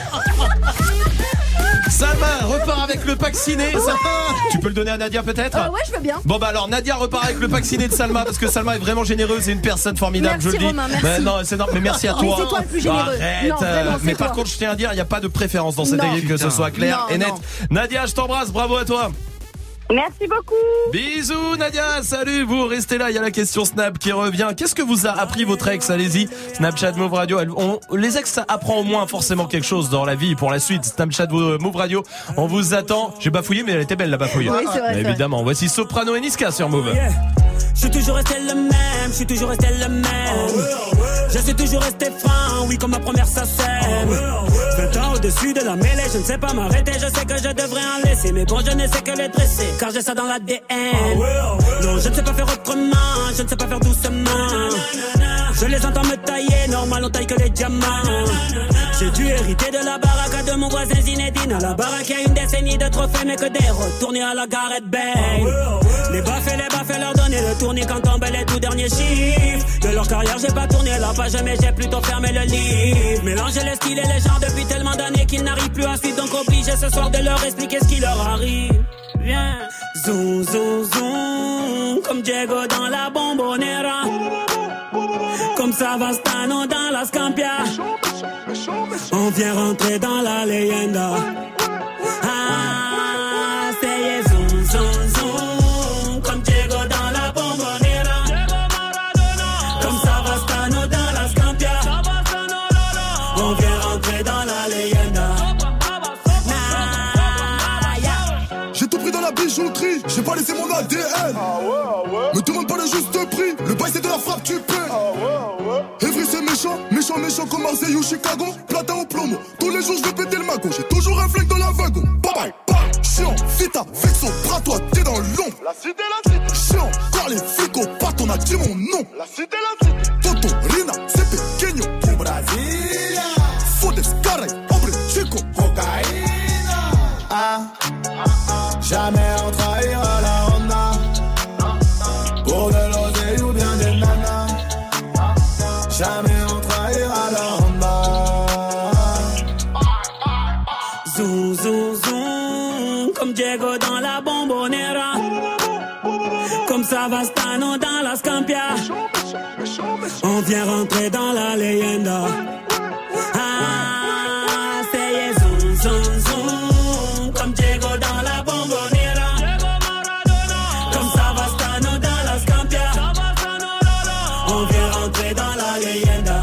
Salma repart avec le pack ciné. Ça- Tu peux le donner à Nadia peut-être? Euh, ouais, je veux bien. Bon bah alors Nadia repart avec le pack ciné de Salma parce que Salma est vraiment généreuse et une personne formidable, Merci, je le dis. Romain, merci. Mais non, c'est non, mais merci à Mais toi. c'est toi le plus généreux. Arrête. Non, vraiment, euh, c'est mais par toi. contre, je tiens à dire, il n'y a pas de préférence dans cette Non. équipe, que ce Putain. soit clair Non, et net. non. Nadia, je t'embrasse, bravo à toi. Merci beaucoup. Bisous Nadia, salut, vous restez là, il y a la question Snap qui revient. Qu'est-ce que vous a appris votre ex? Allez-y, Snapchat Move Radio. Elle- on- les ex, ça apprend au moins forcément quelque chose dans la vie pour la suite. Snapchat Move Radio, on vous attend. J'ai bafouillé, mais elle était belle la bafouille. Oui, c'est vrai, c'est Évidemment, voici Soprano et Niska sur Move. Yeah. Je suis toujours resté le même, je suis toujours resté le même. Je suis toujours resté franc, oui, comme ma première ça sème. vingt ans au-dessus de la mêlée, je ne sais pas m'arrêter, je sais que je devrais en laisser. Mais bon, je ne sais que les dresser, car j'ai ça dans l'A D N. Non, je ne sais pas faire autrement, je ne sais pas faire doucement. Je les entends me tailler, normal on taille que les diamants. J'ai dû hériter de la baraque de mon voisin Zinedine. À la baraque, il y a une décennie de trophées, mais que des retournés à la Gareth Bale. Les baffes et les baffes, leur donner le tournis quand tombent les tout derniers chiffres. De leur carrière, j'ai pas tourné la page, mais j'ai plutôt fermé le livre. Mélanger les styles et les genres depuis tellement d'années qu'ils n'arrivent plus à suivre. Donc obligé ce soir de leur expliquer ce qui leur arrive. Viens, zoom, zoom, zoom, comme Diego dans la Bombonera. Comme Savastano dans la Scampia. On vient rentrer dans la leyenda. Ah, c'est zoom, zoom, zoom, comme Diego dans la Bombonera. Comme Savastano dans la Scampia. On vient rentrer dans la leyenda. J'ai tout pris dans la bijouterie, j'ai pas laissé mon A D N. Me demande pas le juste prix, le bail c'est de la frappe, tu paies. Evry c'est méchant, méchant, méchant comme Marseille ou Chicago. Platin au plomo, tous les jours je vais péter le magot. J'ai toujours un flingue dans la wagon. Bye bye, bye. Chiant, vita, vexo, bras toi, t'es dans l'ombre. La cité, la cité. Chiant, car les flics au pat, on a dit mon nom. La cité, la cité. Toto, Rina, c'est pequeño. Pour Brasilia. Fodes, carré, hombre, chico. Cocaïna. Ah. Jamais on trahira la Honda. Pour de l'oseille ou bien des nanas. Jamais on trahira la Honda. Zoom, zoom, zoom, comme Diego dans la Bombonera. Comme Savastano dans la Scampia. On vient rentrer dans la leyenda. Ah, c'est zoom, zoom, zoom, comme Diego dans la Bombonera. Comme Savastano dans la Scampia. On vient rentrer dans la leyenda.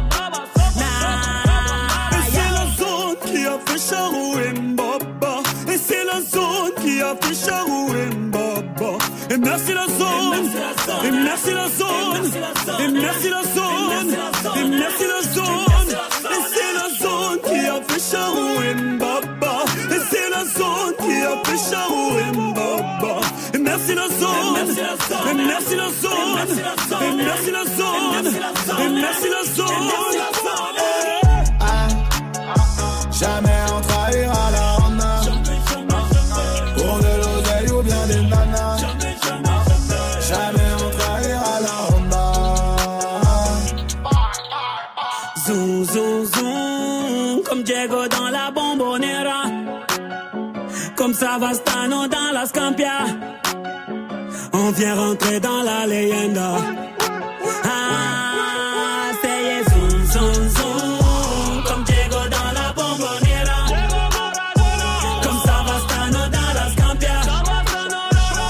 Et c'est la zone qui a fait Charou et Mbaba. Et c'est la zone qui a fait Charou et Mbaba. Et merci la zone. Et merci la zone. Et merci la zone. Et merci la zone. Et c'est la zone qui a fait Charou et Mbaba. Et c'est la zone qui a fait Charou et Mbaba. Et merci la zone. Et merci la zone. Et merci la zone. Et merci la zone. Jamais on trahira la Honda. Pour de l'oseille ou bien des nanas. Jamais on trahira la Honda. Zoom, zoom, zoom, comme Diego dans la Bombonera. Comme Savastano dans la Scampia. On vient rentrer dans la leyenda. Ah, c'est zoom, zoom, zoom, comme Diego dans la Bombonera. Comme Savastano dans la Scampia.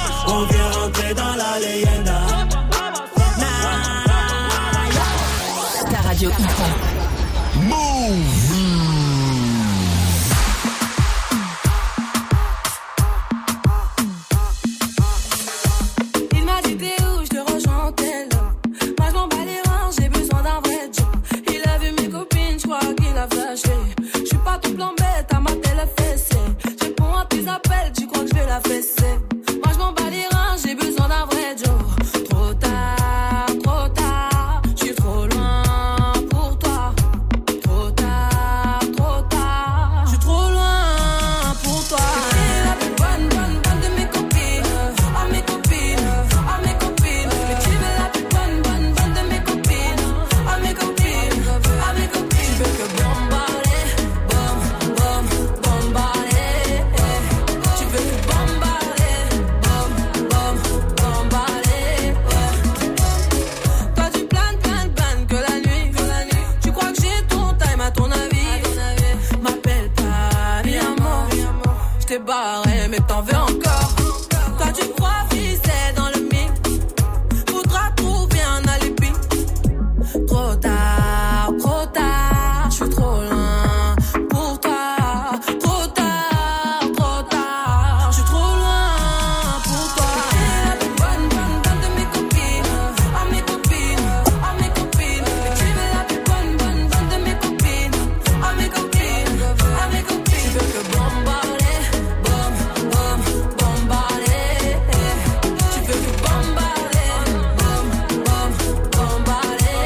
appelle, tu crois que je vais la fesser? Moi je m'en bats les reins, j'ai besoin d'un vrai Joe. Trop tard, trop tard, je suis trop loin pour toi. Trop tard, trop tard, je suis trop loin pour toi. T'es la plus bonne, bonne, bonne de mes copines. Ah mes copines, ah mes copines. Mais tu veux la plus bonne, bonne, bonne de mes copines. Ah mes copines, ah mes copines. Tu veux que bombarder, bom, bom, bombarder. Tu veux que bombarder, bom, bom, bombarder. Toi tu planes, planes, planes que la nuit, que la nuit. Tu crois que j'ai ton time à ton avis? M'appelle pas, mi amor. J't'ai barré mais t'en veux encore. Toi tu crois c'est dans le mille. Faudra trouver un alibi. Trop tard, trop tard, je suis trop loin pour toi. Trop tard, trop tard, je suis trop loin pour toi. T'es la plus bonne, bonne, bonne de mes copines. Ah mes copines, ah mes copines. Mais tu veux la plus bonne, bonne, bonne de mes copines. Ah mes copines, ah mes copines. Tu veux que bombarder, bom, bom, bombarder. Tu veux que bombarder, bom, bom, bombarder.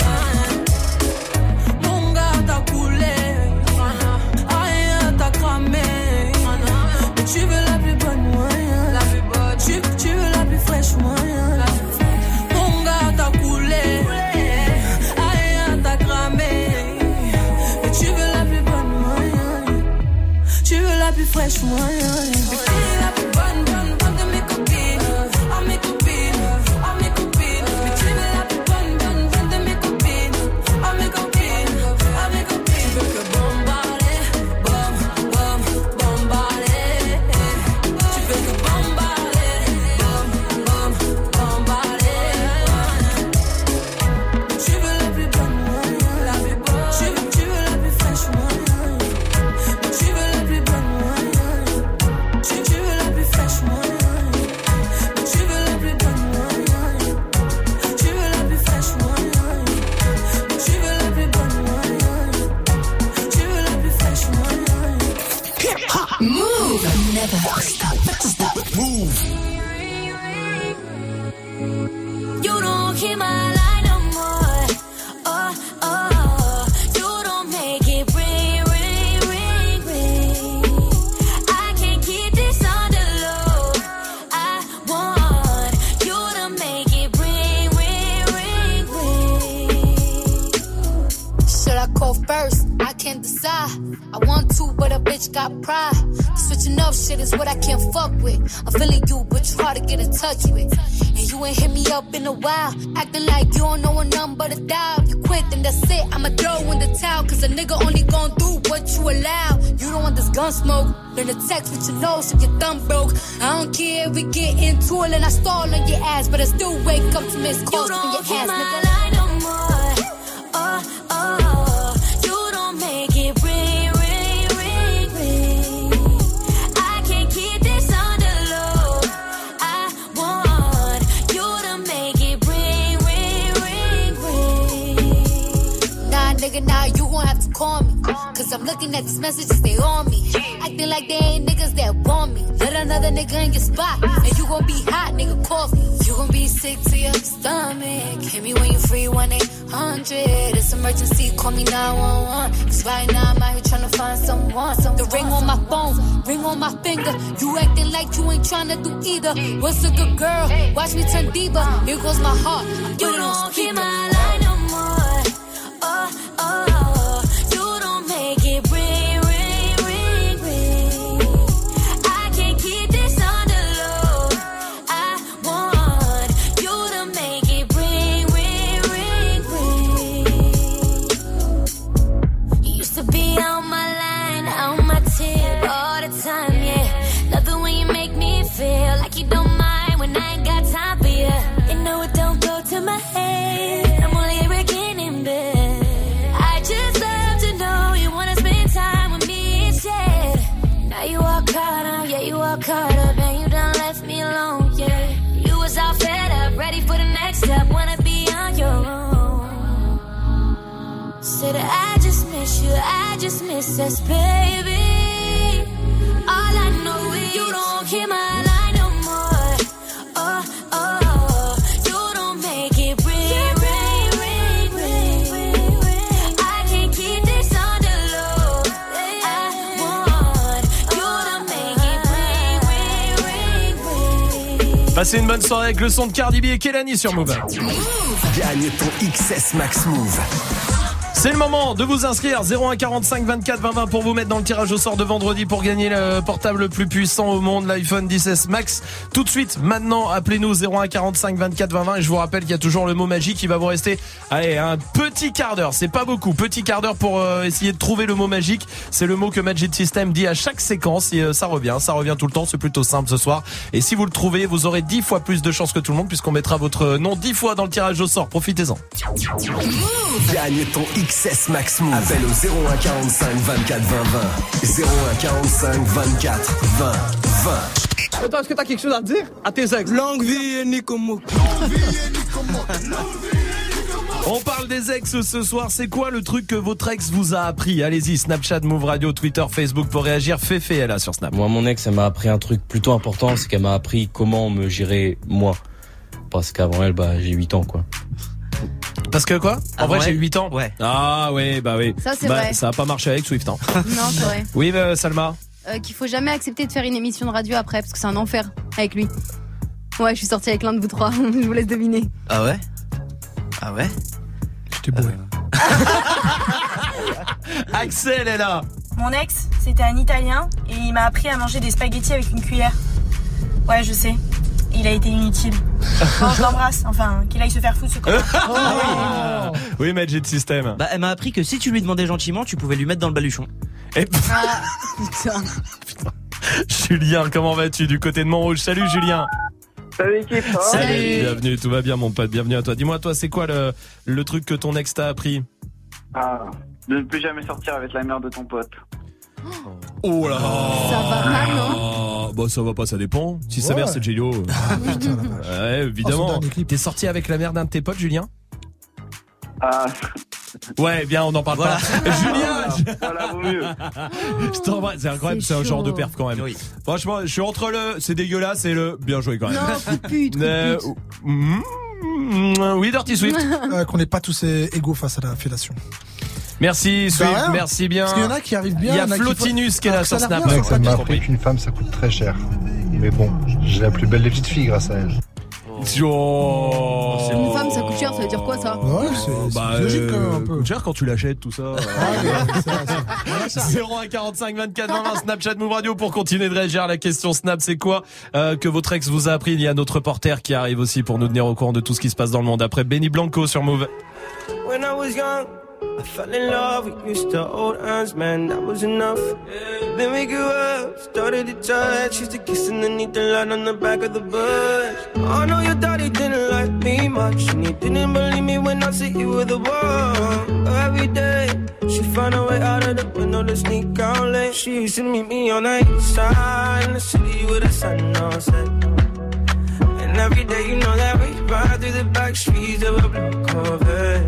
Mon gars t'a coulé, rien t'a cramé. Mais tu veux la plus bonne, moyen. La plus bonne. Tu, tu veux la plus fraîche, moyen. Mon gars t'a coulé, rien t'a cramé. Mais tu veux la plus bonne, moyen. Tu veux la plus fraîche, moyen. Mais t'es la plus bonne, bonne, bonne de mes copines. Ah mes copines, ah mes copines. Mais tu veux la plus bonne, bonne, bonne de mes copines. Ah mes copines, ah mes copines. Tu veux que bombarder, bom, bom, bombarder. Tu veux que bombarder, bom, bom, bombarder. Tu veux la plus bonne, moyen. La plus bonne. Tu veux, tu veux la plus fraîche, moyen. Tu veux la plus bonne, moyen. Tu, tu veux la plus fraîche, moyen. Tu veux la plus bonne, moyen. Tu veux la plus fraîche, moyen. Tu veux la plus bonne, moyen. Tu veux la plus fraîche, moyen. Move. Never stop, stop. Move. You don't hear my line no more. Oh, oh, you don't make it ring, ring, ring, ring. I can't keep this on the low. I want you to make it ring, ring, ring, ring. Should I call first? I can't decide. I want to, but a bitch got pride. Switching up shit is what I can't fuck with. I'm feeling you, but you hard to get in touch with. And you ain't hit me up in a while. Acting like you don't know a number to dial. You quit, then that's it. I'ma throw in the towel. Cause a nigga only gon' do what you allow. You don't want this gun smoke. Learn to text with your nose if your thumb broke. I don't care if we get into it and I stall on your ass. But I still wake up to miss calls from your ass, nigga. Line no more. Oh, oh, you don't make it ring, ring, ring, ring. I can't keep this on the low. I want you to make it ring, ring, ring, ring. Nah, nigga, nah, you gon' have to call me. Cause I'm looking at these messages, they on me. Acting like they ain't niggas that want me. Let another nigga in your spot. And you gon' be hot, nigga, call me. You gon' be sick to your stomach. Hit me when you free, one eight hundred. It's emergency, call me nine one one. Cause right now I'm out here tryna find someone. The ring on my phone, ring on my finger. You acting like you ain't tryna do either. What's a good girl? Watch me turn diva. Here goes my heart. You don't hear my line no more. Oh, oh, you don't make it ring, ring, ring, ring. I can't keep this on the low. I want you to make it ring, ring, ring, ring. You used to be on my line, on my tip all the time, yeah. Love it when you make me feel like you don't mind when I ain't got time for you. You know it don't go to my head. I'm only a wrecking in bed. I just love to know you wanna spend time with me instead. Now you all caught up, yeah, you all caught up, and you done left me alone, yeah. You was all fed up, ready for the next step, wanna be on your own. Said I just miss you, I just miss us, baby. All I know is don't hear my line no more. Oh, oh, you don't make it ring, ring, ring, ring, ring, ring. I can't keep this on the low. I want you to make it ring, ring, ring, ring. Passez une bonne soirée avec le son de Cardi B et Kelani sur Move. Gagne ton X S Max Move. C'est le moment de vous inscrire zéro un quarante-cinq vingt-quatre vingt vingt pour vous mettre dans le tirage au sort de vendredi pour gagner le portable le plus puissant au monde, l'iPhone dix S Max. Tout de suite, maintenant, appelez-nous zéro un quarante-cinq vingt-quatre vingt vingt et je vous rappelle qu'il y a toujours le mot magique qui va vous rester. Allez, un petit quart d'heure, c'est pas beaucoup, petit quart d'heure pour euh, essayer de trouver le mot magique. C'est le mot que Magic System dit à chaque séquence et euh, ça revient, ça revient tout le temps, c'est plutôt simple ce soir. Et si vous le trouvez, vous aurez dix fois plus de chance que tout le monde puisqu'on mettra votre nom dix fois dans le tirage au sort. Profitez-en. Gagne ton X S Max Move. Appelle au zéro un quarante-cinq vingt-quatre vingt vingt. zéro un quarante-cinq vingt-quatre vingt vingt. Attends, est-ce que t'as quelque chose à dire à tes ex? Longue vie et Nicomo. On parle des ex ce soir. C'est quoi le truc que votre ex vous a appris? Allez-y, Snapchat, Move Radio, Twitter, Facebook pour réagir. Féfé, elle a sur Snap. Moi, mon ex, elle m'a appris un truc plutôt important, c'est qu'elle m'a appris comment me gérer moi. Parce qu'avant elle, bah, j'ai huit ans, quoi. Parce que quoi? En Avant vrai, j'ai elle huit ans. Ouais. Ah ouais, bah oui. Ça, c'est bah, vrai. Ça a pas marché avec Swift. Hein. Non, c'est vrai. Oui, bah, Salma. Euh, qu'il faut jamais accepter de faire une émission de radio après, parce que c'est un enfer avec lui. Ouais, je suis sortie avec l'un de vous trois. Je vous laisse deviner. Ah ouais? Ah ouais? J'étais bourré. Axel est là. Mon ex, c'était un Italien et il m'a appris à manger des spaghettis avec une cuillère. Ouais, je sais. Il a été inutile. Bon, je l'embrasse. Enfin, qu'il aille se faire foutre ce con. Ah, oui, Magic System. Bah, elle m'a appris que si tu lui demandais gentiment, tu pouvais lui mettre dans le baluchon. Et... Ah, putain. Julien, comment vas-tu du côté de Montrouge? Salut Julien. Salut l'équipe. Salut. Bienvenue, tout va bien mon pote, bienvenue à toi. Dis-moi, toi, c'est quoi le, le truc que ton ex t'a appris? Ah, de ne plus jamais sortir avec la mère de ton pote. Oh là. Ça va pas, non? Bah ça va pas, ça dépend. Si sa Ouais. mère c'est Jello. Ouais, évidemment. Oh, T'es sorti avec la mère d'un de tes potes, Julien? Ah. Ouais, bien, on en parle Voilà. pas. Julien, Voilà, vaut mieux. je t'embrasse. C'est incroyable, c'est, C'est un genre chaud. de perf quand même. Oui. Franchement, je suis entre le c'est dégueulasse et le bien joué quand même. Non, coup de pute, coup de Euh, pute. mm, oui, Dirty Swift. Euh, qu'on n'est pas tous égaux face à la fellation. Merci Swift, rien. merci bien. Parce qu'il y en a qui arrivent bien. Il y a en qui Flotinus font- qui est là alors sur que ça n'a Snap. rien, Mec, ça ça n'a m'a pas appris qu'une femme ça coûte très cher. Mais bon, j'ai la plus belle des petites filles grâce à elle. Oh. Une femme, ça coûte cher, ça veut dire quoi ça? Ouais, c'est c'est Bah, logique euh, quand même un peu. coûte cher quand tu l'achètes, tout ça. zéro un quarante-cinq vingt-quatre vingt vingt Snapchat Move Radio pour continuer de réagir à la question Snap. C'est quoi euh, que votre ex vous a appris? Il y a notre reporter qui arrive aussi pour nous tenir au courant de tout ce qui se passe dans le monde. Après Benny Blanco sur Move. When I was young, I fell in love. We used to hold hands, man, that was enough. Then we grew up, started to touch. Used to kiss underneath the light on the back of the bus. I know your daddy didn't like me much, and he didn't believe me when I said you were the one. Every day, she found a way out of the window to sneak out late. She used to meet me on the east side in the city with the sun on set. And every day, you know that we ride through the back streets of a blue Corvette.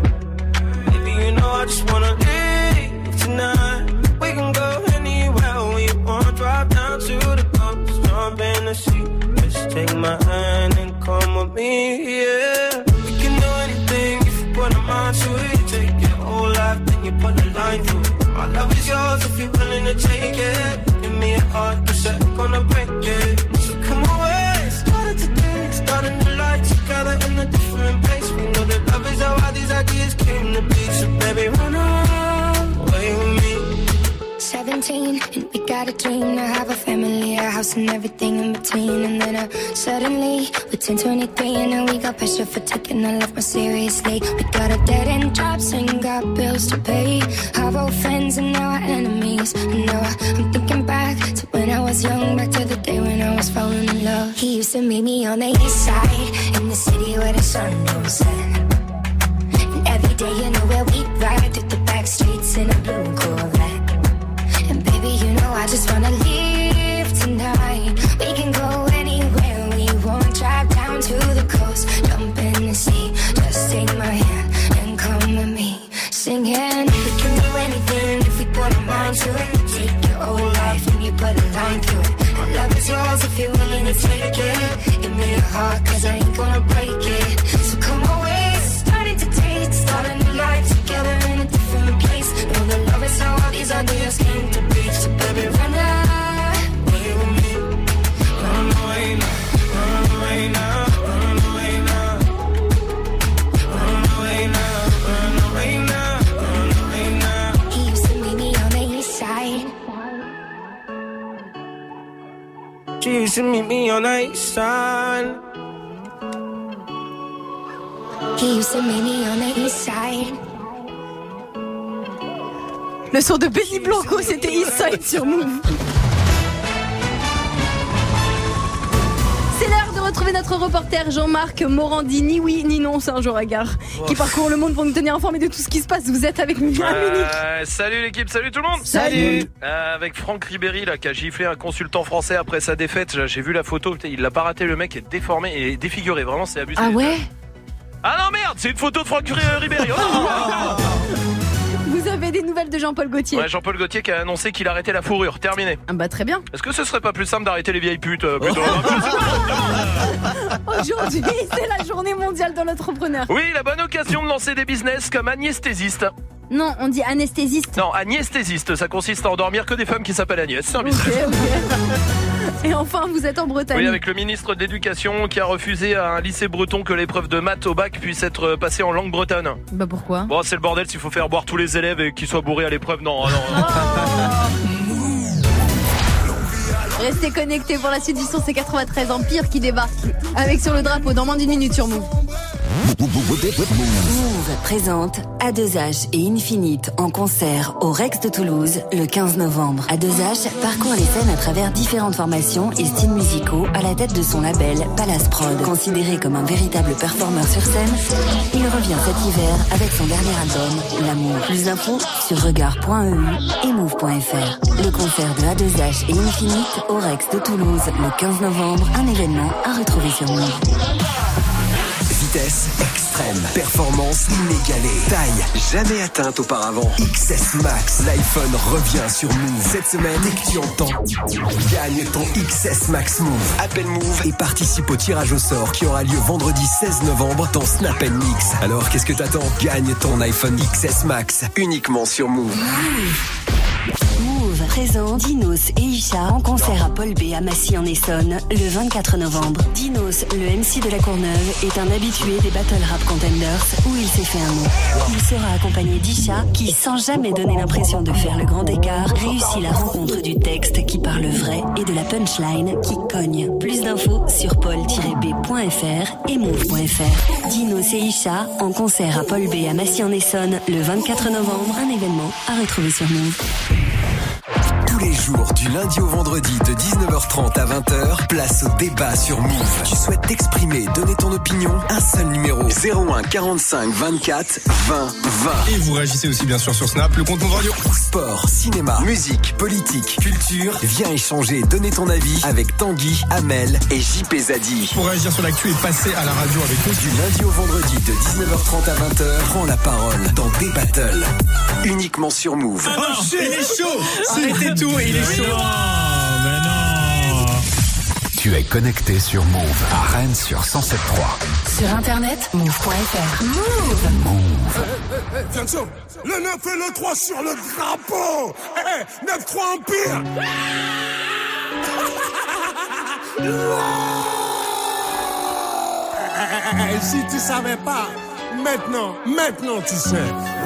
You know I just wanna leave tonight. We can go anywhere we want. Drive down to the coast, jump in the sea. Just take my hand and come with me, yeah. We can do anything if you put a mind to it. Take your whole life, then you put a line through it. My love is yours if you're willing to take it. Give me a heart, cause I'm gonna break it. So come away, started today. Starting the light together in a different place. We know that love is how all these ideas came to be. So baby, run away with me. seventeen, and we got a dream to have a family, a house and everything in between. And then uh, suddenly, we're ten twenty-three, and now we got pressure for taking our life more seriously. We got a dead end jobs and got bills to pay. Have old friends and now our enemies. And now I, I'm thinking back to when I was young, back to the day when I was falling in love. He used to meet me on the east side, in the city where the sun don't set. And every day, you know where we ride through the back streets in a blue Corvette. And baby, you know I just wanna leave tonight. We can go anywhere we want. Drive down to the coast, jump in the sea. Just take my hand and come with me, singing. We can do anything if we put our mind to it. Take your whole life and you put a line through it. I love it's yours if you're willing to take it. Give me your heart, cause I ain't gonna break it. So come away, starting to taste, start a new life together in a different place. Know that love is how all these ideas came to be. So baby, run away with me. Run away now, run away now, run away now. Run away now, run away now, run away now. He used to meet me on the east side. She used to meet me on the east side. He used to meet me on the east side. Le son de Benny Blanco, c'était Eastside sur Move. C'est l'heure de retrouver notre reporter Jean-Marc Morandi. Ni oui, ni non, c'est un jour à gare. Oh. Qui parcourt le monde pour nous tenir informés de tout ce qui se passe. Vous êtes avec nous, euh, Salut l'équipe, salut tout le monde. Salut. Euh, avec Franck Ribéry là, qui a giflé un consultant français après sa défaite. J'ai vu la photo, il l'a pas raté, le mec est déformé et défiguré. Vraiment, c'est abusé. Ah ouais. Ah non merde, c'est une photo de Franck Ribéry. Oh, non, non. Vous avez des nouvelles de Jean-Paul Gaultier? Ouais, Jean-Paul Gaultier qui a annoncé qu'il arrêtait la fourrure. Terminé. Ah bah très bien. Est-ce que ce serait pas plus simple d'arrêter les vieilles putes euh, plutôt? Aujourd'hui, c'est la journée mondiale de l'entrepreneur. Oui, la bonne occasion de lancer des business comme anesthésiste. Non, on dit anesthésiste. Non, anesthésiste, ça consiste à endormir que des femmes qui s'appellent Agnès. C'est un business. Okay, okay. Et enfin, vous êtes en Bretagne. Oui, avec le ministre de l'Éducation qui a refusé à un lycée breton que l'épreuve de maths au bac puisse être passée en langue bretonne. Bah pourquoi? Bon, c'est le bordel s'il faut faire boire tous les élèves et qu'ils soient bourrés à l'épreuve. Non, non. non. Restez connectés pour la suite du son, c'est quatre-vingt-treize Empire qui débarque avec Sur le drapeau dans moins d'une minute sur Move. Move présente A deux H et Infinite en concert au Rex de Toulouse le quinze novembre. A deux H parcourt les scènes à travers différentes formations et styles musicaux à la tête de son label Palace Prod. Considéré comme un véritable performeur sur scène, il revient cet hiver avec son dernier album, L'amour. Plus d'infos sur regard point e u et move point f r. Le concert de A deux H et Infinite au Rex de Toulouse le quinze novembre, un événement à retrouver sur Move. Vitesse extrême, performance inégalée, taille jamais atteinte auparavant. X S Max, l'iPhone revient sur Move. Cette semaine, dès que tu entends, gagne ton X S Max Move. Appelle Move et participe au tirage au sort qui aura lieu vendredi seize novembre dans Snap and Mix. Alors qu'est-ce que t'attends? Gagne ton iPhone X S Max uniquement sur Move. Move présente Dinos et Isha en concert à Paul B à Massy en Essonne le vingt-quatre novembre. Dinos, le M C de la Courneuve, est un habitué des Battle Rap Contenders où il s'est fait un nom. Il sera accompagné d'Isha qui, sans jamais donner l'impression de faire le grand écart, réussit la rencontre du texte qui parle vrai et de la punchline qui cogne. Plus d'infos sur paul tiret b point f r et move point f r. Dinos et Isha en concert à Paul B à Massy en Essonne le vingt-quatre novembre, un événement à retrouver sur Move. Tous les jours, du lundi au vendredi de dix-neuf heures trente à vingt heures, place au débat sur Move. Tu souhaites t'exprimer, donner ton opinion? Un seul numéro, zéro un quarante-cinq vingt-quatre vingt vingt. Et vous réagissez aussi bien sûr sur Snap, le compte Move Radio. Sport, cinéma, musique, politique, culture. Viens échanger, donner ton avis avec Tanguy, Amel et J P Zadi. Pour réagir sur l'actu et passer à la radio avec nous. Du lundi au vendredi de dix-neuf heures trente à vingt heures, prends la parole dans Des Battles. Uniquement sur Move. Oh, oh il est chaud. Arrêtez tout, il est chaud. Non, mais non. Tu es connecté sur Move à Rennes sur cent sept trois. Sur internet, move point f r. Move. Move. Hey, hey, attention, le neuf et le trois sur le drapeau. Hey, neuf trois Empire. Hey, si tu savais pas, maintenant, maintenant tu sais.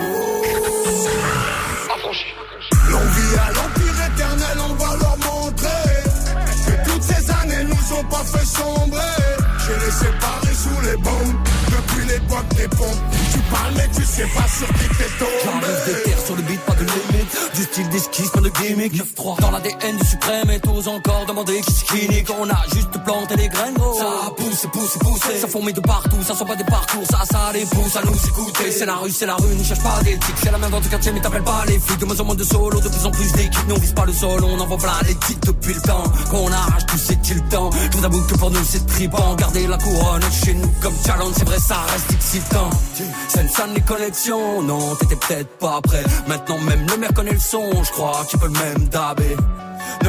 Longue vie à l'empire éternel, on va leur montrer que toutes ces années nous ont pas fait sombrer. J'ai les séparés sous les bombes depuis l'époque des pompes. Tu parles mais tu sais pas sur qui t'es tombé. J'enlève des terres sur le beat, pas de limite. Du style d'esquisse, pas de gimmick. neuf trois dans l'A D N du suprême et t'oses encore demander qui c'est qui nique. On a juste planté les graines gros. Ça pousse, pousse, pousse. Ça fourmille de partout, ça sent pas des parcours. Ça, ça les pousse à nous écouter. C'est la rue, c'est la rue, ne cherche pas d'éthique. C'est la même dans du quartier mais t'appelles pas les flics. De moins en moins de solo, de plus en plus d'équipes. Nous on vise pas le sol, on envoie plein les titres depuis le temps qu'on arrache tout c'est-il le temps. Je vous avoue que pour nous c'est tripant. Garder la couronne chez nous comme challenge, c'est vrai ça reste excitant. C'est une salle les connexions, non t'étais peut-être pas prêt. Maintenant même le maire connaît le son, je crois qu'il peut le même dabé. neuf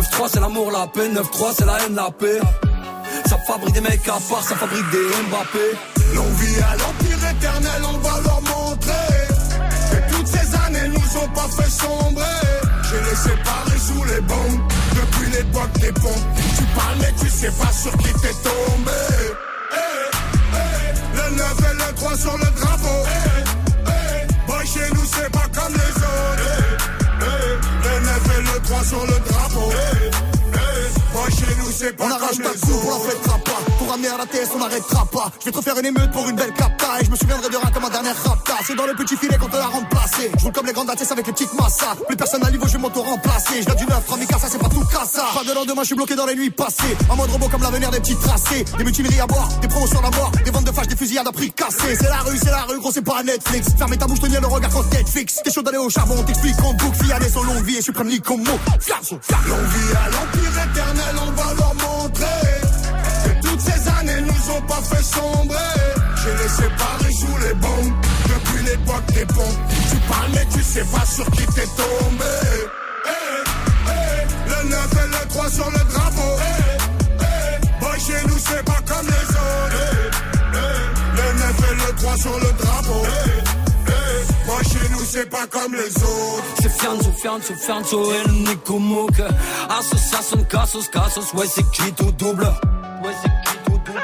neuf trois c'est l'amour, la paix, neuf trois c'est la haine, la paix. Ça fabrique des mecs à part, ça fabrique des Mbappé. L'on vit à l'empire éternel, on va leur montrer que toutes ces années nous ont pas fait sombrer. Je les séparés sous les bombes, depuis l'époque des pompes. Tu parles mais tu sais pas sur qui t'es tombé. Hey, hey, le neuf et le trois sur le drapeau. Hey, hey, boy chez nous c'est pas comme les autres. Hey, hey, le neuf et le trois sur le drapeau. Hey, boy chez nous c'est pas on comme arrache les ta autres. coupe, on la fêtera pas. Pour ramener à la T S on n'arrêtera pas. Je vais te refaire une émeute pour une belle capta. Et je me souviendrai de rien comme ma dernière rapta. C'est dans le petit filet qu'on te l'a remplacé. Je roule comme les grandes dates avec les petites massas. Plus personne à niveau, je vais m'auto-remplacer. Je viens du neuf, Ramika, ça c'est pas tout cassa. Pas de lendemain, je suis bloqué dans les nuits passées. En mode robot comme l'avenir des petits tracés. Des mutineries à boire, des promos sur la mort. Des ventes de fâches, des fusillades à prix cassés. C'est la rue, c'est la rue, gros, c'est pas Netflix. Fermez ta bouche, tenir le regard quand Netflix. T'es chaud d'aller au charbon, t'explique en boucle. Fiané son longue vie et suprême lit comme mot. Fiasso, fiasso. L'on vit à l'empire éternel, on va leur montrer que toutes ces années nous ont pas fait sombrer. Je les séparés sous les bombes, depuis l'époque des pompes. Tu parles mais tu sais pas sur qui t'es tombé. Hey, hey, le neuf et le trois sur le drapeau. Hey, hey, boy chez nous c'est pas comme les autres. Hey, hey, le neuf et le trois sur le drapeau. Hey, hey, boy chez nous c'est pas comme les autres. C'est fianzo, fianzo, fianzo, el Nico Mouk. Association, casos, casos, ouais c'est qui tout double. Ouais c'est qui tout double.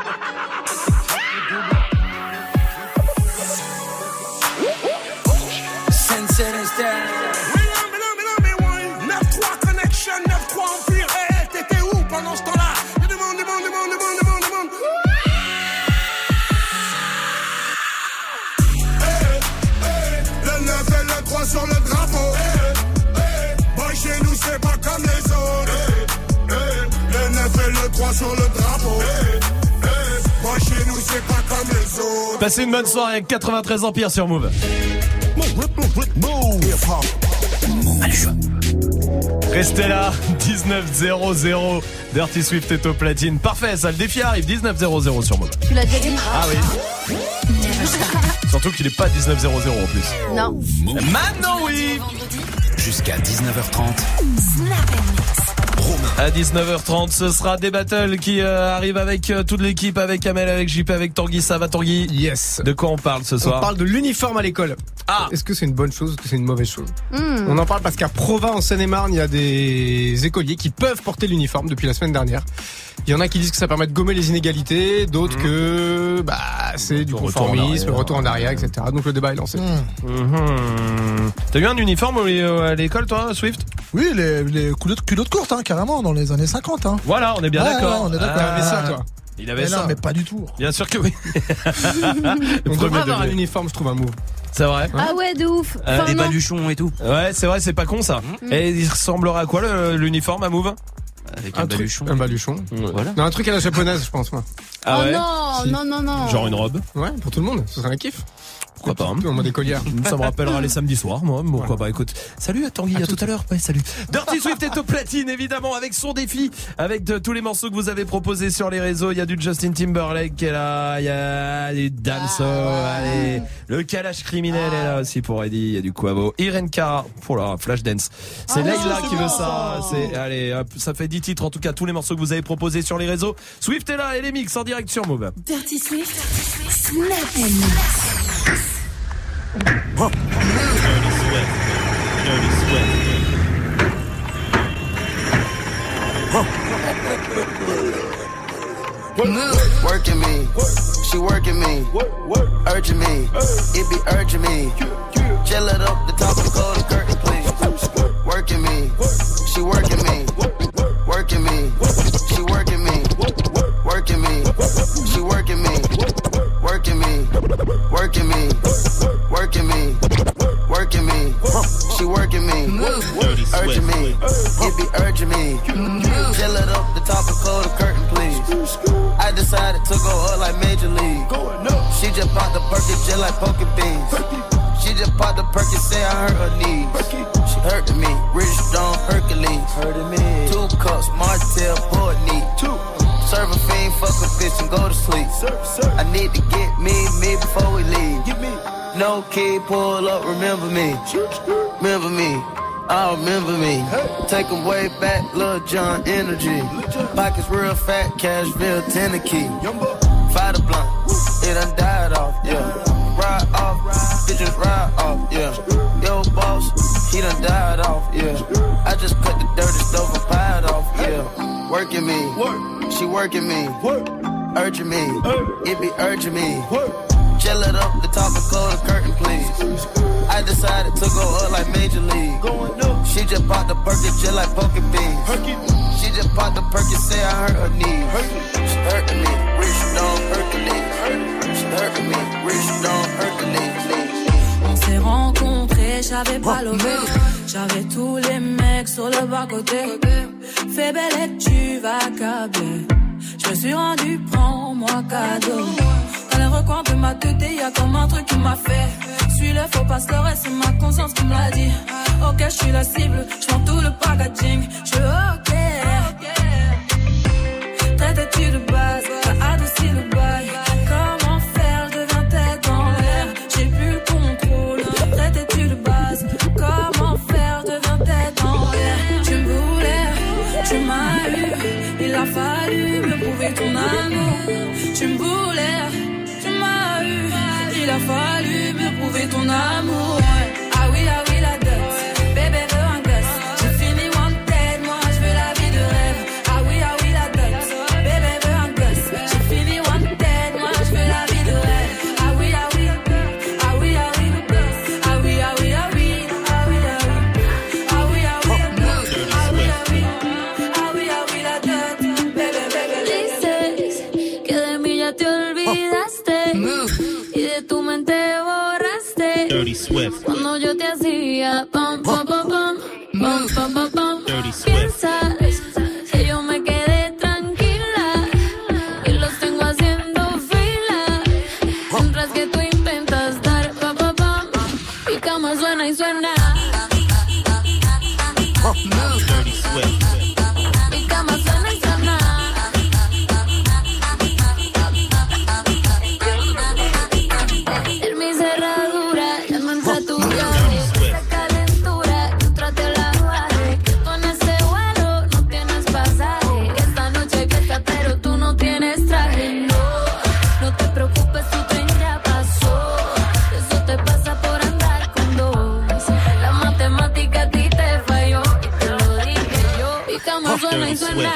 Sensei Instead. neuf trois Connection, neuf trois Empire. Hey, t'étais où pendant ce temps-là? Demande, demande, demande, demande, demande, demande. Hey, hey, le neuf et le trois sur le drapeau. Hey, hey, boy chez nous c'est pas comme les autres. Hey, hey, le neuf et le trois sur le drapeau. Hey, hey, boy chez nous c'est pas comme les autres. Passez une bonne soirée avec quatre-vingt-treize Empire sur Move. Restez là, dix-neuf zéro zéro. Dirty Swift est au platine. Parfait, ça, le défi arrive, dix-neuf zéro zéro sur Move. Tu l'as déjà dit? Ah oui. Surtout qu'il est pas dix-neuf zéro zéro en plus. Non. Maintenant oui. Jusqu'à dix-neuf heures trente. À dix-neuf heures trente, ce sera des battles qui euh, arrivent avec euh, toute l'équipe, avec Kamel, avec J P, avec Tanguy. Ça va Tanguy? Yes. De quoi on parle ce soir? On parle de l'uniforme à l'école. Ah. Est-ce que c'est une bonne chose ou est-ce que c'est une mauvaise chose? Mm. On en parle parce qu'à Provins, en Seine-et-Marne, il y a des écoliers qui peuvent porter l'uniforme depuis la semaine dernière. Il y en a qui disent que ça permet de gommer les inégalités, d'autres mmh. que bah c'est du conformisme, le retour en arrière, et cetera. Donc le débat est lancé. Mmh. Mmh. T'as eu un uniforme à l'école, toi, Swift? Oui, les, les culottes, culottes courtes, hein, carrément, dans les années cinquante. Hein. Voilà, on est bien ouais, d'accord. Ouais, on est d'accord. Ah, mais ça, toi. Il avait mais ça. Non, mais pas du tout. Bien sûr que oui. On devrait avoir un uniforme, je trouve, un move. C'est vrai. Ah ouais, de ouf. Euh, des baluchons et tout. Ouais, c'est vrai, c'est pas con ça. Mmh. Et il ressemblerait à quoi le, l'uniforme à Move? Avec un, un baluchon. Truc, un baluchon. Mmh. Voilà. Non, un truc à la japonaise, je pense, moi. Ah oh ouais non, si. non, non, non. Genre une robe? Ouais, pour tout le monde. Ce serait un kiff. Pourquoi pas, hein. En mode écolière. Ça me rappellera les samedis soirs, moi. Pourquoi voilà. Pas, écoute. Salut à Tanguy, à, à tout, tout à l'heure. Ouais, salut. Dirty Swift est au platine, évidemment, avec son défi, avec de, tous les morceaux que vous avez proposés sur les réseaux. Il y a du Justin Timberlake qui est là, il y a du Damso, ah, allez. Le Kalash criminel ah. est là aussi pour Eddie, il y a du Quavo. Irene Cara, oh là, Flashdance. C'est ah, Layla qui veut ça. C'est, allez, hop, ça fait dix titres, en tout cas, tous les morceaux que vous avez proposés sur les réseaux. Swift est là et les mix en direct sur Move. Dirty Swift, Snap and Mix. Huh. Dirty Swift. Dirty Swift. Huh. Working me, she working me, urging me, it be urging me. Gel it up the top of the cold curtain, please. Working me, she working me, working me, she working me, working me, she working me, working me, working me, working me, working me, she working me, urging me, it be urging me. Gel it up the top of cold curtain, please. I decided to go up like Major League. She just popped the Perky just like poking beans. She just popped the Perky, say I hurt her knees. She hurting me, Rich Stone Hercules. Hurting me. Two cups, Martell, Port Neat. Two. Serve a fiend, fuck a bitch and go to sleep. I need to get me, me before we leave. No key, pull up, remember me. Remember me. I remember me. Take them way back, Lil Jon energy. Pockets real fat, Cashville, Tennessee. Fight a blunt, it done died off, yeah. Ride off, bitches ride off, yeah. Yo, boss, he done died off, yeah. I just cut the dirty stove and pied off, yeah. Working me, she working me, urging me, it be urging me. Chill it up, the top and close the curtain, please. I decided to go up like Major League. She just popped the Perky just like poking beans. She just popped the Perky, say I hurt her knees. She hurting me, rich down Hercules. She hurting me, rich down Hercules. On s'est rencontrés, j'avais pas levé. J'avais tous les mecs sur le bas-côté. Fais belle et tu vas câbler. Je me suis rendu, prends-moi cadeau. Dans les recoins de ma tête, y'a comme un truc qui m'a fait. Suis le faux pas se le reste, c'est ma conscience qui me l'a dit. Ok, je suis la cible, je vends tout le packaging. Je suis ok. Traite-tu de base, t'as adouci le bail. Comment faire, je deviens tête dans l'air. J'ai plus le contrôle. Traite-tu de base, comment faire, je deviens tête dans l'air. Tu me voulais, tu m'as eu. Il a fallu me prouver ton amour. Tu me voulais, tu m'as eu. Il a fallu me prouver ton amour. Ah oui, ah oui, la dot. Bébé veut un gosse. J'ai fini wanted, moi je veux la vie de rêve. Ah oui, ah oui, la dot. Bébé veut un gosse. J'ai fini wanted, moi je veux la vie de rêve. Ah oui, ah oui, ah oui, ah oui, ah oui, ah oui, ah oui, ah oui, ah oui, ah oui, ah oui, ah oui, ah oui, ah oui, ah oui, la dot. Bébé, bébé, dices que de mí ya te olvidaste. Y de tu mente borraste. Dirty Swift. Cuando yo te hacía pam pam pam pam pam pam pam pam. Piensas que yo me quedé tranquila y los tengo haciendo fila. Mientras que tú intentas dar pam pam pam. Mi cama suena y suena. Dirty Swift. Mi cama suena y suena. En mi cerradura ya no entra tu llave. Esa calentura yo traté la bajé. Con ese vuelo no tienes pasaje. Esta noche fiesta pero tú no tienes traje. No, no te preocupes, tu tren ya pasó. Eso te pasa por andar con dos. La matemática a ti te falló y te lo dije yo. Mi cama suena y suena.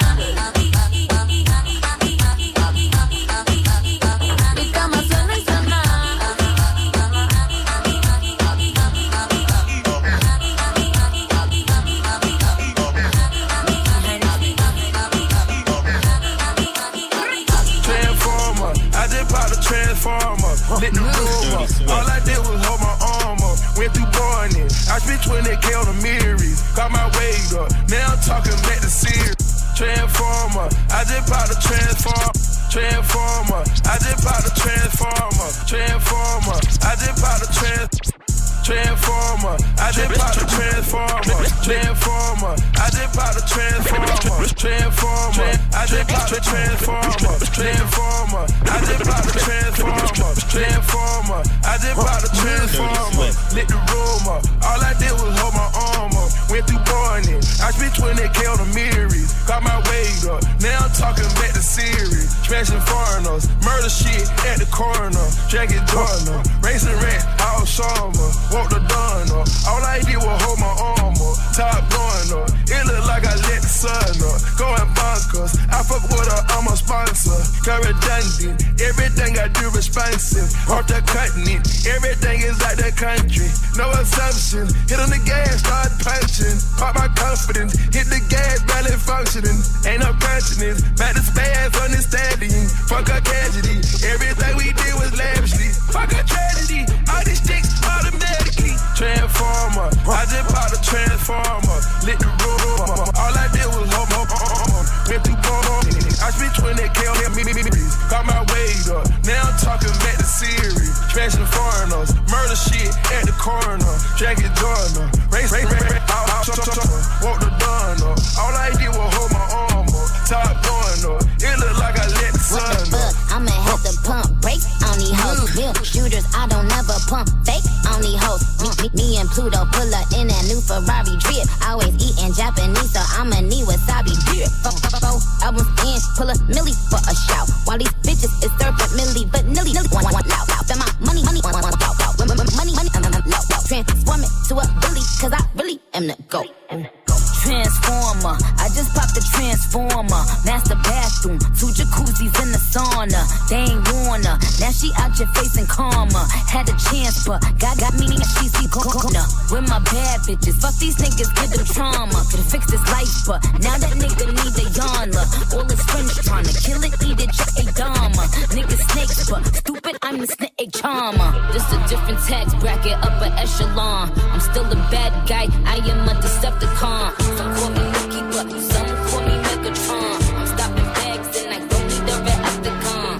Mi cama suena y suena. Transformer, I just popped a transformer. Lit the room up. All I did was hold my arm up. Went through boring it. I spent twenty K on the mirrors. Got my weight up. Now I'm talking back to series. Transformer, I just popped a transformer. Transformer, I just popped a transformer. Transformer, I just popped a trans. Transformer, I just popped a transformer. Transformer, I just popped a transformer. Transformer, I just popped a transformer. Transformer, I just popped a transformer. Transformer, I just popped a transformer. Lit the room up. All I did was hold my arm up. Went through boring it. I spent twenty K on the mirrors. Got my weight up. Now I'm talking back to series. Smashing foreigners. Murder shit at the corner. Dragging Jordan. Racing rat all summer. Walk the dawn up. All I did was hold my arm up. Top going up. It look like I let the sun up. Going bonkers. I fuck with her, I'm a sponsor. Got redundant. Everything I do responsive. Off the cutting it. Everything is like the country. No assumptions. Hit on the gas, start punching. Pop my confidence. Hit the gas, barely functioning. Ain't no consciousness. Back to spaz on the stallion. Fuck a tragedy. Everything we did was lavishly. Fuck a tragedy. All these sticks automatically. Transformer. I just popped a transformer. Lit the room up. All I did was hold my arm. Went through boring. I spent twenty K on me. Got my weight up. Now I'm talking back to series. Smashing foreigners. Murder shit at the corner. Dragging Jordan. Race, race, race, race. Out, out, out, out, out. Walk the dawn up. All I did was hold my arm up. Top going up. It look like I let the sun up. I'ma have to pump brakes on these hoes. Real shooters, I don't ever pump fake on these hoes. Me, me, me and Pluto pull up in that new Ferrari drip. I was in, pull a milli for a shout. While these bitches is served at milli, but nilly, nilly, one, one, loud, loud. Spend my money, money, one, one, loud, loud. Money, money, I'm, I'm, loud, loud. Transform it to a billy, cause I really am the GOAT. Transformer, I just popped the transformer. Master bathroom, two jacuzzis in the sauna. They ain't wanna, now she out your face and karma. Had a chance, but God got me and she see corner. With my bad bitches, fuck these niggas, give them trauma. Could've fixed his life, but now that nigga need a yana. All his friends tryna kill it, eat it, just a dama. Niggas snakes, but stupid, I'm the snake a charmer. Just a different tax bracket, upper echelon. I'm still a bad guy, I am a Decepticon. Some call me Nikki, but some call me Megatron. I'm stopping bags and I don't need a Reacticon.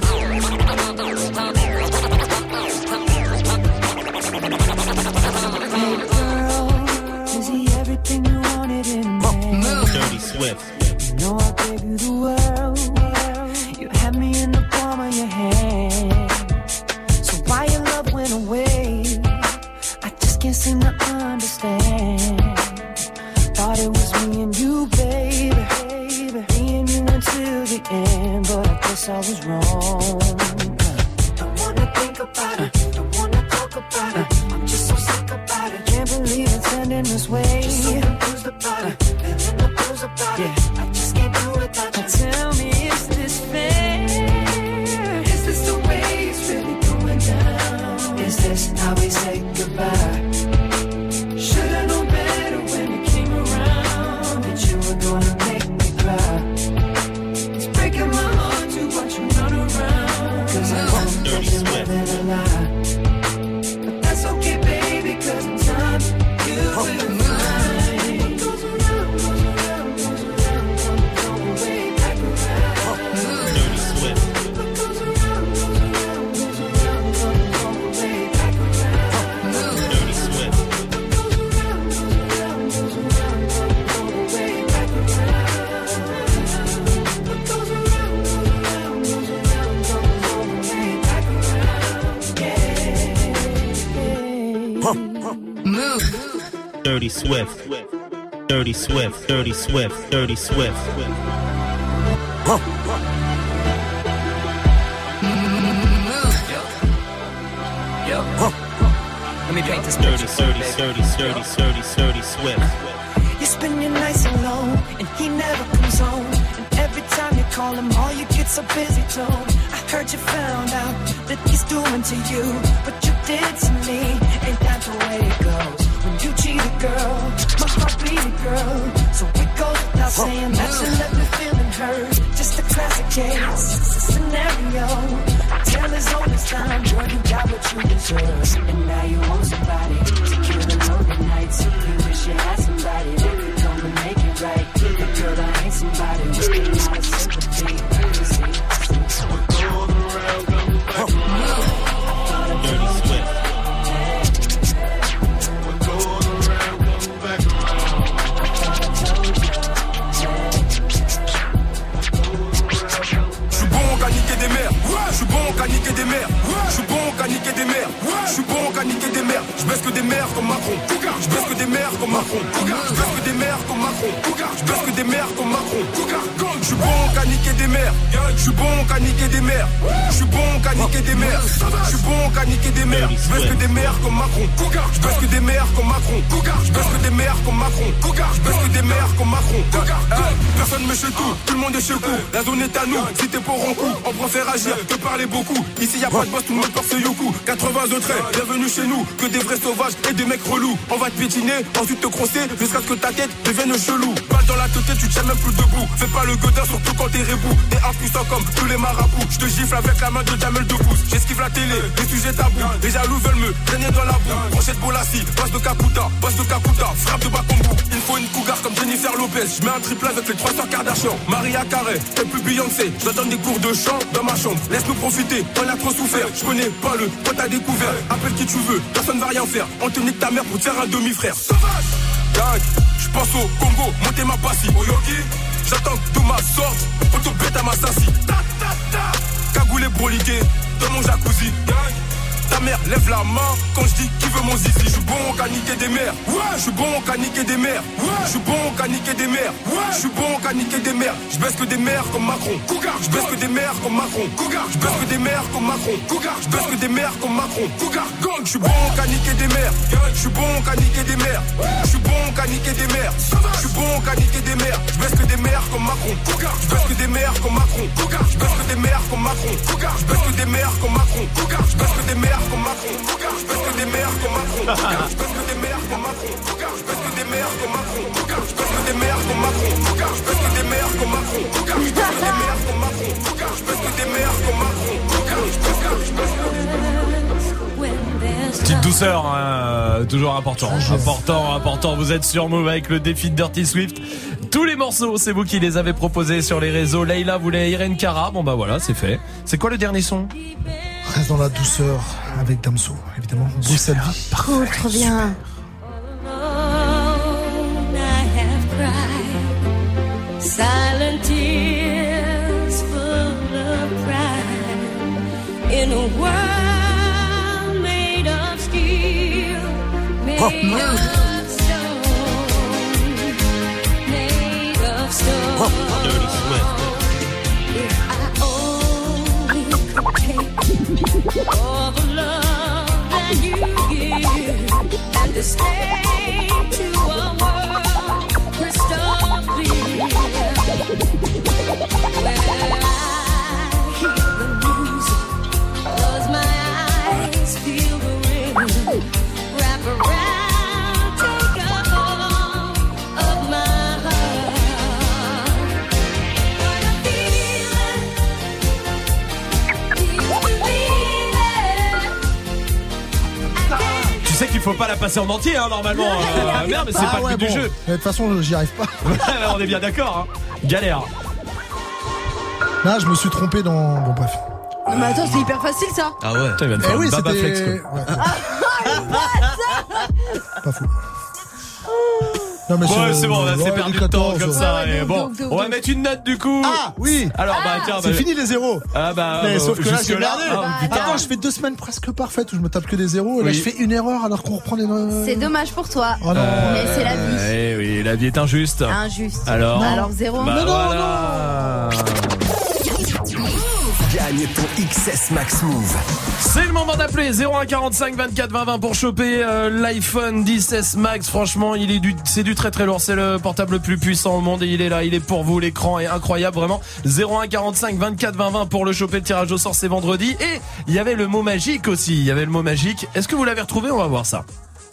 Hey girl, is he everything you wanted in me? Dirty Swift. You know I gave you the world. You had me in the palm of your hand. So why your love went away? I just can't seem to understand. Thought it was me and you, baby, me and you until the end, but I guess I was wrong. Don't wanna think about it, don't wanna talk about it. I'm just so sick about it. Can't believe it's ending this way. Just so confused about it, feeling the blues about it. I just can't do without you. Tell me, is this fair? Is this the way it's really going down? Is this how we say goodbye? Should've known better when you came around that you were gonna make me cry. It's breaking my heart to watch you run around, cause I won't let you more than a lie. But that's okay, baby, cause in time you will find. What goes around, goes around, goes around, come, come way back around. Dirty Swift. What goes around, goes around, goes around, come, come way back around. Dirty Swift. Move. Dirty Swift. Dirty Swift. Dirty Swift. Dirty Swift. Yo. Let me paint this Dirty, picture. dirty, dirty, dirty, dirty, dirty Swift. You spend your nights alone, and he never comes home. And every time you call him, all you get's a busy tone. I heard you found out that he's doing to you what you did to me. Ain't that the way it goes? When you cheat a girl, my heart bleed a girl. So it goes without saying that you left me feeling hurt. Just a classic case scenario. Tell his own this time, boy, you got what you deserve. And now you want somebody to kill the lonely nights. You wish you had somebody that could come and make it right. But girl, I ain't somebody with a lot of sympathy. What goes around comes back around. Dirty Swift. What goes around comes back J'suis bon qu'à niquer des mères, j'suis bon qu'à niquer des mères, j'suis bon qu'à niquer des mères, j'suis bon qu'à niquer des mères, j'baisse que des mères comme Macron, j'baisse que des mères comme Macron, j'baisse que des mères comme Macron, j'baisse que des mères comme Macron, j'suis bon qu'à niquer des mères, j'suis bon qu'à niquer des mères, j'suis bon qu'à niquer des mères, j'suis bon qu'à niquer des mères, j'baisse que des mères comme Macron, j'baisse que des mères comme Macron, j'baisse que des mères comme Macron, j'baisse que des mères comme Macron. Personne me chez tout, tout le monde est chez vous, la zone est à nous, si t'es pour un coup, on préfère agir que parler beaucoup. Ici y'a pas de boss, tout le monde porte ce yoku. quatre-vingts autres, bienvenue chez nous, que des vrais sauvages et des mecs relous. On va te piétiner, ensuite te crosser, jusqu'à ce que ta tête devienne chelou. Balle dans la tête, tu te tiens même plus debout. Fais pas le godin, surtout quand t'es rebou. T'es impuissant comme tous les marabouts. Je te gifle avec la main de Jamel de pouce. J'esquive la télé, les sujets tabous. Les jaloux veulent me traîner dans la boue. Brochette Bolassi, boss de Kakuta, boss de Kakuta, frappe de Bakombu. Il faut une cougar comme Jennifer Lopez. Je mets un triple avec les trois sœurs Kardashian. Maria Carey, t'es plus Beyoncé. Je donne des cours de chant dans ma chambre. Laisse-nous profiter, on a trop souffert. Je connais pas le pote à découvert. Appelle qui tu veux, personne va rien faire. On te nique ta mère pour te faire un demi-frère. Sauvage! Gang, je pense au Congo, montez ma passie. Au yogi, j'attends que tout ma sorte. Auto bête à ma sassi. Ta ta ta, cagoulé broliqué dans mon jacuzzi. Gang, ta mère, lève la main quand je dis qui veut mon zizi. Je suis bon qu'à niquer des mères. Ouais. Je suis bon qu'à niquer des mères. Ouais. Je suis bon qu'à niquer des mères. Ouais. Je suis bon qu'à niquer des mères. Je baisse que des mères comme Macron. Cougar. Je baisse que des mères comme Macron. Cougar. Je baisse que des mères comme Macron. Cougar. Je baisse que des mères comme Macron. Cougar. Gang. Je suis bon qu'à niquer des mères. Je suis bon qu'à niquer des mères. Je suis bon qu'à niquer des mères. Je suis bon qu'à niquer des mères. Je baisse que des mères comme Macron. Cougar. Je baisse que des mères comme Macron. Cougar. Je baisse que des mères comme Macron. Cougar. Je baisse que des mères comme Macron. Cougar. Je baisse que des mères comme Macron. Cougar. Je baisse que des mères comme Macron. Cougar. Je baisse que des mères comme Macron. Cougar. Je baisse que des mères comme Macron. Cougar. Je baisse que des mères comme Macron. Cougar. Je baisse que des mères comme Macron. Cougar. Je baisse que des mères comme Macron. Cougar. Je baisse que des mères comme Macron. Cougar. Je baisse que je baisse Petite douceur, hein, toujours important. Important, important. Vous êtes sur Move avec le défi de Dirty Swift. Tous les morceaux, c'est vous qui les avez proposés sur les réseaux. Leïla voulait Irene Cara. Bon bah voilà, c'est fait. C'est quoi le dernier son? Reste dans la douceur avec Damso, évidemment. Bruxelles vie. Cool, trop bien. Silent tears full of pride in a world made of steel, made of stone, made of stone. Dirty Swift. If I only could take all the love that you give and escape to a world crystal clear. Where I hear the music, close my eyes, feel the rhythm, wrap around, take a hold of my heart. What I feel it, feel it. Tu sais qu'il faut pas la passer en entier, hein, normalement. Euh, merde, mais c'est Ah pas ouais, le but bon. du jeu. De toute façon, j'y arrive pas. On est bien d'accord, hein. Galère. Là, je me suis trompé dans. Bon, bref. Non, mais attends, c'est hyper facile ça. Ah ouais. Putain, il vient de Eh faire oui, une baba c'était- flex, quoi. Ouais. Ah, Pas fou. Non, mais Ouais, c'est- c'est bon, on a ouais, assez perdu du de temps quatorze. comme ça. Ouais, et donc, bon, donc, donc, on va donc. mettre une note du coup. Ah, oui. Alors, bah tiens, C'est bah, fini les zéros. Ah bah, Mais euh, sauf que là, jusque j'ai là, merdé. ah, putain. Attends, je fais deux semaines presque parfaites où je me tape que des zéros. Et là, Oui. je fais une erreur alors qu'on reprend les. C'est dommage pour toi. Oh non. Mais c'est la vie. Eh oui, la vie est injuste. Injuste. Alors, Alors zéro. bah, Non, non, voilà. Gagne ton X S Max Move. C'est le moment d'appeler zéro un quarante-cinq vingt-quatre vingt vingt pour choper euh, l'iPhone dix S Max. Franchement, il est du, c'est du très très lourd. C'est le portable le plus puissant au monde et il est là. Il est pour vous. L'écran est incroyable, vraiment. zéro un quarante-cinq vingt-quatre vingt vingt pour le choper. Le tirage au sort, c'est vendredi. Et il y avait le mot magique aussi. Il y avait le mot magique. Est-ce que vous l'avez retrouvé? On va voir ça.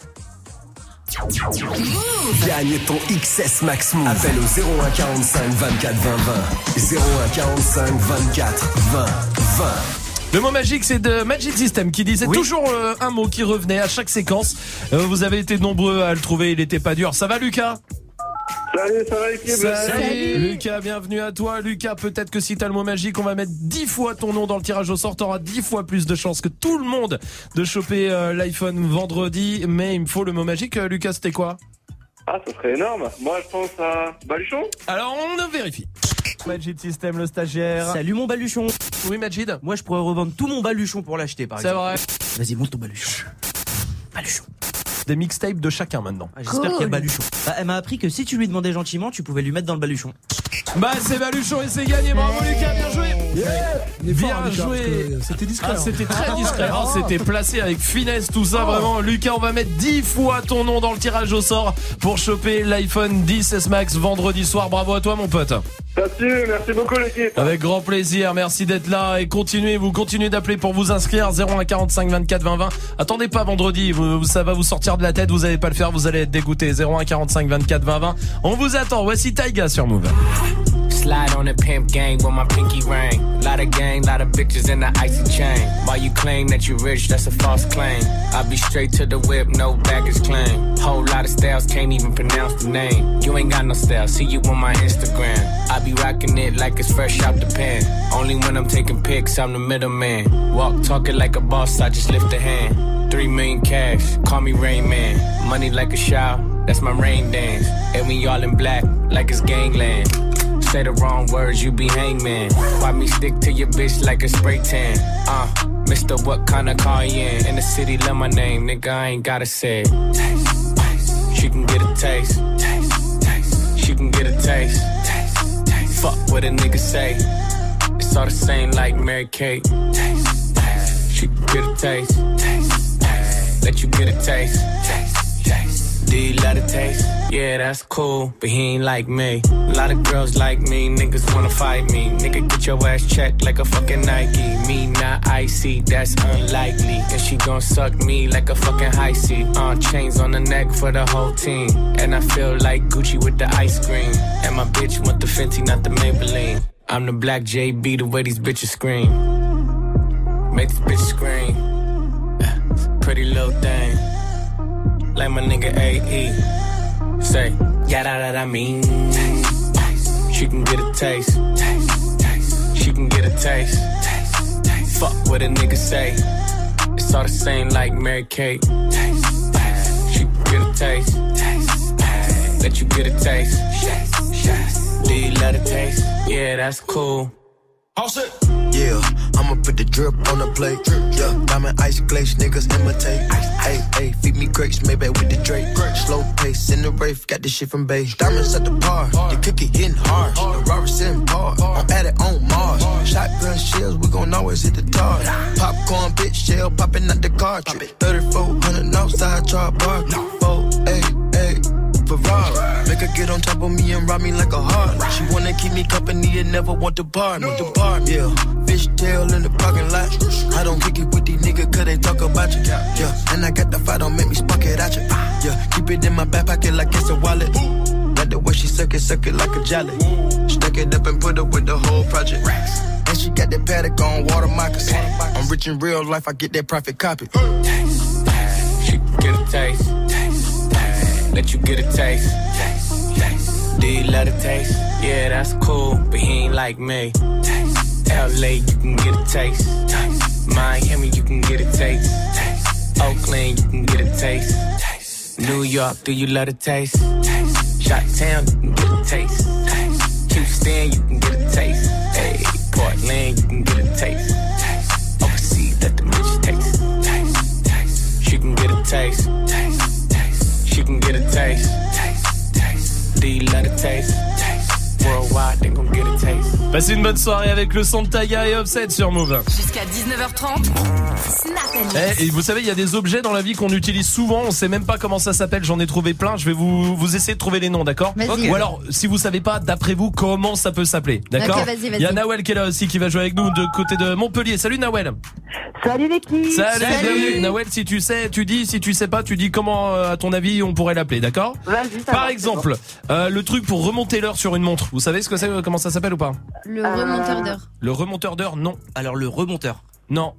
Gagne ton X S Max Move. Appelle au zéro un quarante-cinq vingt-quatre vingt vingt. zéro un quarante-cinq vingt-quatre vingt vingt. Le mot magique, c'est de Magic System qui disait Oui. toujours euh, un mot qui revenait à chaque séquence. Euh, vous avez été nombreux à le trouver. Il était pas dur. Ça va, Lucas? Salut, ça va l'équipe? Salut. Lucas, bienvenue à toi. Lucas, peut-être que si t'as le mot magique, on va mettre dix fois ton nom dans le tirage au sort. T'auras dix fois plus de chances que tout le monde de choper euh, l'iPhone vendredi. Mais il me faut le mot magique. Euh, Lucas, c'était quoi? Ah, ça serait énorme. Moi, je pense à Baluchon. Alors, on vérifie. Magic System, le stagiaire. Salut mon baluchon. Oui, Majid. Moi, je pourrais revendre tout mon baluchon pour l'acheter, par C'est exemple. vrai. Vas-y, monte ton baluchon. Baluchon. Des mixtapes de chacun maintenant. Ah, J'espère qu'il y a baluchon. Bah, elle m'a appris que si tu lui demandais gentiment, tu pouvais lui mettre dans le baluchon. Bah, c'est Baluchon et c'est gagné. Bravo, Lucas, bien joué. Il est fort, Bien hein, Lucas, joué. parce que C'était discret. Ah, hein. c'était très discret, Ah, hein, c'était placé avec finesse tout ça, Oh. vraiment. Lucas, on va mettre dix fois ton nom dans le tirage au sort pour choper l'iPhone dix S Max vendredi soir. Bravo à toi, mon pote. Salut, merci beaucoup l'équipe. Avec grand plaisir, merci d'être là et continuez, vous continuez d'appeler pour vous inscrire. Zéro un quarante-cinq vingt-quatre vingt vingt. Attendez pas vendredi, vous, ça va vous sortir de la tête, vous allez pas le faire, vous allez être dégoûté. Zéro un quarante-cinq vingt-quatre vingt vingt. On vous attend. Voici Taiga sur Move. Slide on the pimp gang with my pinky ring. Lot of gang, lot of bitches in the icy chain. While you claim that you rich, that's a false claim. I'll be straight to the whip, no baggage claim. Whole lot of styles, can't even pronounce the name. You ain't got no style, see you on my Instagram. I be rocking it like it's fresh out the pan. Only when I'm taking pics, I'm the middleman. Walk talking like a boss, I just lift a hand. Three million cash, call me Rain Man. Money like a shower, that's my rain dance. And we all in black, like it's gangland. Say the wrong words, you be hangman. Why me stick to your bitch like a spray tan? Uh, Mister, what kind of car you in? In the city, love my name, nigga, I ain't gotta say it. Taste, taste. She can get a taste. Taste, taste. She can get a taste. Taste, taste. Fuck what a nigga say. It's all the same like Mary Kate. Taste, taste. She can get a taste. Taste, taste. Let you get a taste. Taste, taste. Do you love the taste? Yeah, that's cool, but he ain't like me. A lot of girls like me, niggas wanna fight me. Nigga, get your ass checked like a fucking Nike. Me not icy, that's unlikely. And she gon' suck me like a fucking high C. Uh, chains on the neck for the whole team. And I feel like Gucci with the ice cream. And my bitch want the Fenty, not the Maybelline. I'm the black J B, the way these bitches scream. Make these bitches scream. Pretty little thing. Like my nigga A E. Say, yeah, that I mean. Taste, taste. She can get a taste. Taste, taste. She can get a taste. Taste, taste. Fuck what a nigga say. It's all the same like Mary Kate. Taste, taste. She can get a taste. Taste, taste. Let you get a taste. Taste, taste. Do you love the taste? Yeah, that's cool. All set. Yeah, I'ma put the drip on the plate. Yeah, diamond ice glaze, niggas imitate. Hey, hey, feed me grapes, maybe with the Drake. Slow pace in the rave, got this shit from Bay. Diamonds at the bar, the cookie hitting hard. The Robert's in par, I'm at it on Mars. Shotgun shells, we gon' always hit the tar. Popcorn, bitch, shell popping out the cartridge. thirty-four hundred outside, char bar. Four, eight, eight. Ferrari. Make her get on top of me and rob me like a heart. She wanna keep me company and never want to bar me. The bar, yeah. Fishtail in the parking lot. I don't kick it with these niggas cause they talk about you. Yeah, and I got the fight, don't make me spark it at you. Yeah, keep it in my back pocket like it's a wallet. Like the way she suck it, suck it like a jelly. Stack it up and put it with the whole project. And she got that paddock on water moccasins. I'm rich in real life, I get that profit copy. Taste, taste. She can get a taste. Taste, taste. Let you get a taste. Taste, taste. Do you love the taste? Yeah, that's cool, but he ain't like me. Taste. L A, you can get a taste. Taste. Miami, you can get a taste. Taste. Oakland, you can get a taste. Taste. New York, do you love the taste? Taste. Chi-Town, you can get a taste. Taste. Houston, you can get a taste. Hey, Portland, you can get a taste. Taste. Overseas, let the bitch taste. Taste. Taste. She can get a taste. Taste. Taste. She can get a taste. Taste. Taste. Do you love the taste? Taste. Worldwide, they gon' get a taste. Passez une bonne soirée avec le son de Taiga et Offset sur Move. Jusqu'à dix-neuf heures trente, Snap and Mix. Eh, et vous savez, il y a des objets dans la vie qu'on utilise souvent, on sait même pas comment ça s'appelle, j'en ai trouvé plein, je vais vous, vous essayer de trouver les noms, d'accord? Vas-y. Ou alors, si vous savez pas, d'après vous, comment ça peut s'appeler, d'accord? Ok, vas-y, vas-y. Il y a Nawel qui est là aussi, qui va jouer avec nous de côté de Montpellier. Salut Nawel. Salut l'équipe. Salut, Salut. bienvenue. Nawel, si tu sais, tu dis, si tu sais pas, tu dis comment, euh, à ton avis, on pourrait l'appeler, d'accord? Vas-y, ça Par va, exemple, euh, le truc pour remonter l'heure sur une montre, vous savez ce que c'est, comment ça s'appelle ou pas? Le remonteur d'heure. Le remonteur d'heure, non. Alors le remonteur. Non.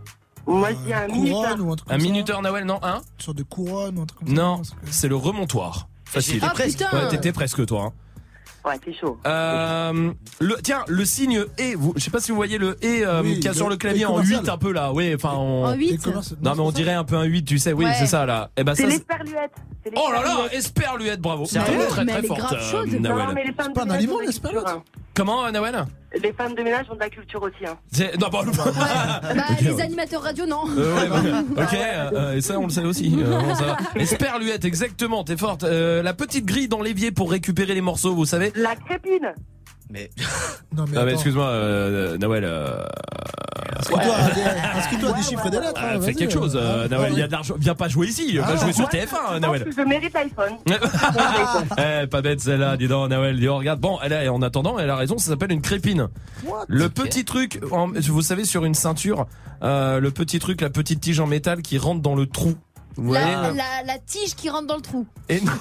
Moi je dis un minuteur. Ou un truc Un comme ça. minuteur, Nawel, non, hein? Une sorte de couronne ou un truc comme ça. Non, c'est le remontoir. Facile. Ah, putain. Ouais, t'étais presque toi. Hein. Ouais, t'es chaud. Euh, le, tiens, le signe E, vous, je sais pas si vous voyez le E euh, Oui, qu'il y a le- sur le clavier le en commercial. huit un peu là. Oui, enfin on... En huit. Non mais on dirait un peu un huit, tu sais. Oui, Ouais. c'est ça là. Et ben C'est ça. c'est- l'esperluette. C'est Oh là là, l'esperluette. esperluette, bravo. Sérieux Très Mais très elle est forte, grave euh, chaude. Nawel. Non, mais les femmes pas de un ménage animal, ont de la l'esperluette. culture, hein. Comment, euh, Nawel? Les femmes de ménage ont de la culture aussi. Hein. C'est- Non, bah, Bah, Ok, les ouais. animateurs radio, non. Euh, ouais, bah, ok, euh, euh, et ça on le sait aussi. Euh, bon, ça va. Esperluette, exactement, t'es forte. Euh, la petite grille dans l'évier pour récupérer les morceaux, vous savez. La crépine. Mais Non, mais Ah mais attends. excuse-moi, euh, Nawel. Euh... Inscris-toi à des- inscris-toi à des chiffres et des lettres. Ah, hein, fais vas-y, quelque chose, euh, euh, ah, Nawel. ah, Il y a de l'argent. Viens pas jouer ici. Ah, Va jouer sur Moi, T F un, je Nawel. pense que je mérite l'iPhone. Eh, pas bête celle-là, dis donc, Nawel. Dis, oh, regarde. Bon, elle a, en attendant, elle a raison. Ça s'appelle une crépine. What? Le petit truc, en- vous savez, sur une ceinture, euh, le petit truc, la petite tige en métal qui rentre dans le trou. Vous voyez La, la, la tige qui rentre dans le trou. Et non.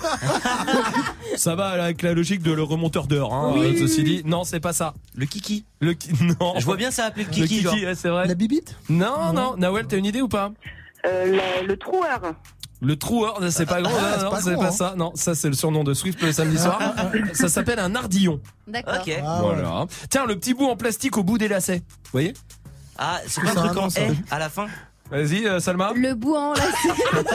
Ça va avec la logique de le remonteur d'heure, hein, Oui. euh, ceci dit. Non, c'est pas ça. le kiki. Le ki- non. Je vois bien ça appeler le Le kiki. kiki, genre. ouais, c'est vrai. La bibite? Non, non. Nawel, t'as une idée ou pas? Euh, la- le troueur. Le troueur, c'est pas grand, Ah, non, c'est non, pas c'est gros, pas hein. ça. Non, ça c'est le surnom de Swift le samedi soir. Ça s'appelle un ardillon. D'accord. Ok. Ah, ouais. Voilà. Tiens, le petit bout en plastique au bout des lacets. Vous voyez? Ah, c'est C'est pas un un truc nom, en ça. haie à la fin. Vas-y, euh, Salma. Le bout en lacet.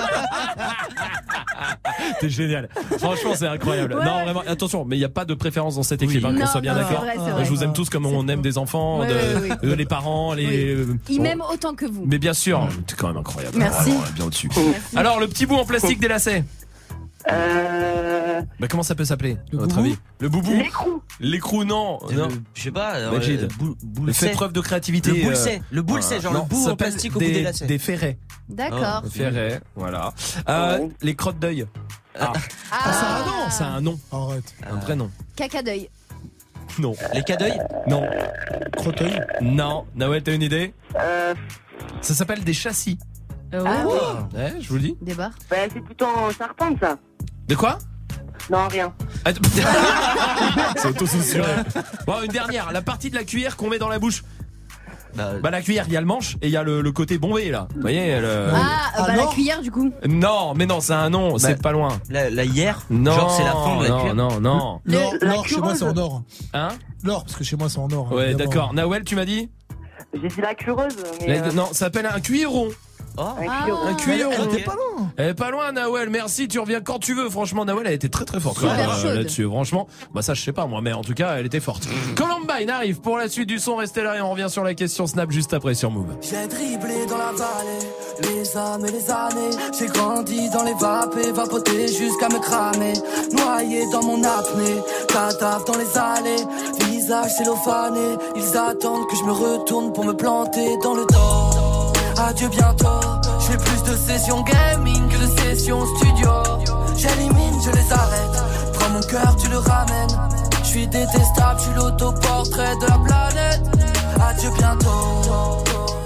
T'es génial. Franchement, c'est incroyable. Ouais. Non, vraiment, attention, mais il n'y a pas de préférence dans cette équipe, Oui. hein, qu'on Non, soit bien non, d'accord. c'est vrai, c'est vrai. Je vous aime tous comme on aime des enfants, Ouais, de, ouais, ouais. de- les parents, les. Oui. euh, Il bon. m'aime autant que vous. Mais bien sûr, t'es quand même incroyable. Merci. Vraiment, bien au-dessus. Alors, le petit bout en plastique des lacets. Euh... Bah, comment ça peut s'appeler, à votre avis? Le boubou? L'écrou. L'écrou, non. Le- non. Je sais pas. euh, Majid. boule- boule- Fais c'est. preuve de créativité. Le boule euh, c'est. Le boule c'est, genre non, le bout ça en s'appelle plastique au bout des lacets. Des ferrets. D'accord. Des ferrets, voilà. Euh, les crottes d'œil. Ah. Ah, c'est un nom. C'est un nom. Arrête. Un vrai nom. Caca d'œil. Non. Les cas d'œil? Non. Crotteuil? Non. Nawel, t'as une idée? Euh... Ça s'appelle des châssis. Oh. Ah oui. Ouais, je vous le dis. Des barres. Bah, c'est plutôt en charpente, ça. De quoi? Non, rien. Ah, t- C'est auto-censuré. Bon, une dernière. La partie de la cuillère qu'on met dans la bouche. Bah, la cuillère, il y a le manche et il y a le, le côté bombé là. Vous voyez le... Ah, bah la cuillère du coup. Non, mais non, c'est un nom, Bah, c'est pas loin. La, la hier? Non, Genre c'est la fin de la non, cuillère. non, non. L'or, la l'or, chez moi, c'est en or. Hein? L'or, parce que chez moi, c'est en or. Ouais, évidemment. d'accord. Nawel, tu m'as dit? J'ai dit la cureuse, mais... La- euh, Non, ça s'appelle un cuilleron. Oh. Un cuillon. Un cuillon. Elle était pas loin. Elle est pas loin, Nawel. Merci, tu reviens quand tu veux. Franchement, Nawel, elle était très très forte Super quand même, euh, chaude. là-dessus. Franchement, bah ça, je sais pas moi, mais en tout cas, elle était forte. Columbine arrive pour la suite du son. Restez là et on revient sur la question Snap juste après sur Move. J'ai dribblé dans la vallée, les âmes et les années. J'ai grandi dans les vapes et vapoté jusqu'à me cramer. Noyé dans mon apnée, cadavre dans les allées. Visage cellophané, ils attendent que je me retourne pour me planter dans le dos. Adieu bientôt, j'ai plus de sessions gaming que de sessions studio. J'élimine, je les arrête, prends mon cœur, tu le ramènes. Je suis détestable, je suis l'autoportrait de la planète. Adieu bientôt,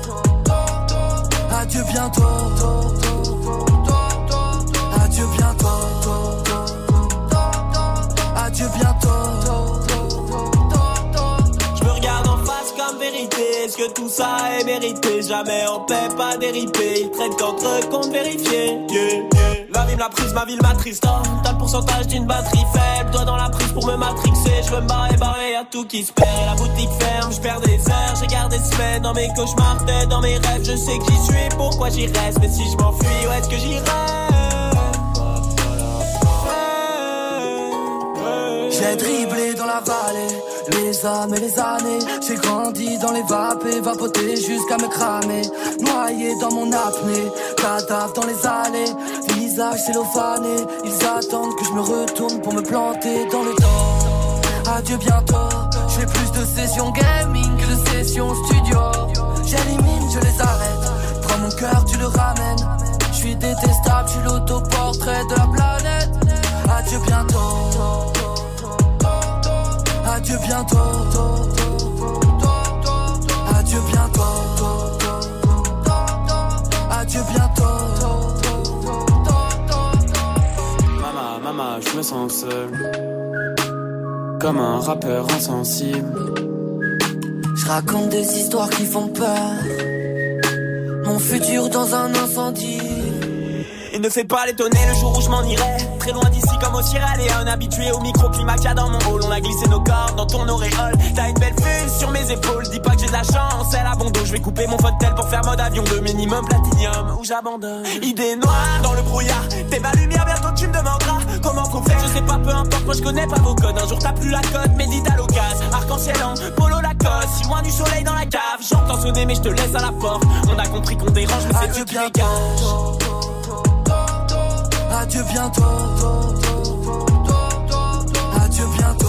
adieu bientôt, adieu bientôt, adieu bientôt. Je me regarde en face comme vérité. Est-ce que tout ça est mérité? Jamais en paix, pas déripé. Ils traitent qu'entre eux compte vérifier. Yeah, yeah. La vie me l'a prise, ma ville m'attriste. Oh, t'as le pourcentage d'une batterie faible. Doigt dans la prise pour me matrixer. Je veux me barrer, barrer, y'a tout qui se perd. Et la boutique ferme, je perds des heures. J'ai gardé des semaines dans mes cauchemars, tête dans mes rêves. Je sais que j'y suis, pourquoi j'y reste. Mais si je m'enfuis, où est-ce que j'irai? J'ai dribblé dans la vallée, les âmes et les années. J'ai grandi dans les vapes et vapoté jusqu'à me cramer. Noyé dans mon apnée, cadavre dans les allées. Visage cellophané, ils attendent que je me retourne pour me planter dans le dos. Adieu bientôt, j'ai plus de sessions gaming que de sessions studio. J'élimine, je les arrête, prends mon cœur, tu le ramènes. Je suis détestable, je suis l'autoportrait de la planète. Adieu bientôt, adieu bientôt, adieu bientôt, adieu bientôt. Maman, maman, je me sens seul, comme un rappeur insensible. Je raconte des histoires qui font peur, mon futur dans un incendie. Il ne fait pas l'étonner le jour où je m'en irai. Très loin d'ici comme au Sierra Leone. Habitué au microclimat qu'il y a dans mon hall. On a glissé nos corps dans ton auréole. T'as une belle vue sur mes épaules. Dis pas que j'ai de la chance, elle a bon dos. Je vais couper mon fauteuil pour faire mode avion de minimum platinium. Où j'abandonne. Idée noire dans le brouillard. T'es ma lumière, bientôt tu me demanderas comment faut faire. Je sais pas, peu importe, moi je connais pas vos codes. Un jour t'as plus la cote, médite à l'occasion. Arc-en-ciel en polo Lacoste. Si loin du soleil dans la cave. J'entends sonner mais je te laisse à la porte. On a compris qu'on dérange mais c'est Dieu qui les cache. Adieu bientôt, adieu bientôt,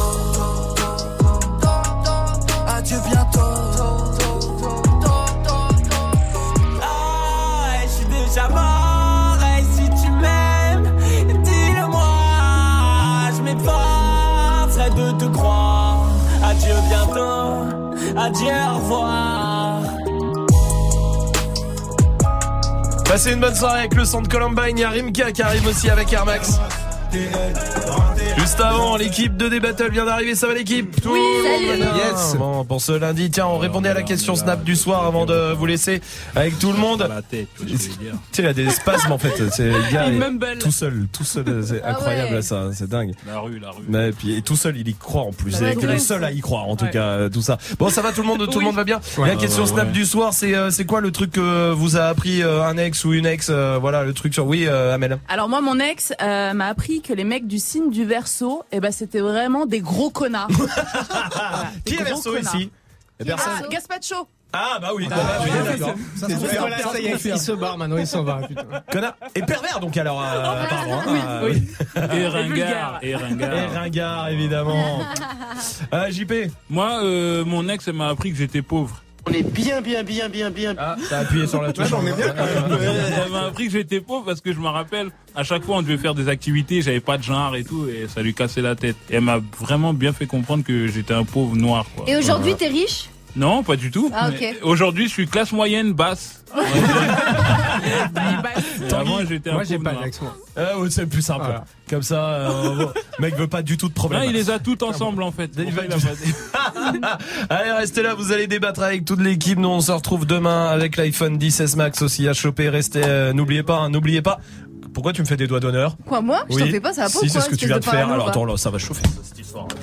adieu bientôt. Ah, je suis déjà mort. Et si tu m'aimes, dis-le-moi. Je m'efforcerai de te croire. Adieu bientôt, adieu, au revoir. Passez une bonne soirée avec le son de Columbine. Il y a Rimka qui arrive aussi avec Air Max. Juste avant, l'équipe de D-Battle vient d'arriver, ça va l'équipe? Oui, salut. Yes. Bon, pour ce lundi, tiens, on répondait à la question Snap du soir avant de vous laisser avec tout le monde. La tête, tu vois ce que je veux dire. Tu sais, il a des spasmes en fait. C'est le gars Il est mumble. tout seul, tout seul. C'est Ah incroyable ouais. ça, c'est dingue. La rue, la rue. Mais puis et tout seul, il y croit en plus. Ça C'est va le être seul à y croire en tout Ouais. cas, euh, tout ça. Bon, ça va tout le monde, tout le monde va bien. Ouais. La question Ouais, ouais, Snap ouais. du soir, c'est euh, c'est quoi le truc que vous a appris euh, un ex ou une ex, euh, voilà le truc sur. Oui, euh, Amel. Alors moi, mon ex euh, m'a appris que les mecs du signe du Verseau, eh ben c'était vraiment des gros connards. Voilà, des Qui est gros Verseau connards. ici? Qui est Verseau Gaspacho. Ah bah oui, Ah, bah, oui, ouais, d'accord. ça, C'est c'est fait, bon. voilà, ça y est, il se barre maintenant, il s'en va. Putain. Connard et pervers donc alors euh, apparemment. Oui, Ah, oui. oui. Et ringard, et ringard. Et ringard évidemment. Ah J P. Moi, euh, mon ex, elle m'a appris que j'étais pauvre. On est bien, bien, bien, bien, bien. Ah, t'as appuyé sur la touche. Ouais, on est bien. Elle m'a appris que j'étais pauvre parce que je me rappelle, à chaque fois on devait faire des activités, j'avais pas de genre et tout, et ça lui cassait la tête. Et elle m'a vraiment bien fait comprendre que j'étais un pauvre noir, quoi. Et aujourd'hui, t'es riche? Non, pas du tout. Ah, ok. Mais Aujourd'hui, je suis classe moyenne basse. Et avant, j'étais un Moi, j'ai pauvre pas noir. d'ex, moi. Ah ouais, c'est le plus simple. Voilà. Comme ça, euh, bon, le mec veut pas du tout de problème. Non, il les a toutes ensemble en fait. Il Pour va- ça, il a pas- Allez, restez là, vous allez débattre avec toute l'équipe. Nous, on se retrouve demain avec l'iPhone dix S Max aussi à choper. Restez, euh, n'oubliez pas, hein, n'oubliez pas. Pourquoi tu me fais des doigts d'honneur? Quoi, moi? Je t'en fais pas, ça va pas ou Si, c'est quoi, ce que tu espèce viens de de faire. parano, Alors va. attends, là, ça va chauffer cette histoire.